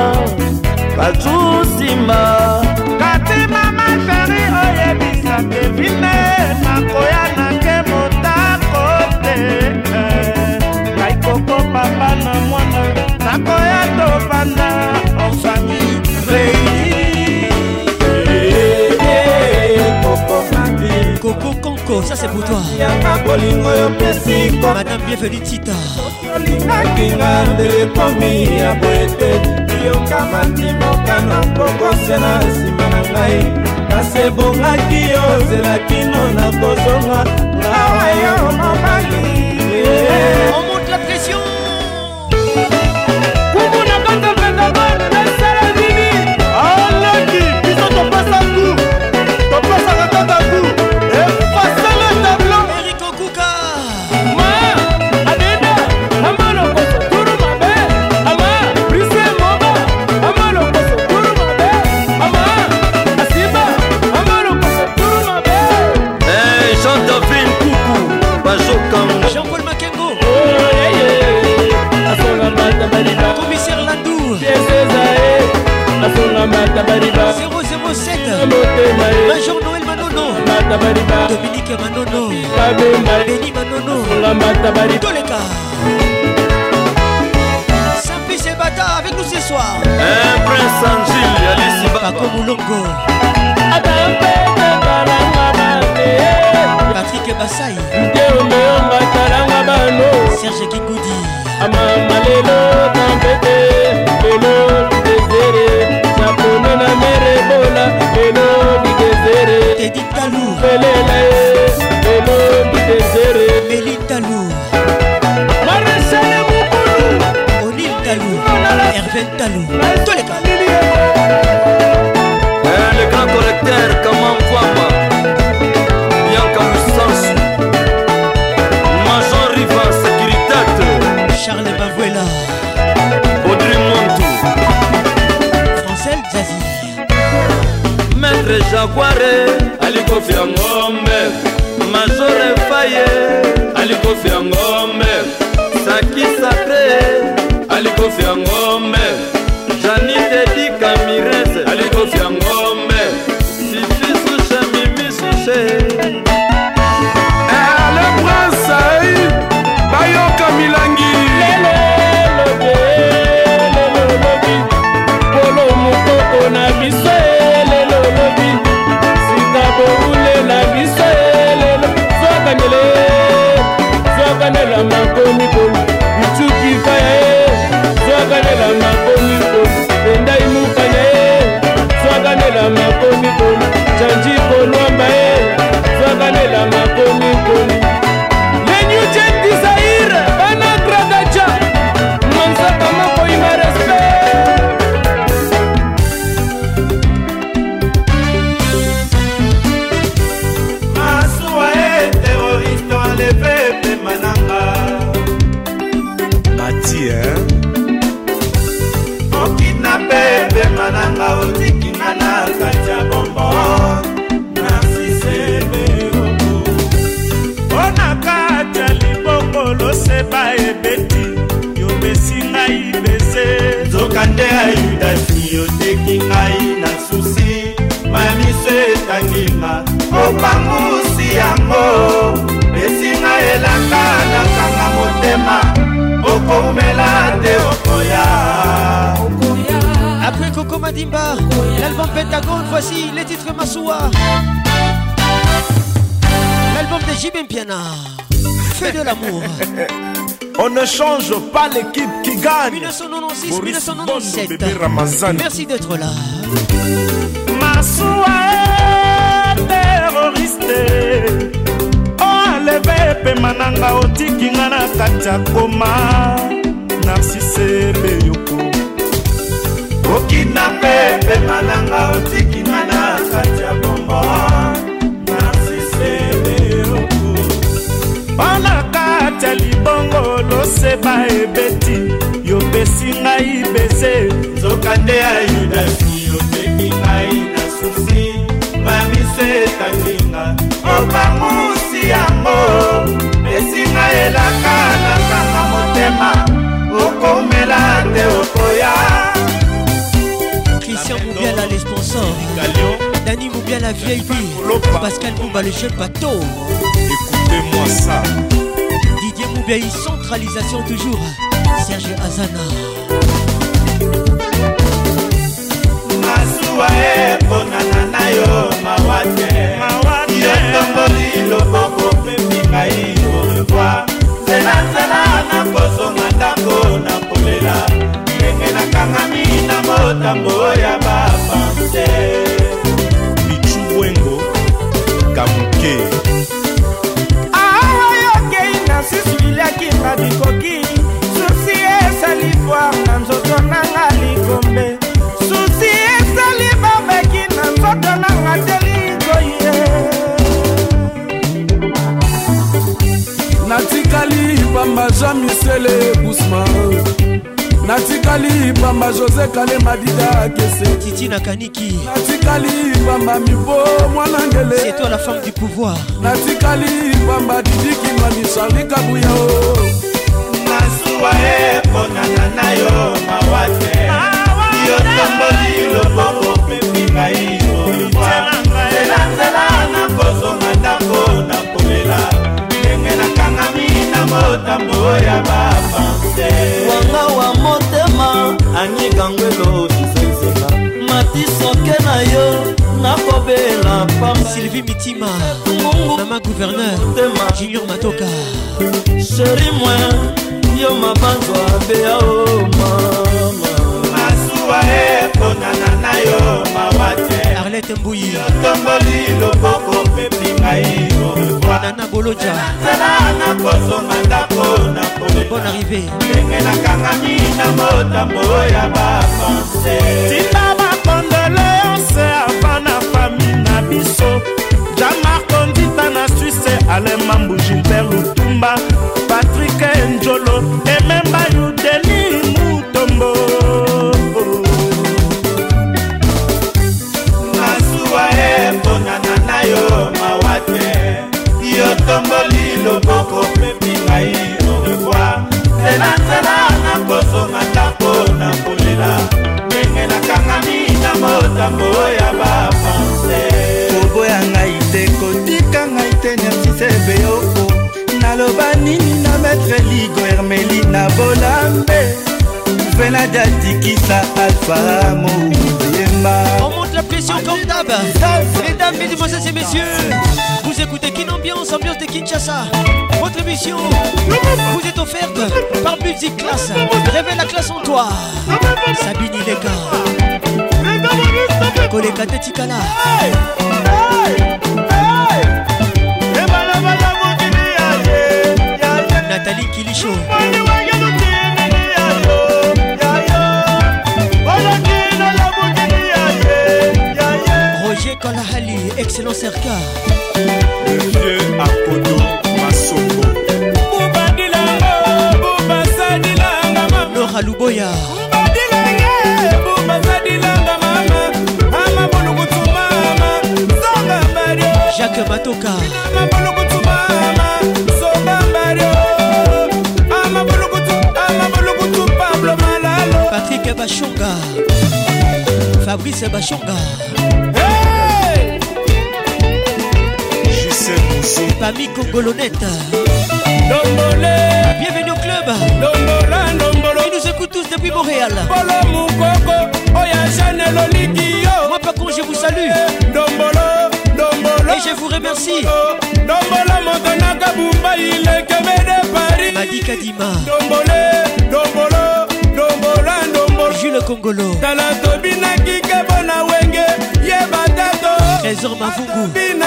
Kajusimba Kati mama shari oye bisa Kevine Nakoya nake motakote Kaikoko papa na mwana Nakoya topana En famille réunie Koko mandi Coco Conco, ça c'est pour toi Yaka bolingo yo pesiko Madame bienvenue Tita Sotolinga kinga telekomi ya bwete Yokamati mokano koko sena sima na ngai Nasebongaki ozela kino na kozonga Ngawa yo mobali On monte la pression Kumu na kanta Pentagon Nesere Vivi Alaki Biso topasa ku Topasa katata ku Efasa le tableau Eric Okuka Ma Adida Amano koso Turu mabe Ama Brise moba Amano koso Turu mabe Ama Asiba Amano koso Turu mabe Hey Jean-David Koukou Bajo Kango Jean-Paul Makengo Oh yeah yeah Asonga mata bariba Commissaire Landou Yesezae Asonga mata bariba zéro zéro sept Motema Major Noël Manono Mata bariba Dominique Manono Kabemba Benny Manono Asonga mata bariba Toleka Paco Moulongo, Patrick Bassai, Serge Kikoudi, Amamalelo Tambete, Lelo Désiré, Japonais na Merebola, Lelo Désiré, Teddy Talou, Belelae, Lelo Désiré, Béline Talou, Maréchal Moukoulou, Onil Talou, Hervé Talou, tous les gars. Le grand correcteur, comment Kwamba, Bianca Moussansu, Major Riva, Sécurité, Charles Bavuela, Audrey Montou, Francel Zazie, Maître Jaguare, Aliko Fiangombe, Major Faye, Aliko Fiangombe, Saki Sacré, Aliko Fiangombe, Janine Di Camirez, Aliko Fiangombe, Fifi Souche, Mimi Souche. Le prince Aïe, Bayoka Milangi, Lelo Lobe, Lelo Lobi, Polo Mukoko na biso, Lelo Lobi, Sikabo Ule na biso, Lelo, Zokanele, Zokanela Makomi Komi, Michuki Faye, Zokanela Makomi Komi, Endai Mukaye, Zokanela Makomi Komi, Chanji Kolwamba, Zokanela Makomi Komi. Les New Gen Desire, Bana Gradaja, Mansa Kamako ima respect. Masua est terroriste enlevé Pemananga. Mati, hein? On kidnappé Pemananga, on dit qu'il n'a pas de bonbon. Narcisse Beoko. On a katia libongo lo seba ebeti. Yo besi ngai bese. Zokande ayuda si yo teki ngai na susi. Mami se tangima. Opangusi yango. Besi ngai elaka na kanga motema. Okomela te okoya. Après Coco Madimba, l'album Pentagone, voici les titres Massoua. L'album de J B Mpiana, Fais de l'amour. On ne change pas l'équipe qui gagne. mille neuf cent quatre-vingt-six mille neuf cent quatre-vingt-dix-sept. Bébé Ramazan. Merci d'être là. Massoua terroriste. Enlevé Pemananga otikinga na kati ya koma. Narcisse Beyoko. Okidnappé Pemananga otikinga na kati ya bombo. Narcisse Beyoko. Bana kati ya libongo loseba ebeti. Yo besi ngai bese. Zokande ayudasi oteki ngai na susi. Mami se tanginga. Opangusi yango. Besi ngai elaka na kanga motema. Okomela te okoya. Christian Moubiala, les sponsors. Dani Moubiala, V I P. Pascal Moumba, le jeune bateau. Écoutez-moi ça. Didier Moubiaï, centralisation toujours. Serge Azana. Masua e bonana na yo mawate. Yo tomboli loboko pepika iyo revoir. Zela zela na koso mandako na kolela. Ndenge na kangami na motambo ya bapanse. Bichu Wengo, Kamuke. Awa yokei na sisiliaki na bikoki. Susi esali foire na nzoto nanga likombe. Susi esali babeki na nzoto nanga telikoye. Natikali Bamba Jean-Michel Bousman, Natikali Bamba José Kale Madida Kese, Titi Nakaniki, Natikali Bamba Mibo Mwanangele, c'est toi la femme du pouvoir. Natikali Bamba Didi Kimani Charlie Kabouya. Masua e bonana na yo mawate. Yo tomboli loboko pepika iyo revoir. Zela zela na koso mandako na kolela. Ndenge na kangami na motambo ya bapanse. Wanga wa motema, Anyi Gangwelo Sisenseka, matisoke na yo nakobela pamba. Sylvie Mitima, Mama Gouverneur, Junior Matoka. Chéri moi, yo mabanzwa bea o mama. Masuwa e konana na yo mawate. Arlette Mbouyi, tomboli loboko pepi ngai o revoir. Nana Boloja, Tala na koso mandako na kome. Bonne arrivée. Ndenge na kangami na motambo ya ba pensée. Tina ma condoléance avant na famille na biso. Jamar Kondita na Suisse, Alain Mambou, Gilbert Lutumba, Patrick Njolo, et même Bayou Denis Moutombo. Masuwa e bonana na yo mawate. Yo tomboli loboko pepi ngai au revoir. Tena tena na koso matako na kolela. Ndenge na kangami na motambo ya ba pensée. Kobo ya ngai te kotika ngai te nersi sebe yoko. Naloba nini na maître Ligo Hermeli na Bolambe. Vena Djatikisa Alpha Mouyemba. On monte la pression comme d'hab. Mesdames, mesdemoiselles et messieurs, vous écoutez Kin Ambiance, ambiance de Kinshasa. Votre émission vous est offerte par Music Class. Révèle la classe en toi. Sabini Leka, Koleka Tetikala, Nathalie Kilicho, Roger Kolahali, excellent Serka, le vieux Akodo Masoko, Nora Luboya, Jacques Matoka, Patrick Bachonga, Fabrice Bachonga, Justin Moussou, Pami Congolonette. Bienvenue au club. Ils nous écoutent tous depuis Montréal. Moi par contre je vous salue et je vous remercie. Madi Kadima, Jules Congolo, Trésor Mavungu,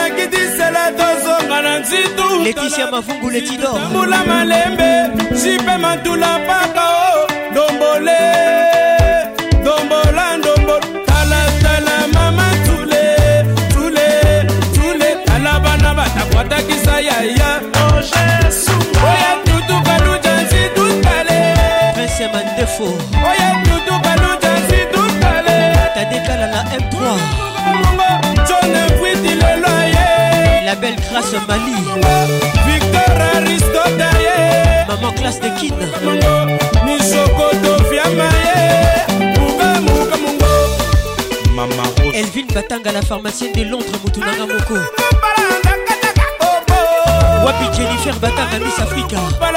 Laetitia Mavungu Letidor, Mula Malembe, Jipe Mantula Pakao, Dombole, Dombola, Dombol, Tala Tala Mama Tule, Tule, Tule, Alabana Bata Kwata Kisaya, Oje Sumba, Oya Tutu Kalu Jansi Tutale, Prince Mandefo, Oya Tutu Kalu Jansi Tutale, Tadekala la M trois, John Fwiti le loyer, la belle grâce Mali, Victor Aristote, Maman classe de Kin, Nisokoto Fiamaye, Muga Muga Mungo, Mama Rose, Elvin Batanga la pharmacienne de Londres Moutounanga Moko, Wapi Jennifer Batanga Miss Africa,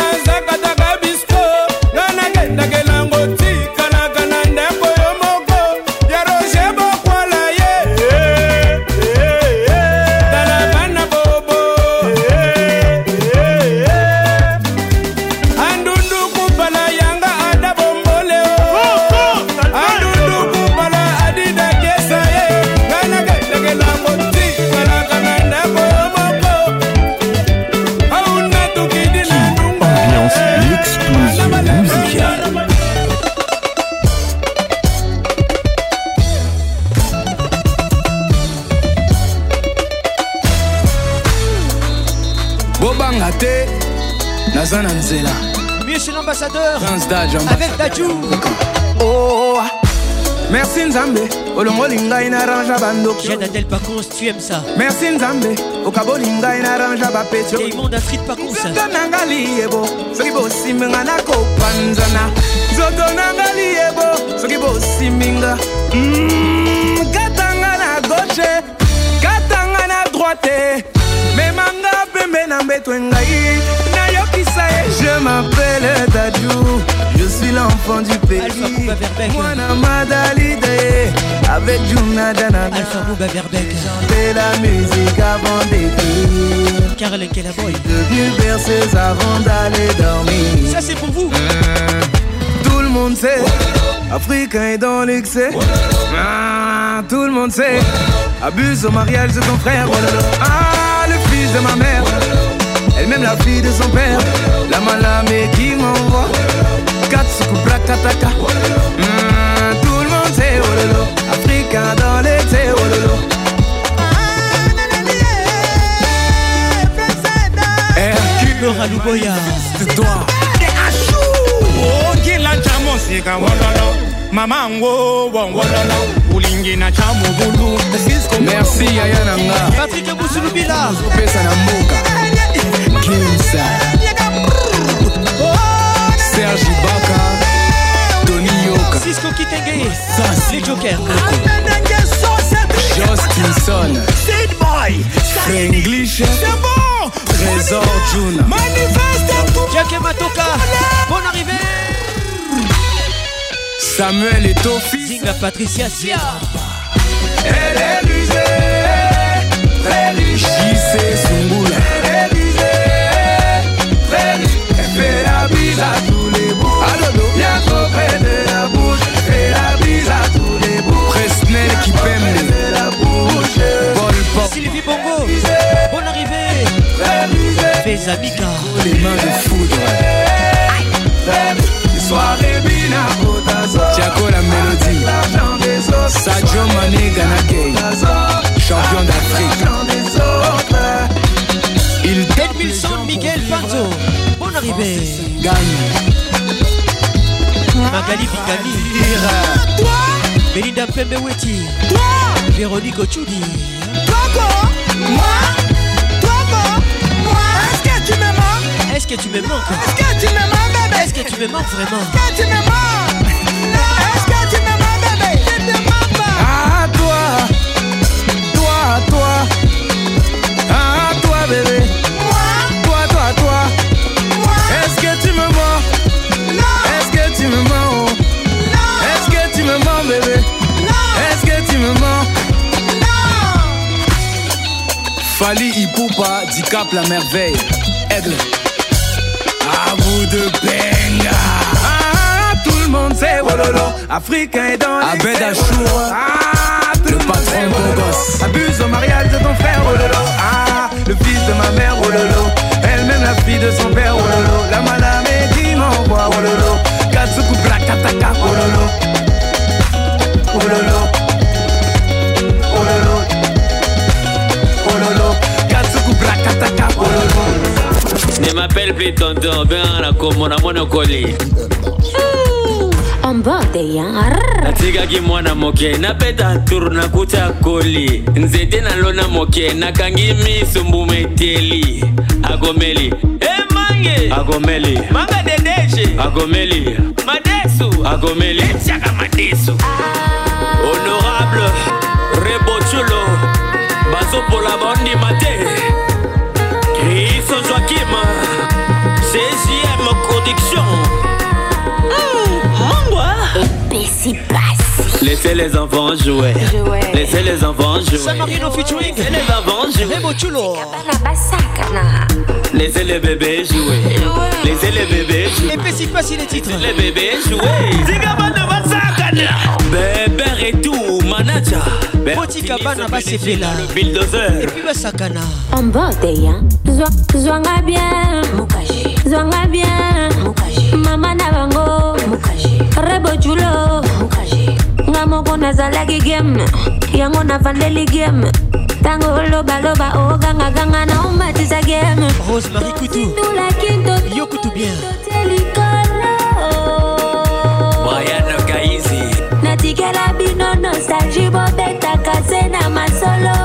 Monsieur l'ambassadeur avec Dadju. Oh, merci Nzambe, Olongolinga inaranja bandoki. Jeanne Adèle Pacons, tu aimes ça. Merci Nzambe, Okabolinga inaranja bapetio. Et monde Astrid Pacons. Zotonangali ebo, sokibo siminga na kopanzana. Zotonangali ebo, sokibo siminga. Mmm, katanga na gauche, katanga na droite. Memanga pembe na mbetwengai. Je m'appelle Dadju, je suis l'enfant du pays. Alpha Bouba Verbeck. Mwana Madalide, avec Juna Danana. Alpha Bouba Verbeck. Chanter la musique avant d'écrire. Caroline Kellaboy. Devenu berceuse avant d'aller dormir. Ça c'est pour vous. Mmh. Tout le monde sait, Africain est dans l'excès. Ah, tout le monde sait, abuse au mariage de ton frère. Ah, le fils de ma mère, elle-même la fille de son père. La malamé qui m'envoie Katsuku Brakataka. Mmh, tout le monde sait, oh lolo, Africain dans l'excès, oh lolo. Laura Louboya. C'est toi. Oh, Gila Chamosika, Wololo. Maman, wo, wo, wololo. Ulingina Chamu Bulu. Merci, Ayananga. Patrick Boussoulubila. Pesa Namuka. Kimsa. Serge Ibaka. Tony Yoka. Cisco Kitenge. Les Jokers. Justinson. Sid Boy. English. C'est bon. Trésor Juna. Manifeste tout. Jacques Matoka. Bonne arrivée. Samuel et Tofi. Zinga Patricia Sia. Elle est rusée, très riche. J C Sungula. Elle est rusée, très riche. Elle fait la bise à tous les bouts. Y'a trop près de la bouche. Elle fait la bise à tous les bouts. Presnel qui pème la bouche. Paul Pop. Sylvie Bongo. Bonne arrivée. Fais Amika. Les mains de foudre. Soirée Bina Botazo. Tiago la mélodie. Sadio Mané Ganakei. Champion d'Afrique. Il Edmilson Miguel Panzo. Bonne arrivée. Gagne. Magali Bigami. Belinda Pembeweti. Véronique Ochudi. Moi. Est-ce que tu me manques? Est-ce que tu me manques? Est-ce que tu me manques, bébé? Est-ce que tu me manques vraiment? Est-ce que tu me manques? Est-ce que tu me manques, bébé? Je te manque pas. Ah toi, toi, toi, ah toi bébé. Moi. Toi, toi, toi. Moi. Est-ce que tu me mens? Non. Est-ce que tu me mens? Non. Est-ce que tu me mens, bébé? Non. Est-ce que tu me mens? Non. Fali Ipupa, Dicap la merveille. Aigle. À vous de Benga. Ah, tout le monde sait, wololo. Africain est dans les Abed Achour. Ah, le patron beau gosse. Abuse au mariage de ton frère, wololo. Ah, le fils de ma mère, wololo. Elle-même la fille de son père, wololo. La malamé qui m'envoie, wololo. Katsuku Brakataka, wololo. Wololo. Wololo. Wololo. Katsuku Brakataka, wololo. Ne m'appelle plus tonton, ben la komona monokoli. En bande yar. Natigaki mwana moke, napeta tour na kuta koli. Nzete na lona moke, nakangi miso mbumeteli. Agomeli, eh mange. Agomeli, manga dedeje. Agomeli, madesu. Agomeli, chaka madesu. Honorable Rebochulo, bazo pour la bande maté. Christian Joachim, C J M Production. Laissez les enfants jouer. Laissez les enfants jouer. San Marino featuring. Laissez les enfants jouer. Remo Chulo. Laissez les bébés jouer. Laissez les bébés jouer. Et puis si pas si les titres. Laissez les bébés jouer. Zigabana Basakana. Bébé et tout, manager. Botika Bana Basefela. Bulldozer. Et puis Basakana. En bande ya. Zwanga bien. Mukaji. Zwanga bien. Mukaji. Mama na bango. Mukaji. Rebo Chulo. Mukaji. Ngamoko nazalaki game. Yango na vandeli game. Tango loba loba o ganga ganga na umatiza game. Rosemary Coutou. Yo Coutou bien. Brian Kaizi. Natikela bino nostalgie bobeta kase na masolo.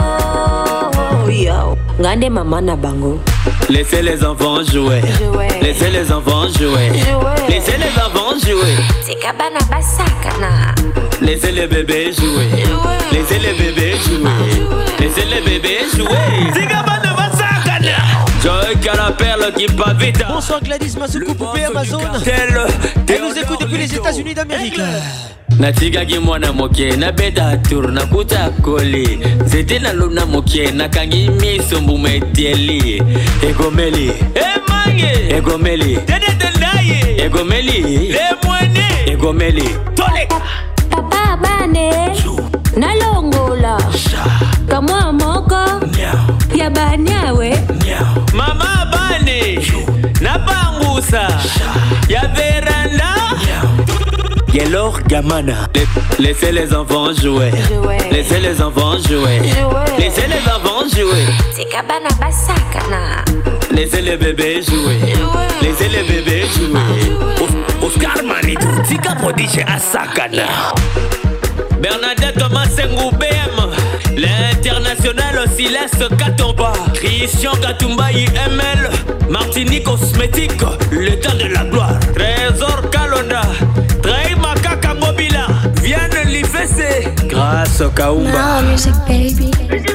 Yo. Ngande mama na bango. Laissez les enfants jouer. Jouer. Laissez les enfants jouer. Jouer. Laissez les enfants jouer. Tikabana basakana. Laissez les bébés jouer. Laissez les bébés jouer. Laissez les bébés jouer. Tikabana basakana. Joy qui a la perle qui pas vite. Bonsoir Gladys Masuku, poupée Amazon. Elle nous écoute depuis les États-Unis d'Amérique. Natigaki mwana moke na beda tour na kuta koli zete na luna moke na kangi miso mbumetieli egomeli emange egomeli dede tendaye egomeli lemwene egomeli tole papa bane na longola kamwa moko ya banyawe mama bane na bangusa ya veranda Yellow Gamana. Laissez les enfants jouer. jouer. Laissez les enfants jouer. jouer. Laissez les enfants jouer. Tikabana basakana. Laissez les bébés jouer. jouer. Laissez les bébés jouer. Oscar Manitou, Tika Prodiche Asakana. Bernadette Thomas Sengou B M. L'international Silas Katomba. Christian Katumba I M L. Martinique Cosmétique. L'état de la gloire. Trésor Kalonda. Trahi Makaka Mobila. Vienne l'I F C. Grâce au Kaumba. No music baby.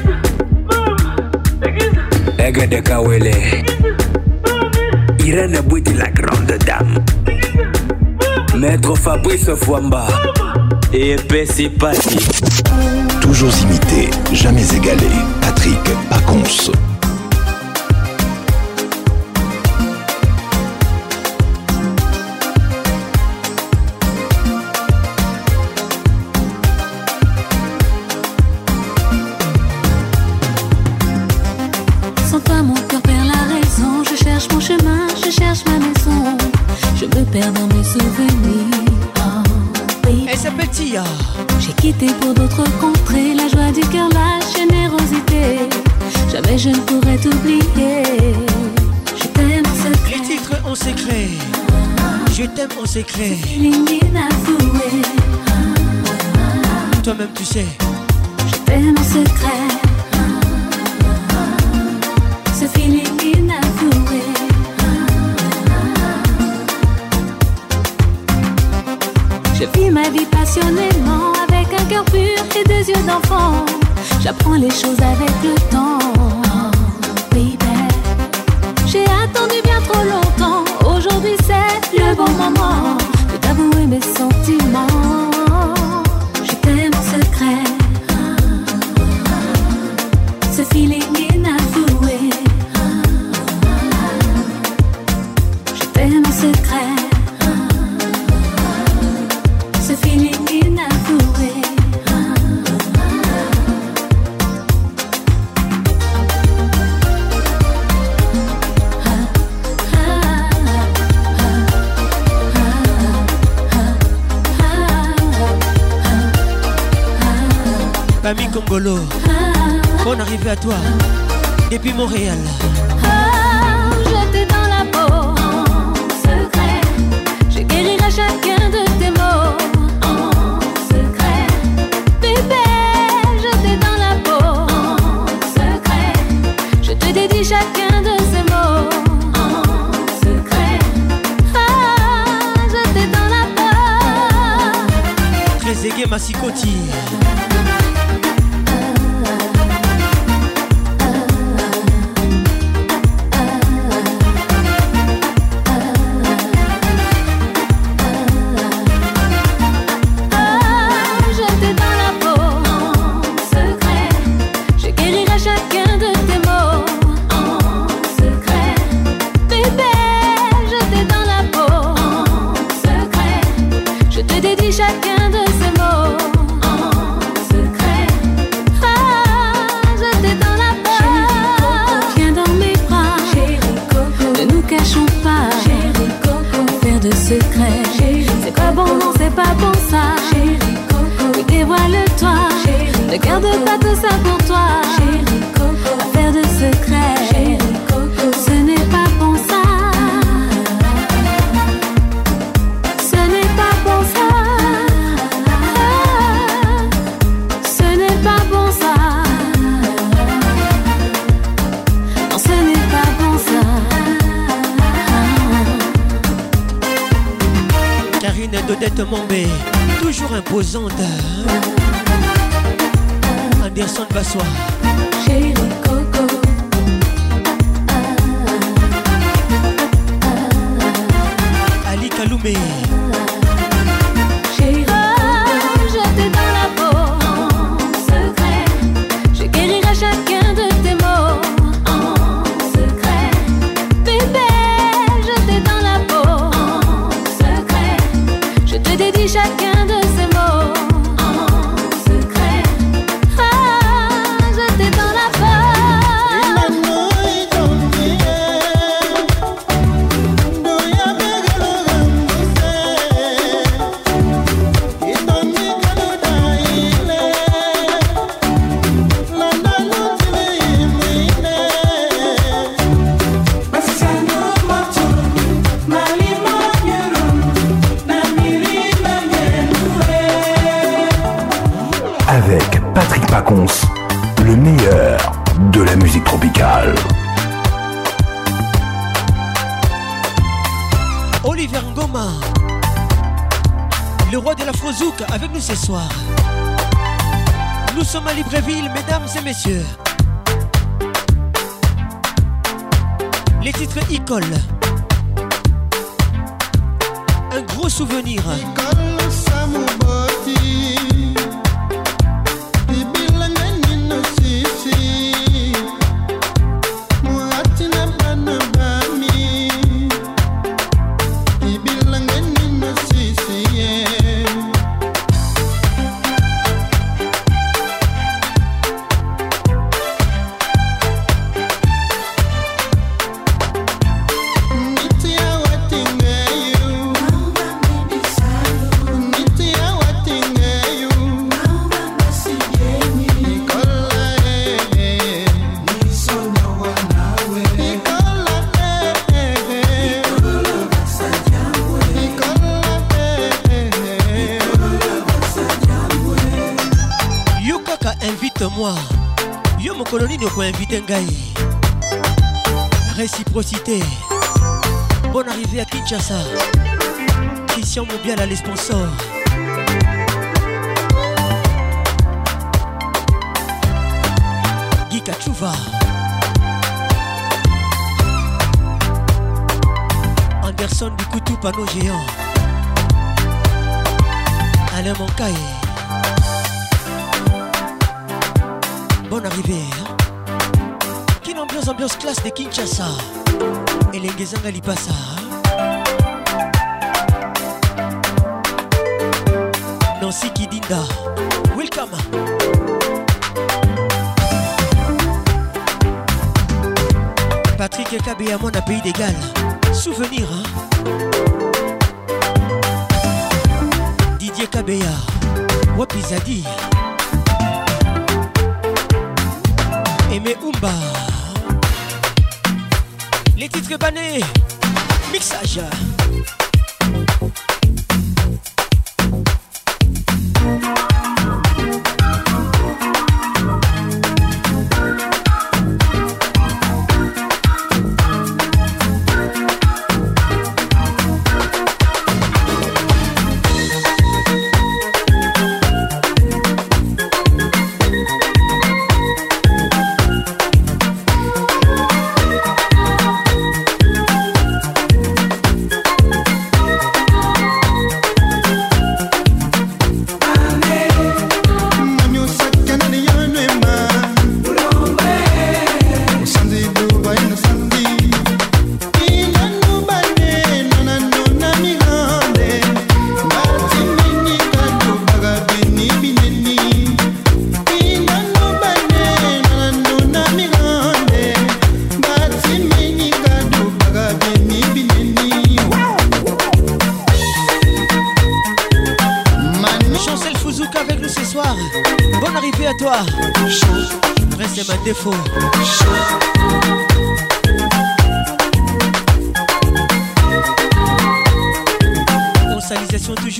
Ega de Kawele. Irène Bouti la grande dame. Maître Fabrice Fouamba. Et Pessi Patti. Toujours imité, jamais égalé. Patrick Pacons. Sans toi mon cœur perd la raison. Je cherche mon chemin, je cherche ma maison. Je me perds dans mes souvenirs. Elle s'appelle Tia. J'ai quitté pour d'autres contrées la joie du cœur, la générosité. Jamais je ne pourrais t'oublier. Je t'aime en secret. Les titres en secret. Je t'aime en secret. Toi-même tu sais. Je t'aime en secret. Ce feeling inavoué. Je vis ma vie passionnément avec un cœur pur et des yeux d'enfant. J'apprends les choses avec le temps. Oh, baby. J'ai attendu bien trop longtemps. Aujourd'hui c'est le bon moment de t'avouer mes sentiments. Je t'aime en secret. Ce feeling inavoué. Je t'aime en secret. Camille Congolo, bonne arrivée à toi depuis Montréal. Oh, je t'ai dans la peau en secret. Je guérirai chacun de tes mots en secret. Bébé, je t'ai dans la peau en secret. Je te dédie chacun de ces mots en secret. Ah, je t'ai dans la peau. Très aigué Massikoti. Chacun de ces mots en secret. Ah, je t'ai dans la peau. Viens dans mes bras, chérie Coco. Ne nous cachons pas, chérie Coco. Faire de secret, c'est pas bon, non, c'est pas bon ça, chérie Coco. Oui, dévoile-toi, chérie. Ne garde pas tout ça pour toi, chérie Coco. Faire de secret, chérie Coco. Ce n'est pas bon ça. Ce n'est pas bon ça. Dodette Mombé, toujours imposante. Anderson Bassois. Chérie Coco. Kaloumé. Chérie, jeté dans la peau en secret. Je guérirai chacun de tes mots en secret. Bébé, jeté dans la peau en secret. Je te dédie chacun de ces mots en secret. Ah, jeté dans la peau. Avec Patrick Pacons, le meilleur de la musique tropicale. Oliver Ngoma, le roi de l'Afrozouk, avec nous ce soir. Nous sommes à Libreville, mesdames et messieurs. Les titres Icole. Un gros souvenir. Invite-moi. Yo mon colonie ne peut inviter Ngai. Réciprocité. Bonne arrivée à Kinshasa. Christian Mobiala les sponsors. Guy Kachouva. Anderson du Koutou panneau géant. Alain Moncaille. Bonne arrivée. Hein? Quelle ambiance, ambiance classe de Kinshasa. Et les Ngezanga Lipasa. Nancy Kidinda. Welcome. Patrick Kabé mon pays d'égal. Souvenir, hein? Didier Kabea. Wapizadi. Aimé Oumba. Les titres bannés. Mixage. Défaut. Consalisation toujours.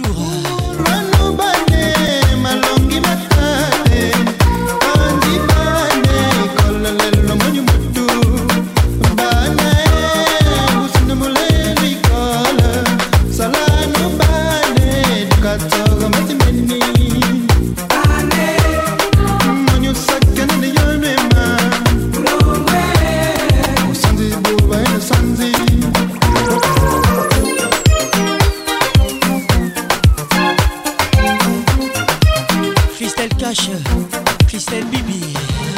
Christelle Cash, Christelle Bibi.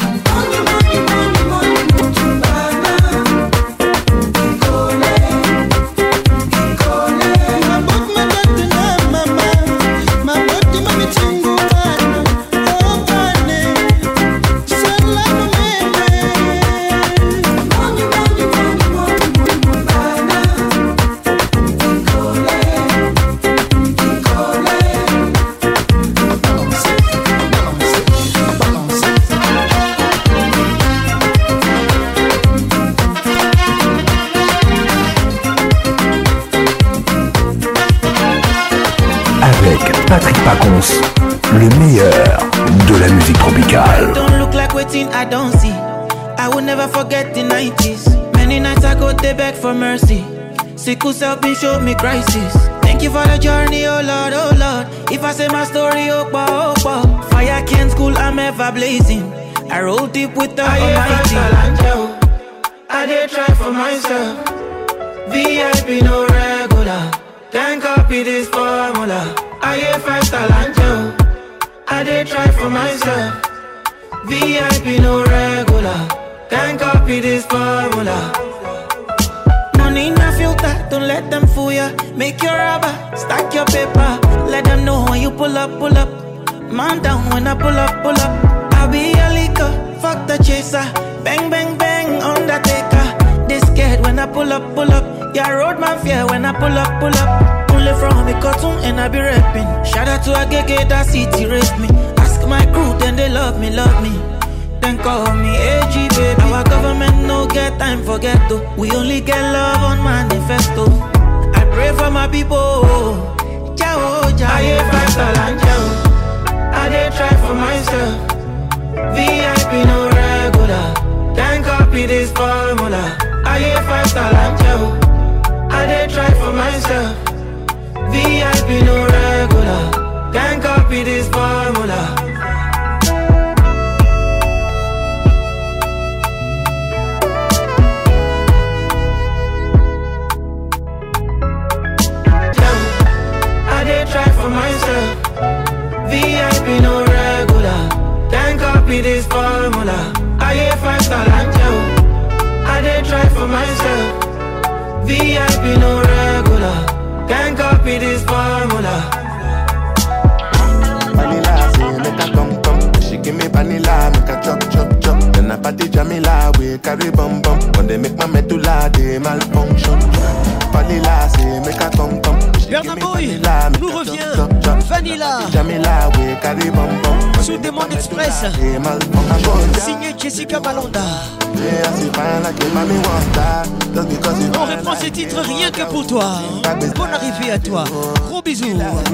Patrick Pacons, le meilleur de la musique tropicale. Don't look like waiting, I don't see. I will never forget the nineties. Many nights I go they beg for mercy. Sickle self been show me crisis. Thank you for the journey, oh Lord, oh Lord. If I say my story, oh bah, oh bah. Fire can't school, I'm ever blazing. I roll deep with the I Almighty. I did try for myself. V I P no regular. Can't copy this formula. I hear five star angel. I did try for myself. V I P no regular. Can't copy this formula. Money in a filter, don't let them fool ya. Make your rubber, stack your paper. Let them know when you pull up, pull up. Man down when I pull up, pull up. I'll be a leaker, fuck the chaser. Bang, bang, bang, Undertaker. They scared when I pull up, pull up. Yeah, road man fear when I pull up, pull up. Only from me cartoon and I be rapping. Shout out to Agege, that city raised me. Ask my crew, then they love me, love me. Then call me A G, baby. Our government no get time for ghetto. We only get love on manifesto. I pray for my people. Ciao, ciao. I hear five star and ciao. I did try for myself. V I P no regular. Can't copy this formula. I hear five star and ciao. I did try for myself. V I P no regular. Can't copy this formula. I did try for myself. V I P no regular. Can't copy this formula. I hear five star and ciao. I did try for myself. V I P no regular. Can't copy this formula. Vanilla say make a come come. She give me vanilla, make a chop chop chop. Then I party Jamila, we carry bum bum. When they make my medulla, they malfunction. Vanilla say make a come come. Bernard Boy nous revient. Vanilla sous Demande Express. Signé Jessica Malonda. On reprend ces titres rien que pour toi. Bonne arrivée à toi. Gros bisous.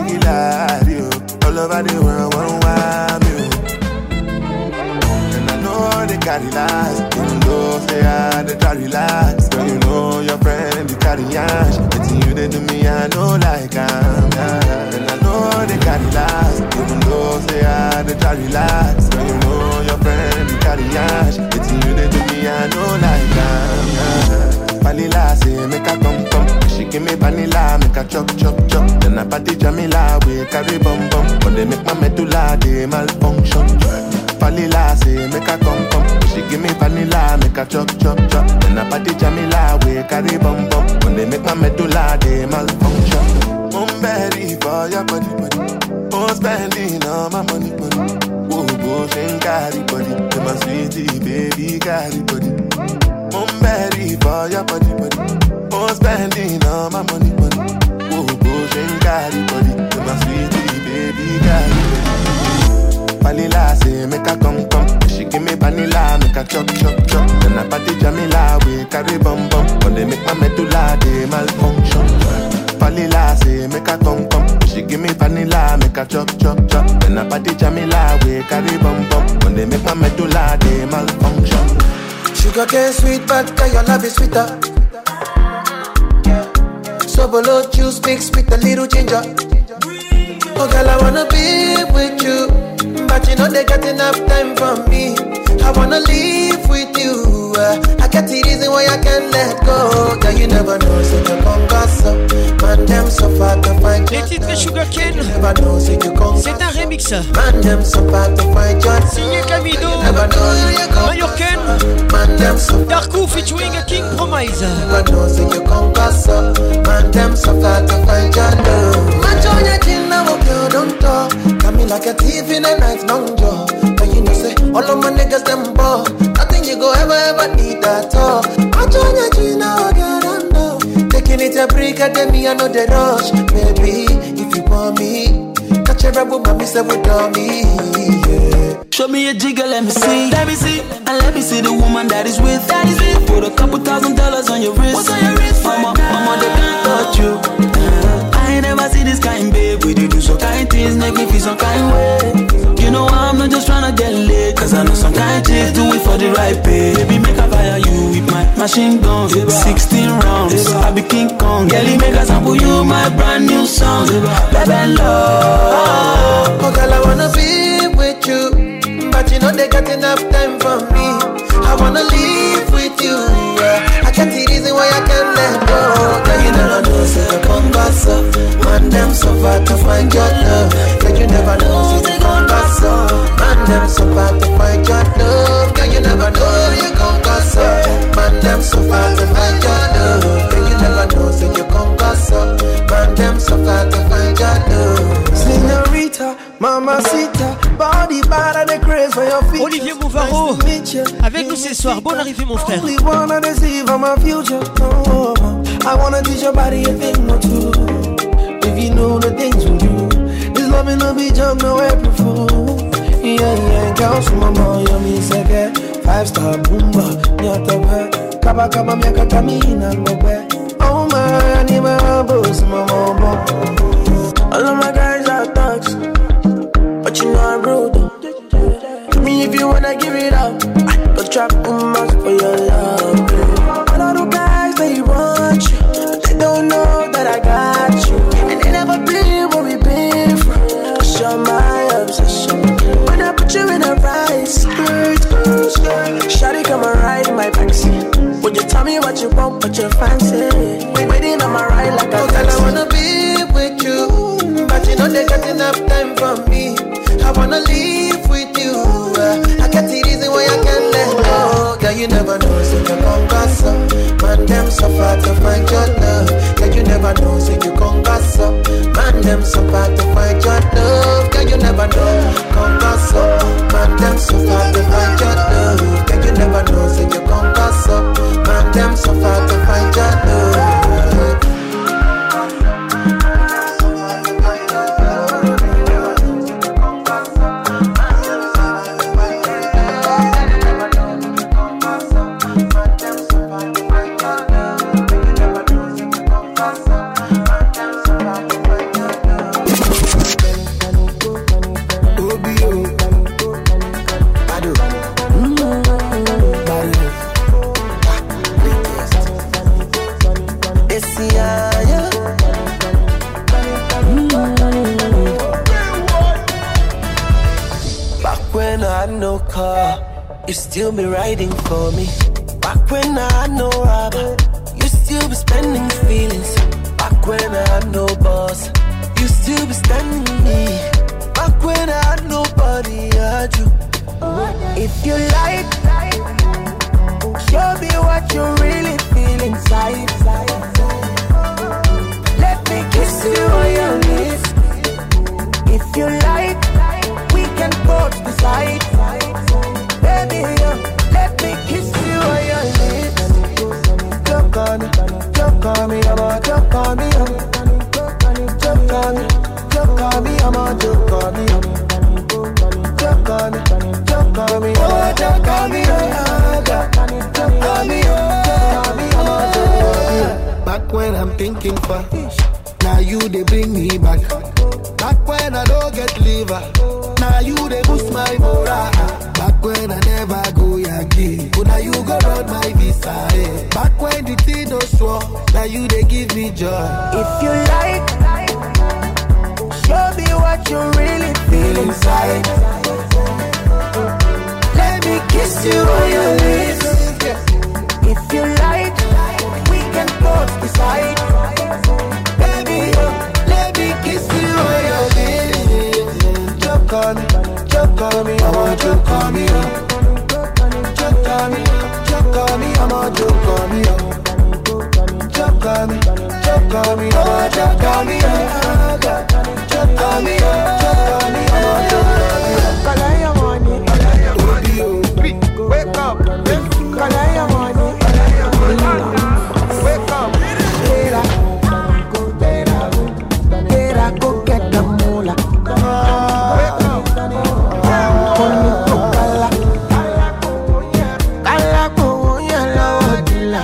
They carry last, even though say I they try relax. Girl, you know your friend they carry ash. It's you they do me, I know like I'm yeah. And I know they carry last, even though say I they try relax. Girl, you know your friend they carry ash. It's you they do me, I know like I'm yeah. Vanilla say make a come come. She give me vanilla, make a chop chop chop. Then I party Jamila, we carry bum bum. When they make my medulla, they malfunction. Vanilla say make a come come. She give me vanilla, make a chop chop chop. Then I party Jamila, we carry bum bum. When they make my medulla, they malfunction. I'm ready for your body body. I'm spending all my money money. Whoa, whoa, she carry body. You my sweetie baby carry body. I'm ready for your body body. I'm spending all my money money. Whoa, whoa, she carry body. You my sweetie baby carry body. Vanilla say make a come come. She give me vanilla, make a chop chop chop. Then I party Jamila, we carry bum bum. When they make my medulla, they malfunction. Vanilla say make a come come. She give me vanilla, make a chop chop chop. Then I party Jamila, we carry bum bum. When they make my medulla, they malfunction. Sugar cane sweet, but your love is sweeter. So below juice mixed with a little ginger. Oh girl, I wanna be with you, but you know they got enough time for me. I wanna live with you. uh, I get the reason why I can't let go. Girl, you never know, so you come gossip. Man, them so far to find. Les titres Sugar Cane, You never know, so you come c'est un remix remix. Signé Camido, Mallorcaine, Darko featuring King Promise. Like a thief in the night, long jaw. But you know, say, all of my niggas, them ball. Nothing you go ever, ever need at all. I join your Gina, get under. Taking it a break, at me, I know the rush. Baby, if you want me, catch a rebel, mommy, say, with me. Yeah. Show me a jigger, let me see. Let me see. And let me see the woman that is with. That is with. Put a couple thousand dollars on your wrist. What's on your wrist? Mama, mama, they can't touch you. Uh, I ain't never see this kind, babe. We do some kind things, make me feel some kind way. You know I'm not just tryna get laid, cause I know some kind chicks do it for the right pay. Baby, make a fire you with my machine gun. sixteen rounds, I be King Kong. Girlie, make a sample you my brand new song. Baby, love. Oh, girl, I wanna be with you, but you know they got enough time for me. I wanna live with you, yeah. I can't see reason why I can't let go. Girl, you never know, say you come back so. Man, them so far to find your love. Girl, you never know, say you come back so. Man, them so far to find your love. Girl, you never know, you come back so. Man, them so far to find your love. Girl, you never know, say you come back so. Man, them so far to find your love. Señorita, mamacita, body bad and the craze for your feet. Olivier Mouvaro, avec nous ce soir. Bonne arrivée, mon frère. Only wanna deceive on my future. Oh, I wanna teach your body a thing or two. If you know the things we do, this loving no be jump no April Fool. Yeah, yeah, girls from my mom, you me second. Five star boomba, nyata kaba kaba miaka tamina mbobe. Oh my, I need my boss, my mom. All of my guys are thugs, but you know I'm rude. To me, if you wanna give it up, don't trap too much for your love. All of the guys, they want you, but they don't know that I got you. And they never been where we been from. Cause you're my obsession. When I put you in a right skirt, skirt, skirt. Shawty come and ride in my backseat. Would you tell me what you want, what you fancy? Waiting on my ride like a oh, taxi. I wanna be with you, but you know they got enough time for me. I wanna live with you. uh, I can't see reason why I can't let go. Girl, you never know, so you come back so. Man, them so far to find your love. Girl, you never know, so you come back so. Man, them so far to find your love. Girl, you never know, come back so. Man, them so far to find your love. Girl, you never know, so you come back so. Man, them so far to find your love. You still be riding for me. Back when I had no rubber, you still be spending feelings. Back when I had no boss, you still be standing me. Back when I had nobody, I had you. If you like, show me what you really feel inside. Let me kiss you on your lips. If you like, we can both decide. Baby, uh, let me kiss you on your lips. Jump on me, jump on me, I'm on, jump on me, I'm jump on me, jump on me, I'm on, jump on me, jump on me, jump on me, oh, jump on me, oh, jump on me, jump on me, I'm on, jump on me. Back when I'm thinking for, now you they bring me back. Back when I don't get liver, now you they boost my morale. Back when I never go Yankee, but now you go round my visa. Eh. Back when the thing no swore, now you they give me joy. If you like, show me what you really feel inside. Let me kiss you on your lips. If you like, we can both decide. Baby, let me kiss you on your lips. Jump call me, I want you call me up. Just call me, just call me, I want you call me up. Just call me, just call me, I want you call me up. Just call me up, just call me, I want you call me up. Call I your money, wake up, call I your money, wake up, Tera, Tera, Tera, go get the moolah. Wake up, Kala, Kala, go yellow dilla.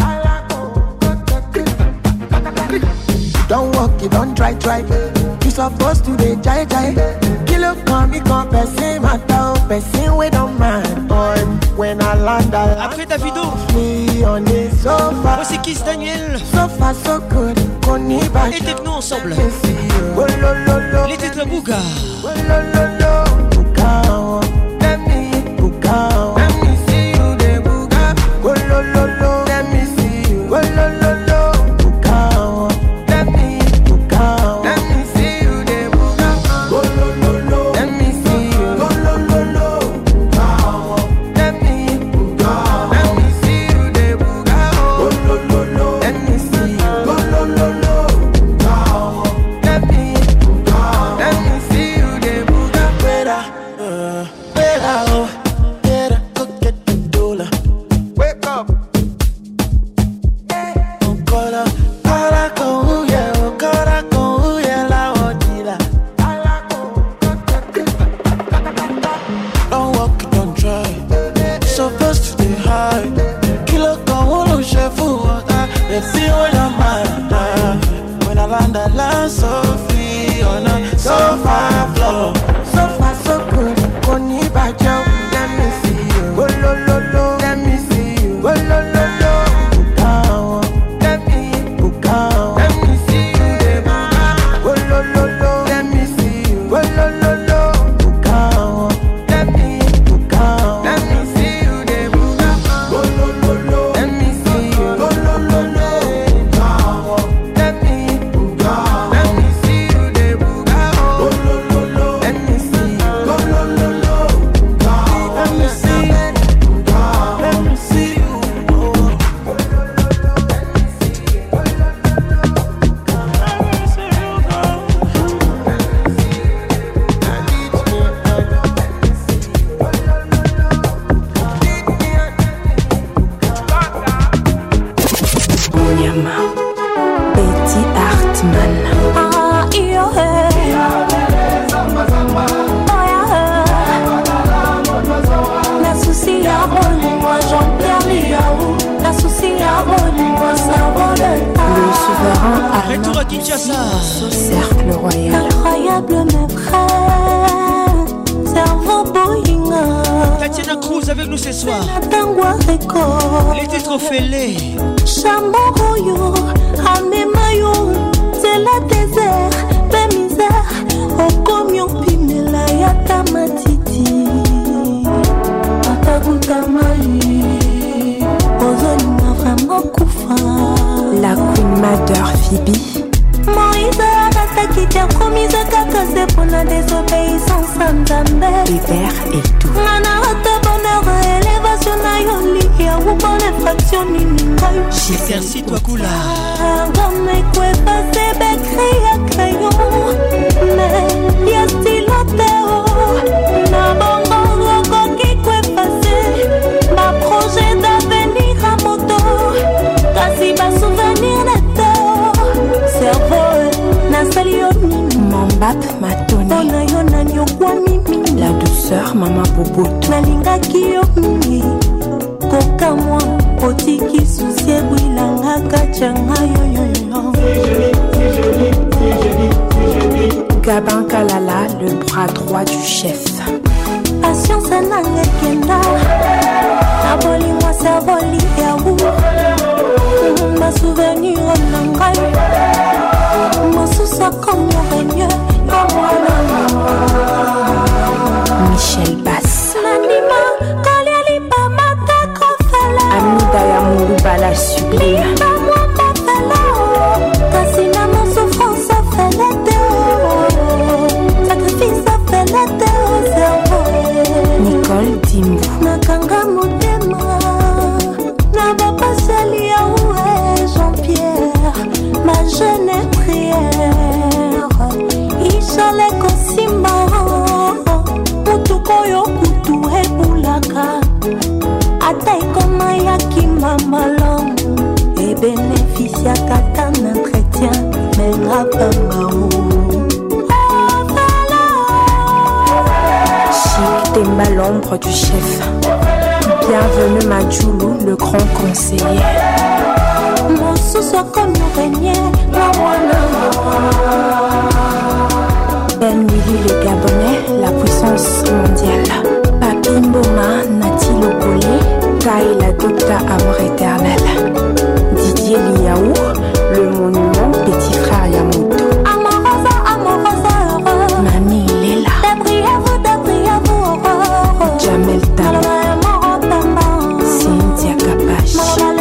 Don't walk, you don't try, try. You supposed to be jai jai. Kilo come, me come, person matter, person we don't mind. Boy, when I land, I land. Après Davido, on the sofa. Voici Kiss Daniel. Sofa so good, et Techno ensemble. Oh, lo, lo, lo. Les têtes de Bouga. Oh, lo, lo, lo. Bouga, let me Bouga. Let me see you de Bouga. Oh, lo, lo, lo. Let me see you. Oh, lo, lo, lo. Bouga, let me Bouga. Let me see you de Bouga. Oh, lo, lo, lo. Let me see you. Oh, lo, lo, lo. Bouga, let me Bouga. Let me see you de Bouga. Oh, lo, lo, lo. Let me see you. Oh, lo, lo, lo. Let me Bouga. Let me see you de Bouga. Better, uh, better, oh, better go get the dollar. Wake up. Oh, cola, cola con yeah, oh, cola con yeah, la odila. Don't walk, don't try. Supposed to be high. Kilo con uno chef water. Let's see what I'm at. When I land, I land so free on a sofa floor. Sofa so good, koni bajo. Let me see you. Oh, lo, lo, lo. Let me see you. Oh, lo, lo, lo. Bouga, let me Bouga. Let me see you de Bouga. Oh, lo, lo, lo. Let me see you. Oh, lo, lo, lo. Bouga, let me Bouga. Let me see you de Bouga. Oh, lo, lo, lo. Let me see you. Oh, lo, lo, lo. Bouga, let me Bouga. Let me see you de Bouga. Oh, lo, lo, lo. Let me see you. Oh, lo, lo, lo. Bouga, let me see you. Bouga, let me see you. Onyama, Betty Hartman. Ah, yo, hey. Oh, yeah. La souci à bonne, moi Jean-Pierre Liaou. La souci à bonne, moi cerveau de ta. Le souverain allemand. Retour à Kinshasa. Au cercle royal. Incroyable mes frères. Cerveau boyinga. Tatiana Cruz avec nous ce soir. Tangwa Record. Les titres fêlés. Chamboroyo, Amemayo, c'est la désert, la misère, au comion pimela yata matiti. Ataguta mai, ozoni na vraiment koufa. La Queen Mother Phoebe. Moïse arataki tia promise kaka c'est pour la désobéissance Nzambe. Hébert et tout. Nana rata bonheur élévation na yoli ya bonne infraction nini ngai. Merci toi Kula. Comme quoi passer bécri à crayon. Mais y'a stylo théo. Na bongo roko qui quoi passer. Ma projet d'avenir à moto. Kasi ma souvenir neto. Cerveau na salioni. Mambap Matoni. Ona yona nyokwa mimi. La douceur Mama Boboto. Nalingaki yo mingi. Koka moi otiki susi ebwilanga kachanga yoyoyo. Gabin Kalala, le bras droit du chef. Patience nanga kenda. Na bolingo servoli ya wu. Ma souvenir na ngai. Mosusa comme règne comme Michel Bass. Nanima kaliali pa mata kofala. Amida ya Mourouba la sublime. Limba moi ma fala. Kasi na mon souffrance fait la théo. Sacrifice fait la théo. Cerveau oyo kutu ebulaka ata ekoma ya kima malamu ebenefisiaka ta na entretien mengapangao Chic Temba, l'ombre du chef. Bienvenue Madjoulou, le grand conseiller. Mon sous-soit comme le régnier, Ben Willy le Gabonais, la puissance mondiale. Papi Mboma, Nati Lopolé, Kai la Docta Amour éternel. Didier Liaou, le monument petit frère Yamoto. Amorosa, amorosa, heureux. Mamie Léla. Débriez-vous, débriez-vous, heureux. Jamel Talo. Cynthia Kapache.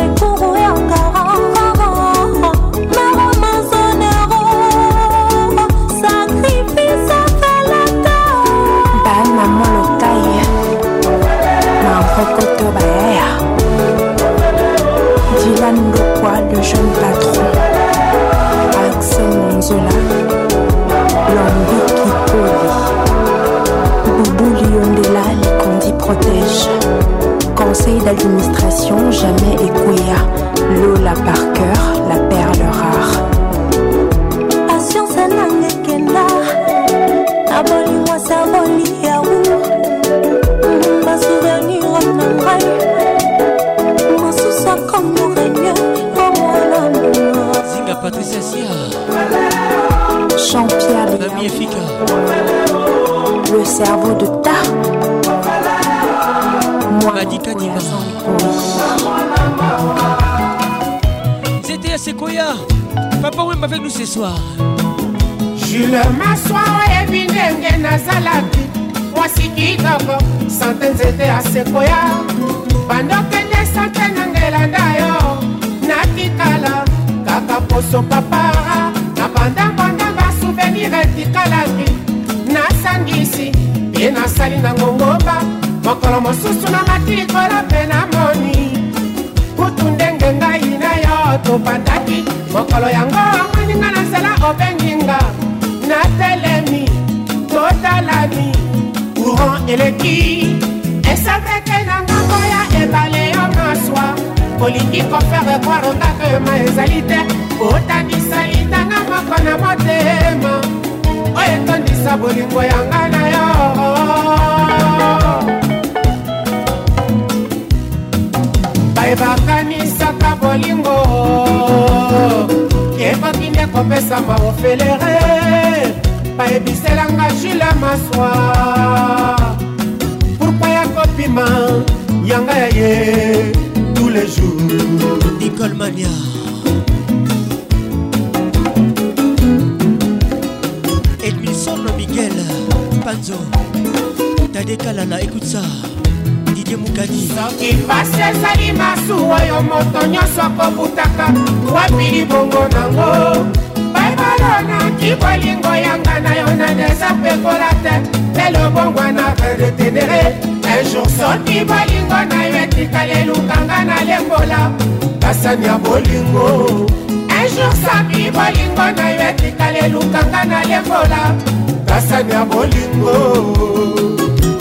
Dylan Lokwa, le jeune patron. Axel Monzola, Lambi Kipoli. Boubou Liondela, les condis protègent. Conseil d'administration, jamais Ekouya. Lola Parker, la perle rare. Patience Nangekenda, Abolis-moi Saboli Yaou. Ma souvenir en oreille. Mon sous-soit comme le règne. Zinga Patricia Sia. Jean-Pierre Nami Efika. Le cerveau de Ta. Moi, Madika Diva. C'était à Sequoia. Papa Wemba avec nous ce soir. Jules Massoir et Binenge Nazalaki. Voici qui d'abord. Centaines étaient à Sequoia. Pendant que des centaines n'engelanda yo. Natikala. Kaka poso papara. Na banda banda ba souvenir etikalaki. Nasangisi. Bien asali na ngomba. Mokolo mosusu na matikola pena moni. Kutu ndenge ngai na yo topandaki. Mokolo yango amaninga na zela obenginga. Na telemi totalani courant eleki. Esaveke na ngambo ya ebale yo maswa. Kolingi kofere kwaronga kema ezali te. Kotanisa litanga moko na motema. Oye tondisa bolingo yanga na yo. Bakanisaka bolingo ekokinde kopesama ofelere bayebiselanga Jules Massoir pourquoi ya kopima yanga ya ye tous les jours Nicole Mania Edmilson Miguel Panzo Tadekalala, écoute ça soki pasi ezali masuwa oyo moto nyonso akobutaka wapili bongo nango baibalonaki bolingo yanga na yo na deza pekola te lelo bongwa na redetenere un jour soki bolingo na yo etikali elukanga na lembola basani ya bolingo un jour soki bolingo na yo etikali elukanga na lembola basani ya bolingo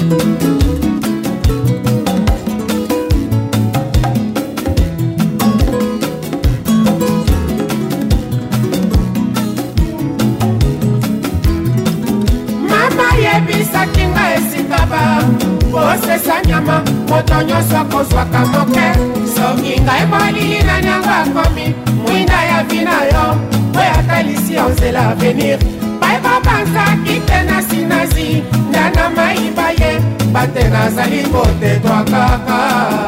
bisakinga esikaba posesa nyama moto nyonso akozwaka moke soki ngai molili na nyango akomi mwinda ya vina yo oyo atalisi yo nzela avenir bai babanzaki te na sinazi ndana mayiba ye bate nazali kotetwa kaka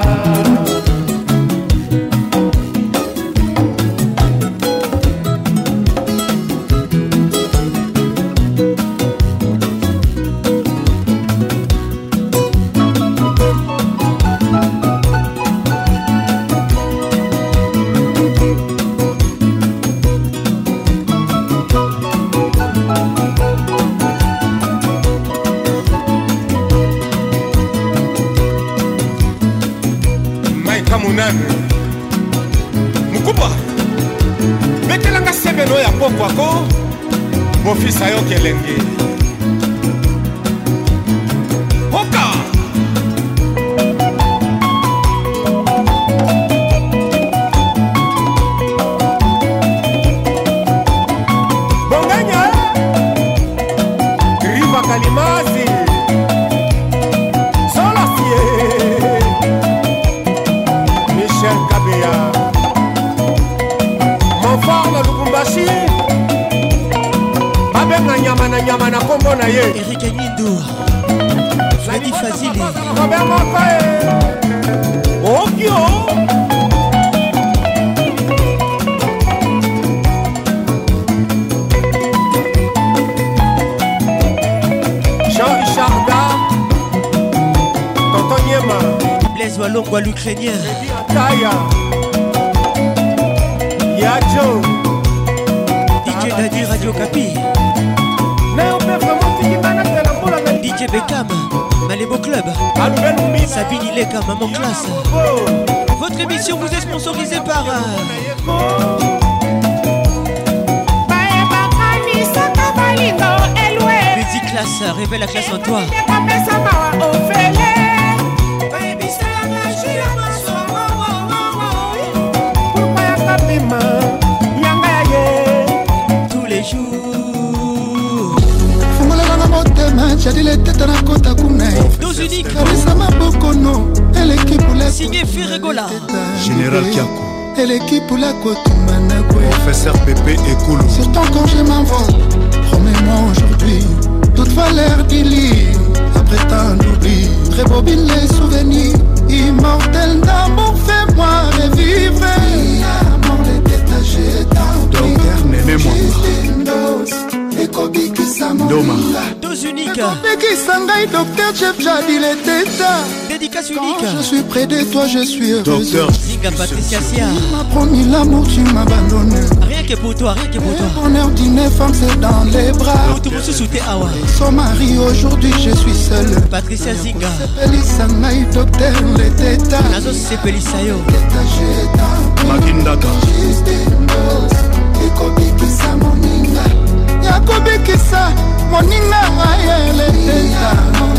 Mukuba betelanga sebeno ya poko ako mofisa yo kelenge Oka Kalimasi Solacier Michel Kabeya Mon fort na Lubumbashi Babenga nyama na nyama na kombo na ye Eric Agnindou Fadi Fazili Robert Mokoe Okio Jean-Richard Tonton Niema Blaise Walongwa l'Ukrainien Kaya Yadjo D J Dadi Radio Kapi D J Beckham Malébo Club Sabine Ileka Maman Classe. Votre émission vous est sponsorisée par Petit Classe, révèle la classe en toi. Tous les jours Dos uniques Signé Ferregola Général Kiako Et l'équipe pour la Kotumana Professeur Pépé et Koulou. Surtout quand je m'envole, promets-moi aujourd'hui toute valeur du lit. Après tant d'oubli, rebobine les souvenirs. Immortel d'amour, fais-moi revivre. Mon détaché dans Docteur Néné Doma. Dos uniques Docteur Jeff Jadi les tétas. Dédicace unique. Je suis près de toi, je suis heureux. Docteur Zinga Patricia Sia. Tu m'as promis l'amour, tu m'abandonnes. Rien que pour toi, rien que pour toi. Le bonheur d'une femme, c'est dans les bras. Tout le monde se soutait Awa. Son mari, aujourd'hui, je suis seul. Patricia Zinga. Pelisangay, docteur les tétas. Nazo Sepelisayo. Magindaka. Ekobikisa moninga. Yakobikisa moninga ayele teta.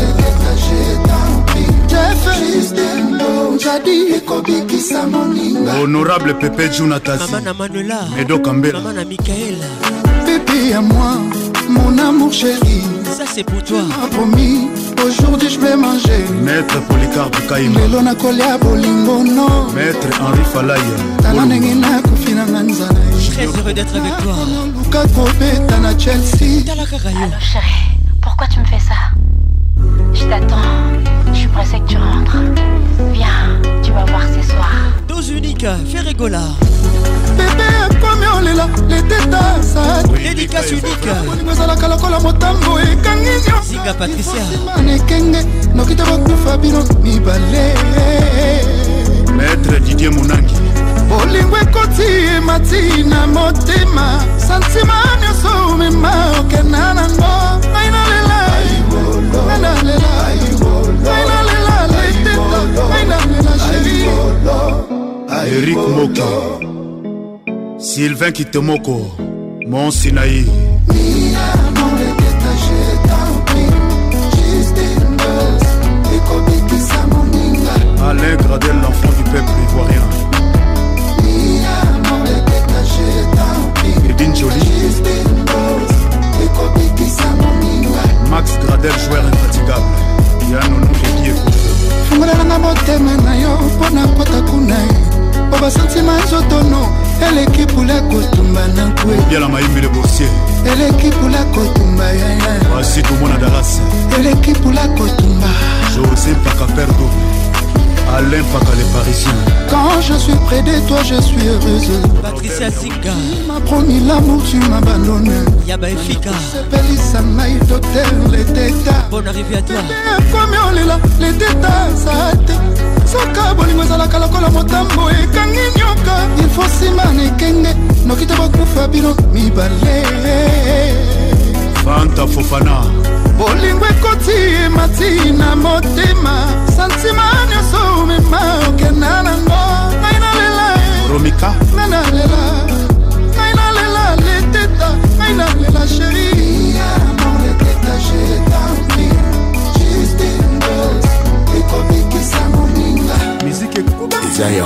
Jadi ekobikisa moninga. Honorable Pépé Junatazi. Maman na Manuela. Edo Kambela. Maman na Michael. Bébé à moi, mon amour chéri. Ça c'est pour toi. Tu m'as promis, aujourd'hui je vais manger. Maître Polycarpe Kaima. Lelo na kolia bolingo no. Maître Henri Falaya. Tala ndenge na kufina nganzana. Très heureux d'être avec toi. Luka Kobeta na Chelsea. Tala Kakayo. Alors chérie, pourquoi tu me fais ça? Je t'attends, je suis pressée que tu rentres. Viens, tu vas voir ce soir. Dos unique, Ferregola. Bébé akomi olela, les tétas ça. Dédicace unique. Ngozalaka lokola motambo ekangi nyonso. Zinga Patricia. Manekenge, nokita bakufa bino mibale. Maître Didier Mounangi. Bolingo ekoti emati na motema. Santima nyonso mema okena nango. Aina lela. Aina lela. Aina lela les tétas. Aina lela chérie. Eric Moko. Sylvain Kitemoko. Mon Sinaï. Alain Gradel, l'enfant du peuple ivoirien. Edine Jolie. Max Gradel, joueur infatigable. Yanono Edieko. Fungola motema na yo pona kota kunai. Oba sentima nzotono. Eleki pula kotumba na kwe. Bien la maïmbe le boursier. Eleki pula kotumba ya ya. Voici tout le monde à Dallas. Eleki pula kotumba. José Pakaperdo. Alain Paka les Parisiens. Quand je suis près de toi, je suis heureuse. Patricia Zinga. Tu m'as promis l'amour, tu m'abandonnes. Yaba Efika. Sepelisa my docteur, les tétas. Bonne arrivée à toi. Comme on est là, les tétas, ça te. Soka bolingo ezalaka lokola motambo ekangi nyoka. Il faut simana ekenge nokita bakufa bino mibale. Fanta Fofana. Bolingo ekoti emati na motema. Santima nyonso mema okena nango. Aina lela Romika. Aina lela Aina lela les tétas. Aina lela chérie. Amour les tétas j'ai tant pris. Juste une dose. Ekobikisa moninga. Musique et Zaya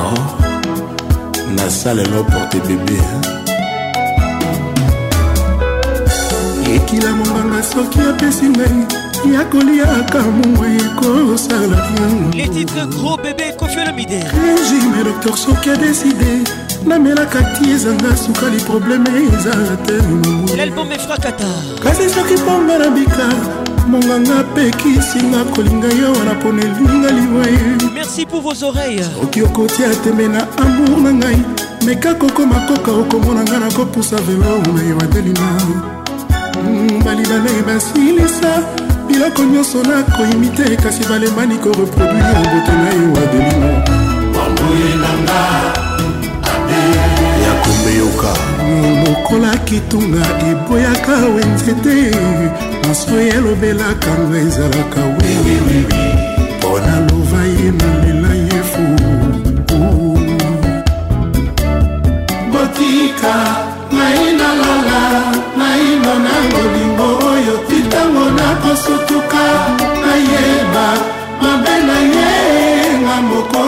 na salle no porte bébé. ekila monganga soki apesi ngai ya koliaka mongwa ekosala les titres gros bébé Koffi Olomide régime docteur soki adeside namelaka ti ezanga sukali probleme eza te l'album efrakata kasi soki mponga na bika monganga pekisinga kolinga yo wana pona elinga liwa ye merci pour vos oreilles oki okotia tembe na amour na ngai meka koko makoka okomona nga na kopusa velo na yo adelina balibana basilisa biloko nyonso nakoimite kasi balemani koreproduire mbote na yo adelina bamboye nanga ya kombeyoka mokola kitunga eboyaka wenzete maso elobelaka nga ezalaka wewewewe mpona lova ye nalela ye fu botika nainalala nainona ngolingo oyo titango nakosutuka nayeba mabe na ye nga moko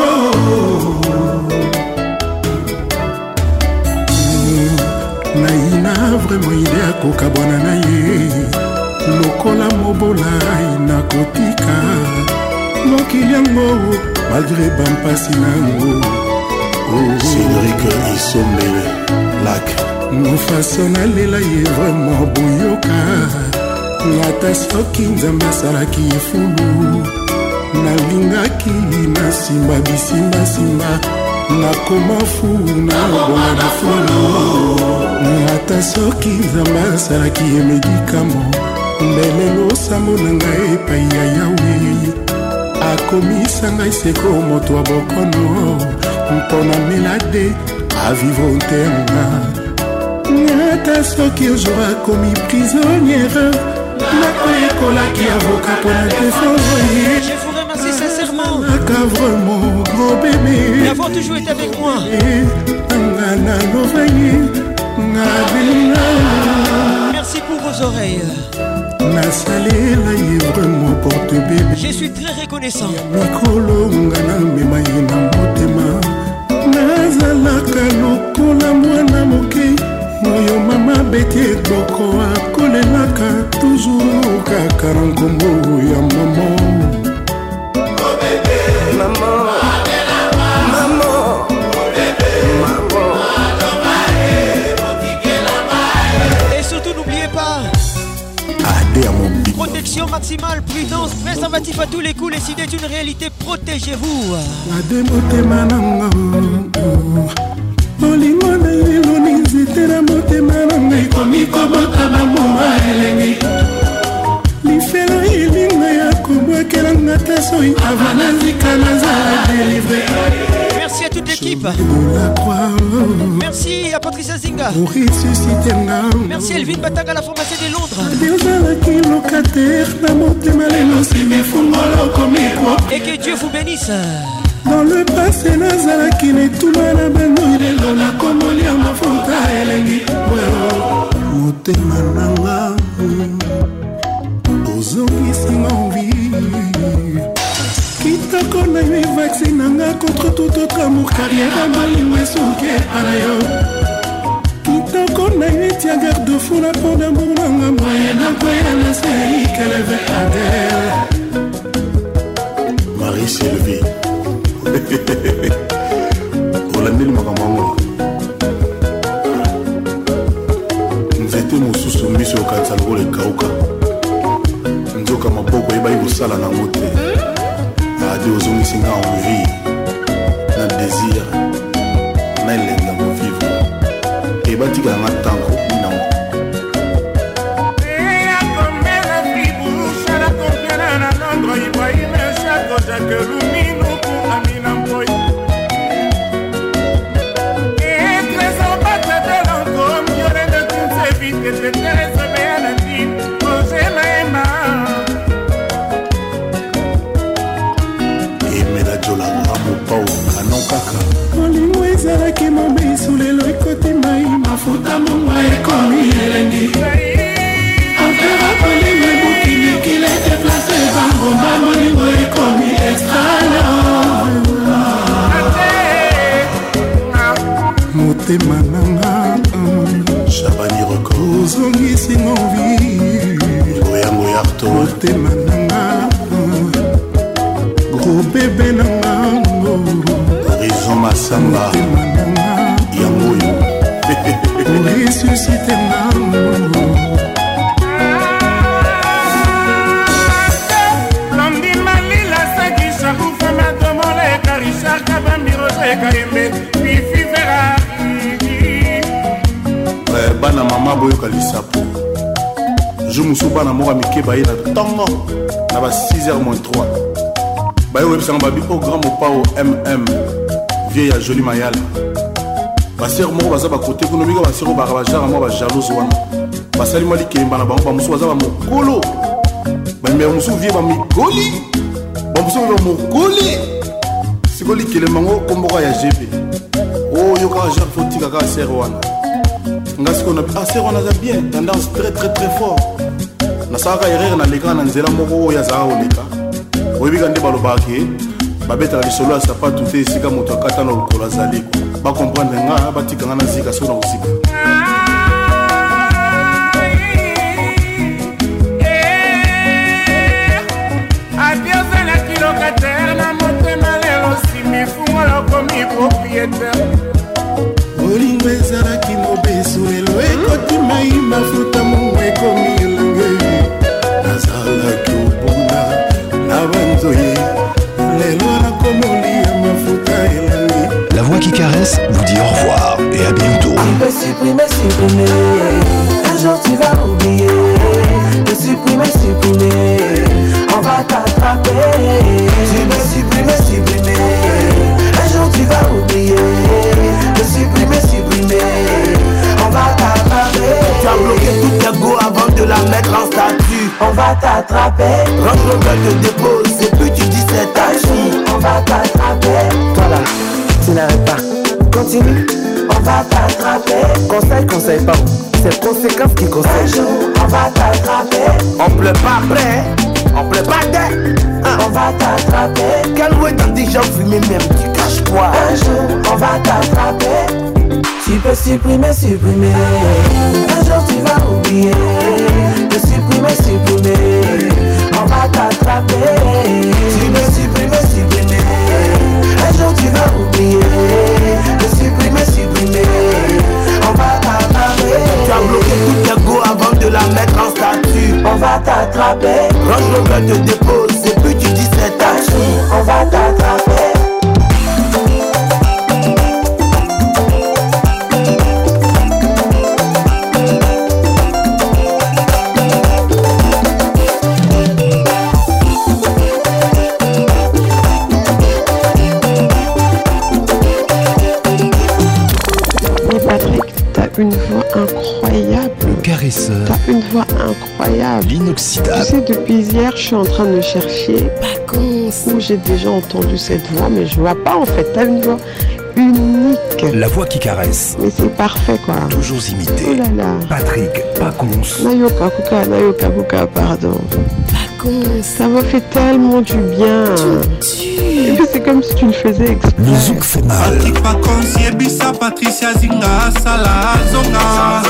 naina vraiment ide akokabwana na ye lokola mobola nakotika mokili yango malgré bampasi nango Cédric Isombele Lac mofaso nalela ye vraiment boyoka ngata soki nzambe asalaki efulu nalingaki na simba bisimbasimba nakoma fu nabonga na fulu ata soki nzambe asalaki ye medikamo mbelelo osambo na ngai epai ya yawe akomisa ngai seko moto ya bokono mpona melade avivre ntenga ata soki ojour akomi prisonnière nakoyekolaki avoka mpona defense. Je vous remercie sincèrement vraiment gros bébé d'avoir toujours été avec moi. Merci pour vos oreilles. Je suis très reconnaissant. Moyo mama beti ekboko akolelaka toujours kaka na nkombo ya mama. Et surtout n'oubliez pas protection maximale, prudence, préservatif à tous les coups. Les idées est une réalité, protégez-vous. Olingo na iloni zitera motema na ngai komikobota bamoma elengi lifelo ilinga ya kobwakelanga ta soi avana zika nazala délivre. Merci à toute l'équipe. Merci à Patricia Zinga. Merci à Elvin Batanga, la pharmacie de Londres. Et que Dieu vous bénisse. Dans le passé nazalaki netuna na bango ilelo nakomolia mafuta elengi motema nanga ozongisinga envi kitoko na yo vaccine nanga contre tout autre amour carrière malingo esuki epana yo kitoko na yo etia garde fou na po d'amour nanga moye nakoya na sei keleve adele Marie Sylvie olandeli makambo yango nzete mosusu miso okanisa lokola ekauka nzoka maboko eyebaki kosala nango te ade ozongisi nga envie na désir na elengi ya kovivre ebatikala nga ntango minango olingo ezalaki mobesu lelo ekoti mai mafuta mongwa ekomi elengi ampera kolingo ebukiliki lete place bangomba molingo ekomi extra masanga yango oyo resuscite nano londimalila sakisa kufema tomoleka richard kabambiroseka yembe fifi ferari bana mama boyoka lisapo jour mosusu bana moko mike baye na ntongo na ba six heures moins trois baye oyebisanga babi au grand mopao mm vie ya joli mayala basere moko baza bakote kuna bika basere baka bajara moko bajalose wana basali mwa likelemba na bango bamosusu baza bamokolo bamere mosusu vie bamigoli bamosusu be bamokoli siko likelemba ngo komboka ya gp oyo kaka jare fotika kaka sere wana nga siko na ah sere wana aza bien tendance très très très fort nasalaka erreur nalekaka na nzela moko oyo azalaka koleka oyebika nde balobaka ke babetaka lisolo ya sapatu te esika moto akata na lokolo azali bakomprendre nga batikanga na zika so na kosika abiozalaki lokatere na motema lelo simifungo lokomi propriétaire bolingo ezalaki mobesu lelo ekotimai mafuta mongo ekomi elenge nazalaki obuna na banzoye lelo nakomoli ya mafuta elenge. La voix qui caresse vous dit au revoir et à bientôt. Tu peux supprimer, supprimer, un jour tu vas oublier. De supprimer, supprimer, on va t'attraper. Tu peux supprimer, supprimer, un jour tu vas oublier. De supprimer, supprimer, on va t'attraper. Tu as bloqué toute ta go avant de la mettre en statut. On va t'attraper. Range Rover te dépose et puis tu dis c'est ta fille. On va t'attraper. Toi là, tu n'arrêtes pas. Continue, on va t'attraper. Conseil, conseil pas. C'est conséquence qui conseille. Un jour, on va t'attraper. On pleut pas après, on pleut pas d'air. Hein? On va t'attraper. Quel ouais dans des gens fumés même, tu caches quoi? Un jour, on va t'attraper. Tu peux supprimer, supprimer. Un jour tu vas oublier. De supprimer, supprimer, on va t'attraper. Tu peux supprimer, supprimer. Un jour tu vas oublier. De supprimer, supprimer, on va t'attraper. Tu as bloqué toute ta go avant de la mettre en statut. On va t'attraper. Range Rover te dépose et puis tu dis c'est ta fille. On va t'attraper. Une voix incroyable. Le caresseur. T'as une voix incroyable. L'inoxydable. Tu sais, depuis hier, je suis en train de chercher Vacances où j'ai déjà entendu cette voix, mais je vois pas en fait. T'as une voix unique. La voix qui caresse. Mais c'est parfait quoi. Toujours imité. Oh là là. Patrick Pacons. Nayoka Kuka, Nayoka Kuka, pardon. Vacances. Ça m'a fait tellement du bien. Et puis c'est comme si tu le faisais exprès. Le zouk fait mal. Patrick Pacons, Yebisa, Patricia Zinga, Sala, Zonga.